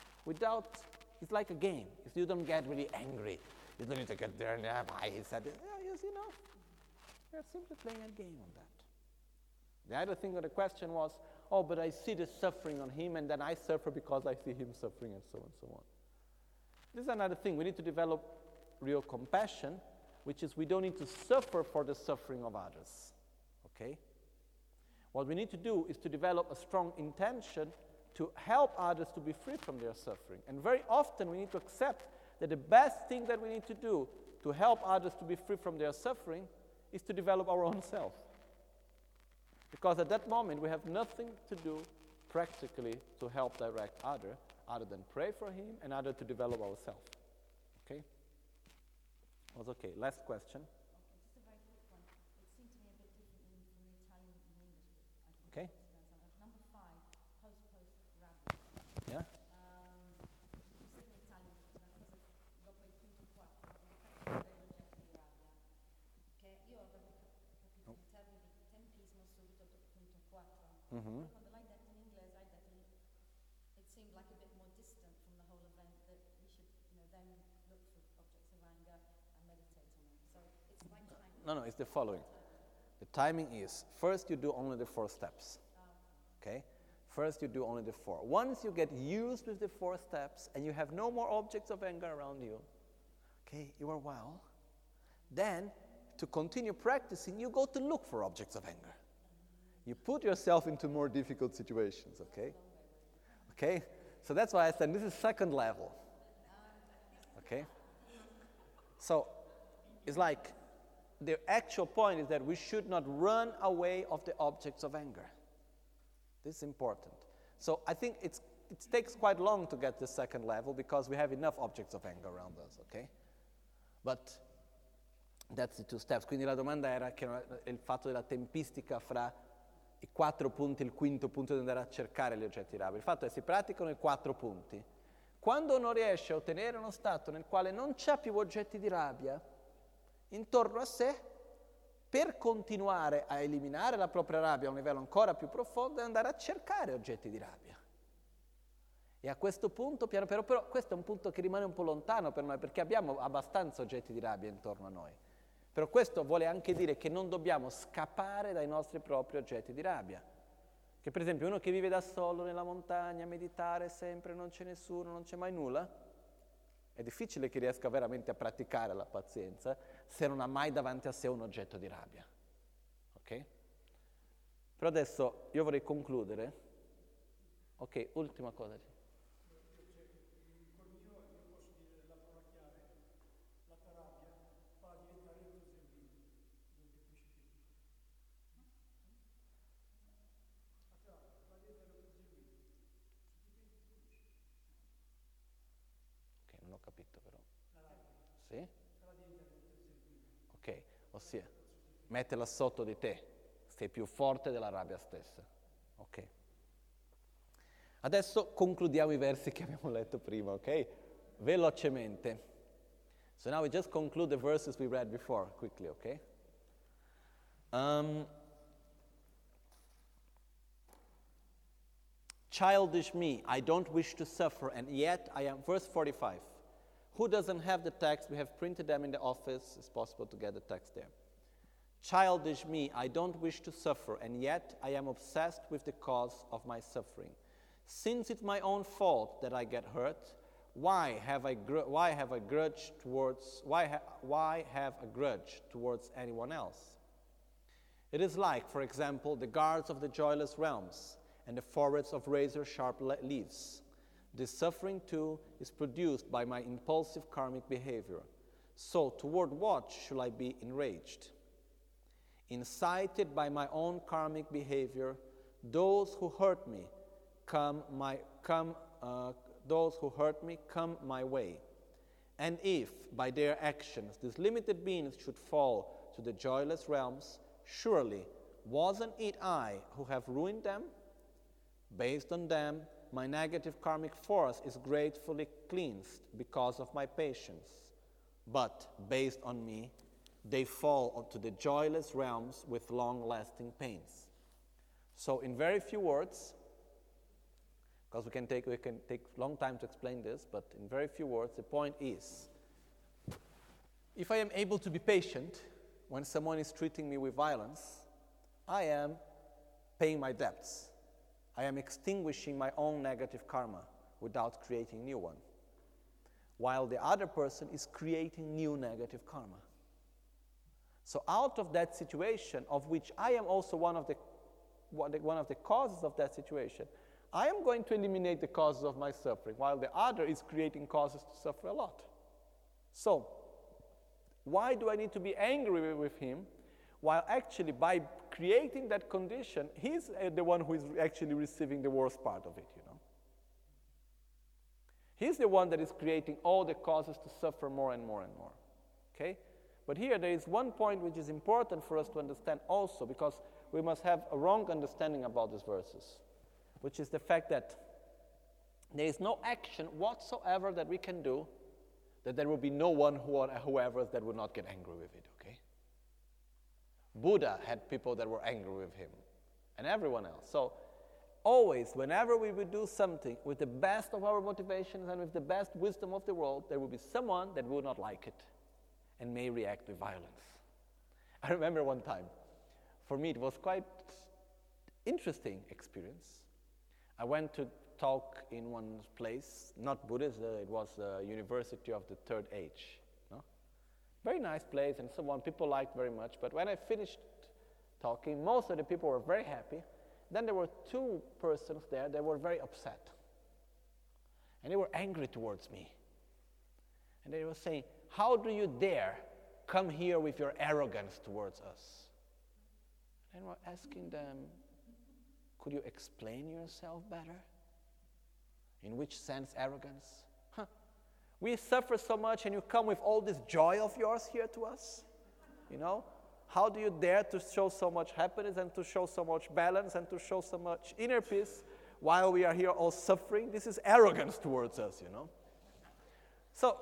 It's like a game. If you don't get really angry, you don't need to get there and he said it. Yeah, you know, you're simply playing a game on that. The other thing of the question was, oh, but I see the suffering on him, and then I suffer because I see him suffering, and so on and so on. This is another thing. We need to develop real compassion, which is we don't need to suffer for the suffering of others. Okay? What we need to do is to develop a strong intention to help others to be free from their suffering. And very often we need to accept that the best thing that we need to do to help others to be free from their suffering is to develop our own self. Because at that moment we have nothing to do practically to help direct other than pray for him and other to develop ourselves. Okay? Was okay. Last question. Okay, just a very quick one. It seemed to me a bit different from the Italian and English. Okay. Number 5, post rabbia. Yeah? You said in Italian, una cosa dopo il punto 4, l'effetto dell'oggetto di rabbia, che io avevo capito in termini di tempismo subito dopo il punto 4. Mm-hmm. Quando l'hai detto in inglese, hai detto it seemed like a bit more distant from the whole event, that we should, then look for objects of anger and meditate on them. So it's like time. No, it's the following. The timing is, first you do only the 4 steps. Okay? First you do only the 4. Once you get used with the 4 steps and you have no more objects of anger around you, okay, you are well, then to continue practicing, you go to look for objects of anger. You put yourself into more difficult situations, okay? Okay? So that's why I said this is second level. Okay? So it's like the actual point is that we should not run away of the objects of anger. This is important. So I think it takes quite long to get to the second level because we have enough objects of anger around us, okay? But that's the 2 steps. Quindi la domanda era che il fatto della tempistica fra i 4 punti, il quinto punto di andare a cercare gli oggetti di rabbia. Il fatto è che si praticano i 4 punti. Quando uno riesce a ottenere uno stato nel quale non c'è più oggetti di rabbia intorno a sé, per continuare a eliminare la propria rabbia a un livello ancora più profondo è andare a cercare oggetti di rabbia. E a questo punto, piano piano, però questo è un punto che rimane un po' lontano per noi, perché abbiamo abbastanza oggetti di rabbia intorno a noi. Però questo vuole anche dire che non dobbiamo scappare dai nostri propri oggetti di rabbia. Che per esempio uno che vive da solo nella montagna, a meditare sempre, non c'è nessuno, non c'è mai nulla, è difficile che riesca veramente a praticare la pazienza se non ha mai davanti a sé un oggetto di rabbia. Ok? Però adesso io vorrei concludere. Ok, ultima cosa. Col mio io posso dire la parola chiave, la tua rabbia fa diventare entusiasmo, non capisci più. La tua rabbia fa diventare entusiasmo. Ok, non ho capito però. La rabbia Sì? fa diventare entusiasmo. Ok, ossia, Mettila sotto di te, sei più forte della rabbia stessa. Ok? Adesso concludiamo i versi che abbiamo letto prima, ok? Velocemente. So now we just conclude the verses we read before, quickly, okay? Childish me, I don't wish to suffer, and yet I am, verse 45. Who doesn't have the text? We have printed them in the office. It's possible to get the text there. Childish me, I don't wish to suffer, and yet I am obsessed with the cause of my suffering. Since it's my own fault that I get hurt, why have a grudge towards anyone else? It is like, for example, the guards of the joyless realms and the forests of razor-sharp leaves. This suffering, too, is produced by my impulsive karmic behavior. So, toward what should I be enraged? Incited by my own karmic behavior, those who hurt me come my way. And if, by their actions, these limited beings should fall to the joyless realms, surely wasn't it I who have ruined them? Based on them, my negative karmic force is gratefully cleansed because of my patience. But based on me, they fall to the joyless realms with long-lasting pains. So in very few words, because we can take long time to explain this, but in very few words, the point is, if I am able to be patient when someone is treating me with violence, I am paying my debts. I am extinguishing my own negative karma without creating new one, while the other person is creating new negative karma. So out of that situation, of which I am also one of the causes of that situation, I am going to eliminate the causes of my suffering, while the other is creating causes to suffer a lot. So, why do I need to be angry with him, while actually by creating that condition, he's the one who is actually receiving the worst part of it, you know? He's the one that is creating all the causes to suffer more and more and more, okay? But here there is one point which is important for us to understand also, because we must have a wrong understanding about these verses, which is the fact that there is no action whatsoever that we can do that there will be no one whoever that would not get angry with it, okay? Buddha had people that were angry with him, and everyone else. So always, whenever we will do something with the best of our motivations and with the best wisdom of the world, there will be someone that will not like it and may react with violence. I remember one time, for me it was quite interesting experience. I went to talk in one place, not Buddhist, it was the University of the Third Age. No? Very nice place and so on, people liked very much, but when I finished talking, most of the people were very happy. Then there were two persons there that were very upset. And they were angry towards me. And they were saying, how do you dare come here with your arrogance towards us? And we're asking them, could you explain yourself better? In which sense arrogance? We suffer so much and you come with all this joy of yours here to us? You know? How do you dare to show so much happiness and to show so much balance and to show so much inner peace while we are here all suffering? This is arrogance towards us, you know? So,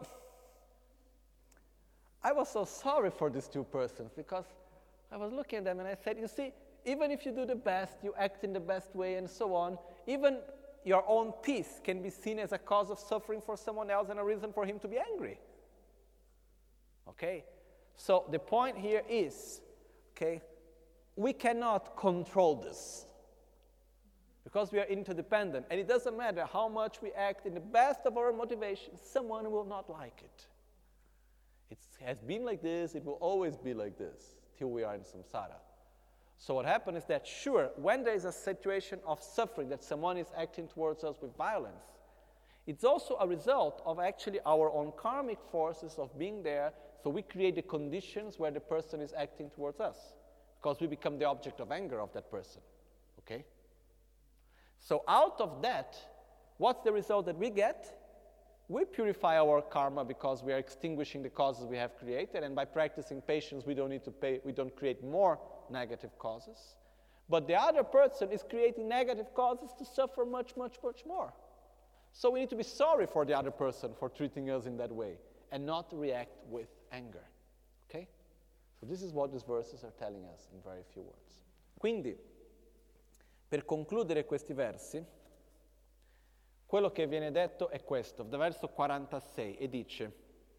I was so sorry for these two persons because I was looking at them and I said, you see, even if you do the best, you act in the best way and so on, even your own peace can be seen as a cause of suffering for someone else and a reason for him to be angry. Okay? So the point here is, okay, we cannot control this because we are interdependent. And it doesn't matter how much we act in the best of our motivation, someone will not like it. It has been like this, it will always be like this till we are in samsara. So what happens is that, sure, when there is a situation of suffering that someone is acting towards us with violence, it's also a result of actually our own karmic forces of being there, so we create the conditions where the person is acting towards us, because we become the object of anger of that person, okay? So out of that, what's the result that we get? we purify our karma because we are extinguishing the causes we have created, and by practicing patience we don't create more negative causes. But the other person is creating negative causes to suffer much, much, much more. So we need to be sorry for the other person for treating us in that way and not react with anger. Okay? So this is what these verses are telling us in very few words. Quindi, per concludere questi versi, quello che viene detto è questo, da verso 46, e dice,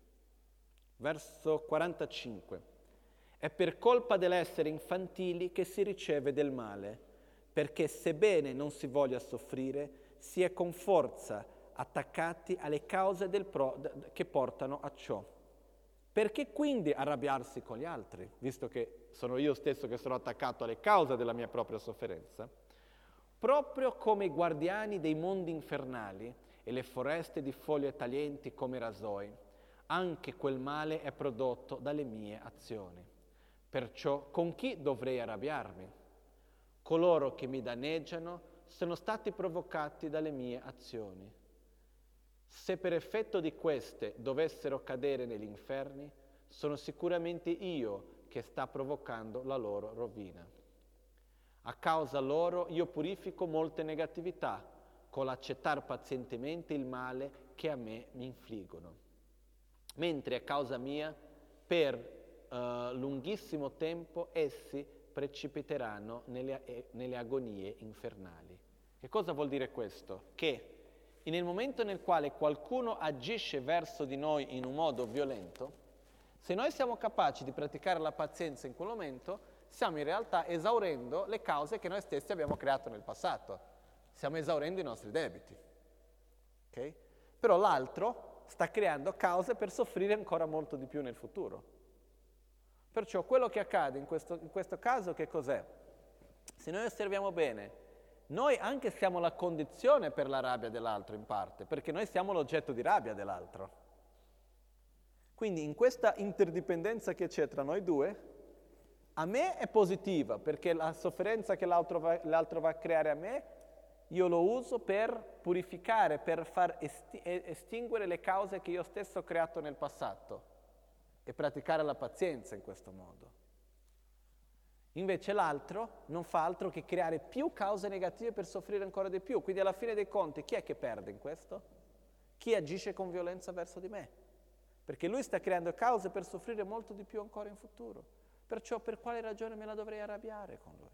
verso 45, è per colpa dell'essere infantili che si riceve del male, perché sebbene non si voglia soffrire, si è con forza attaccati alle cause che portano a ciò. Perché quindi arrabbiarsi con gli altri, visto che sono io stesso che sono attaccato alle cause della mia propria sofferenza? Proprio come i guardiani dei mondi infernali e le foreste di foglie taglienti come rasoi, anche quel male è prodotto dalle mie azioni. Perciò con chi dovrei arrabbiarmi? Coloro che mi danneggiano sono stati provocati dalle mie azioni. Se per effetto di queste dovessero cadere negli inferni, sono sicuramente io che sta provocando la loro rovina. A causa loro io purifico molte negatività, con l'accettare pazientemente il male che a me mi infliggono. Mentre a causa mia, per lunghissimo tempo, essi precipiteranno nelle agonie infernali. Che cosa vuol dire questo? Che nel momento nel quale qualcuno agisce verso di noi in un modo violento, se noi siamo capaci di praticare la pazienza in quel momento, stiamo in realtà esaurendo le cause che noi stessi abbiamo creato nel passato. Stiamo esaurendo i nostri debiti. Okay? Però l'altro sta creando cause per soffrire ancora molto di più nel futuro. Perciò quello che accade in questo caso che cos'è? Se noi osserviamo bene, noi anche siamo la condizione per la rabbia dell'altro in parte, perché noi siamo l'oggetto di rabbia dell'altro. Quindi in questa interdipendenza che c'è tra noi due, a me è positiva, perché la sofferenza che l'altro va a creare a me, io lo uso per purificare, per far estinguere le cause che io stesso ho creato nel passato e praticare la pazienza in questo modo. Invece l'altro non fa altro che creare più cause negative per soffrire ancora di più. Quindi alla fine dei conti chi è che perde in questo? Chi agisce con violenza verso di me. Perché lui sta creando cause per soffrire molto di più ancora in futuro. Perciò per quale ragione me la dovrei arrabbiare con lui?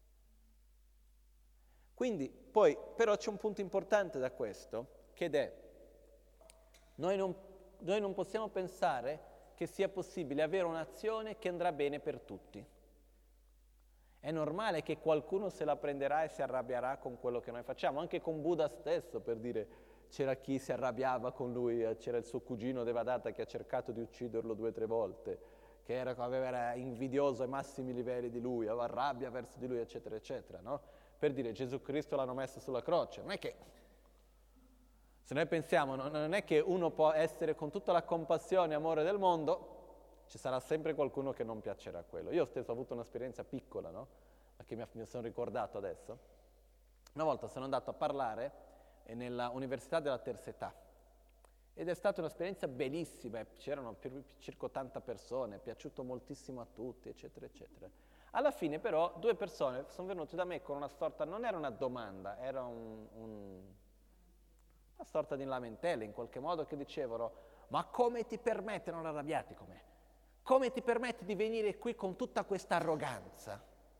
Quindi poi però c'è un punto importante da questo, che è noi non possiamo pensare che sia possibile avere un'azione che andrà bene per tutti. È normale che qualcuno se la prenderà e si arrabbierà con quello che noi facciamo, anche con Buddha stesso, per dire, c'era chi si arrabbiava con lui, c'era il suo cugino Devadatta che ha cercato di ucciderlo 2 o 3 volte, che era invidioso ai massimi livelli di lui, aveva rabbia verso di lui, eccetera, eccetera, no? Per dire, Gesù Cristo l'hanno messo sulla croce, non è che, se noi pensiamo, non è che uno può essere con tutta la compassione e amore del mondo, ci sarà sempre qualcuno che non piacerà quello. Io stesso ho avuto un'esperienza piccola, no? Che mi sono ricordato adesso. Una volta sono andato a parlare nella Università della Terza Età ed è stata un'esperienza bellissima, c'erano circa 80 persone, è piaciuto moltissimo a tutti, eccetera, eccetera. Alla fine però 2 persone sono venute da me con una sorta, non era una domanda, era una sorta di lamentele in qualche modo, che dicevano: ma come ti permette, non arrabbiati con me, come ti permetti di venire qui con tutta questa arroganza?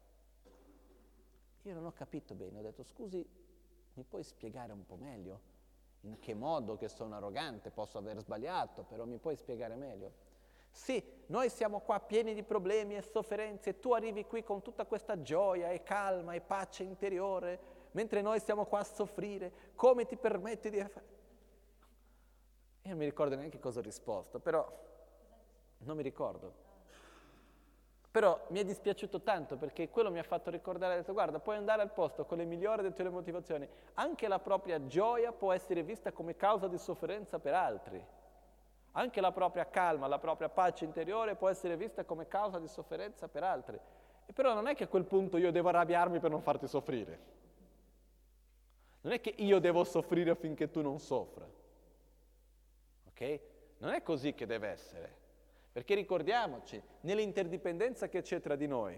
Io non ho capito bene, ho detto: scusi, mi puoi spiegare un po' meglio? In che modo che sono arrogante? Posso aver sbagliato, però mi puoi spiegare meglio? Sì, noi siamo qua pieni di problemi e sofferenze e tu arrivi qui con tutta questa gioia e calma e pace interiore, mentre noi siamo qua a soffrire. Come ti permetti di fare? Io non mi ricordo neanche cosa ho risposto, però non mi ricordo. Però mi è dispiaciuto tanto, perché quello mi ha fatto ricordare, ha detto: guarda, puoi andare al posto con le migliori delle tue motivazioni, anche la propria gioia può essere vista come causa di sofferenza per altri. Anche la propria calma, la propria pace interiore può essere vista come causa di sofferenza per altri. E però non è che a quel punto io devo arrabbiarmi per non farti soffrire. Non è che io devo soffrire affinché tu non soffra. Ok? Non è così che deve essere. Perché ricordiamoci, nell'interdipendenza che c'è tra di noi,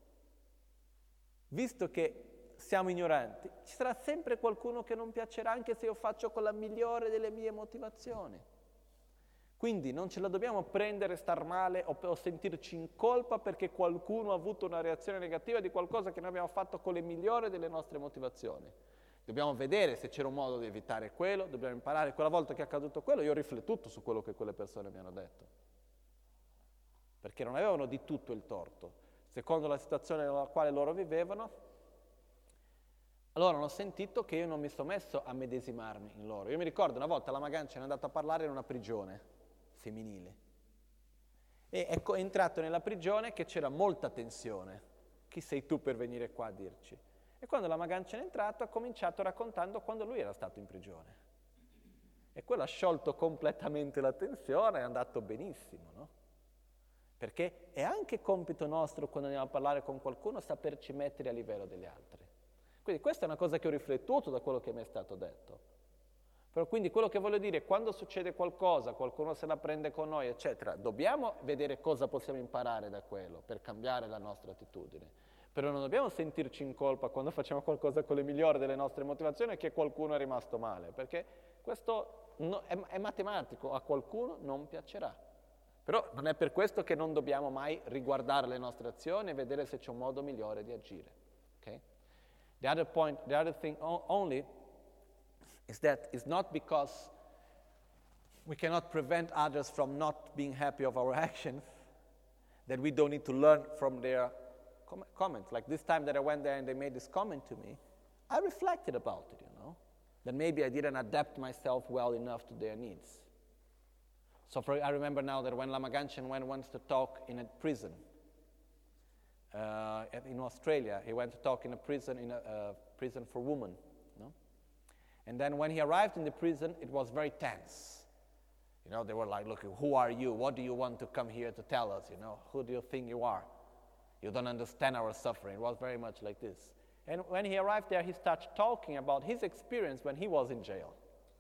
visto che siamo ignoranti, ci sarà sempre qualcuno che non piacerà anche se io faccio con la migliore delle mie motivazioni. Quindi non ce la dobbiamo prendere, star male o sentirci in colpa perché qualcuno ha avuto una reazione negativa di qualcosa che noi abbiamo fatto con le migliori delle nostre motivazioni. Dobbiamo vedere se c'era un modo di evitare quello, dobbiamo imparare. Quella volta che è accaduto quello, io ho riflettuto su quello che quelle persone mi hanno detto. Perché non avevano di tutto il torto. Secondo la situazione nella quale loro vivevano, allora hanno sentito che io non mi sono messo a medesimarmi in loro. Io mi ricordo una volta la Magancia è andata a parlare in una prigione femminile e è entrato nella prigione che c'era molta tensione. Chi sei tu per venire qua a dirci? E quando la Magancia è entrato ha cominciato raccontando quando lui era stato in prigione. E quello ha sciolto completamente la tensione, è andato benissimo, no? Perché è anche compito nostro quando andiamo a parlare con qualcuno saperci mettere a livello degli altri. Quindi questa è una cosa che ho riflettuto da quello che mi è stato detto. Però quindi quello che voglio dire, quando succede qualcosa, qualcuno se la prende con noi, eccetera, dobbiamo vedere cosa possiamo imparare da quello per cambiare la nostra attitudine. Però non dobbiamo sentirci in colpa quando facciamo qualcosa con le migliori delle nostre motivazioni e che qualcuno è rimasto male, perché questo è matematico, a qualcuno non piacerà. Però non è per questo che non dobbiamo mai riguardare le nostre azioni e vedere se c'è un modo migliore di agire. Okay? The other thing only is that it's not because we cannot prevent others from not being happy of our actions that we don't need to learn from their comments. Like this time that I went there and they made this comment to me, I reflected about it, that maybe I didn't adapt myself well enough to their needs. So I remember now that when Lama Ganchen went once to talk in a prison in Australia, he went to talk in a prison for women. And then when he arrived in the prison, it was very tense. They were like, look, who are you? What do you want to come here to tell us? Who do you think you are? You don't understand our suffering. It was very much like this. And when he arrived there, he started talking about his experience when he was in jail.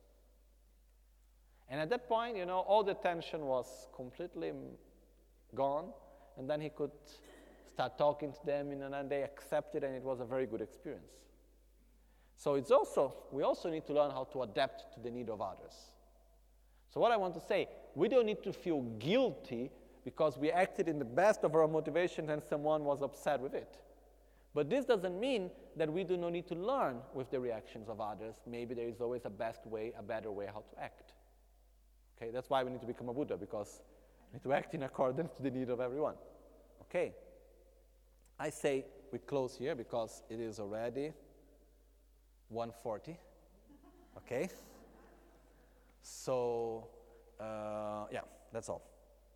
And at that point, all the tension was completely gone. And then he could start talking to them, and they accepted, and it was a very good experience. So we also need to learn how to adapt to the need of others. So what I want to say, we don't need to feel guilty because we acted in the best of our motivation and someone was upset with it. But this doesn't mean that we do not need to learn with the reactions of others. Maybe there is always a better way how to act. Okay, that's why we need to become a Buddha, because we need to act in accordance to the need of everyone. Okay, I say we close here because it is already 1:40. Okay, so yeah, that's all.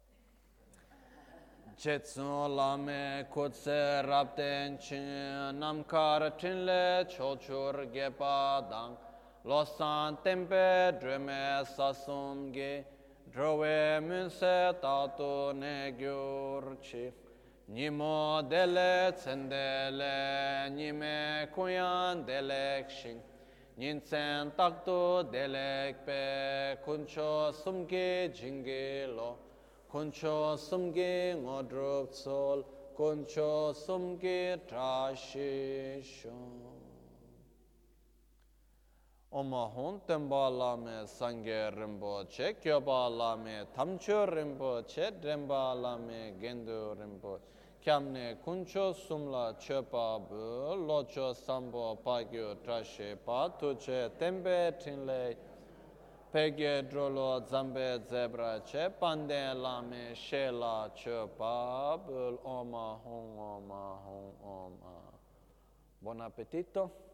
Jetsun lame kutse rapten chin namkar chinle chochur gepa dang losan tempe dreme sasum ge drowe munse tatu ne gyurchi nimo dele tsendele nime kuyan delek shin ninsen taktu delek pe kuncho sumge jinge lo Kuncho sumge ngodrup sol, kuncho sumge trashisho. Oma hon temba lame sangye rinpoche, kyoba lame tamcho rinpoche, dremba lame gendu rinpoche. Kyamne kuncho sumla chepa bu, locho sambo pagyo trashe pa, tuche tembe tinle Pegye drolo zambe zebra che pande lame shela che pabul oma hong oma hong oma. Buon appetito.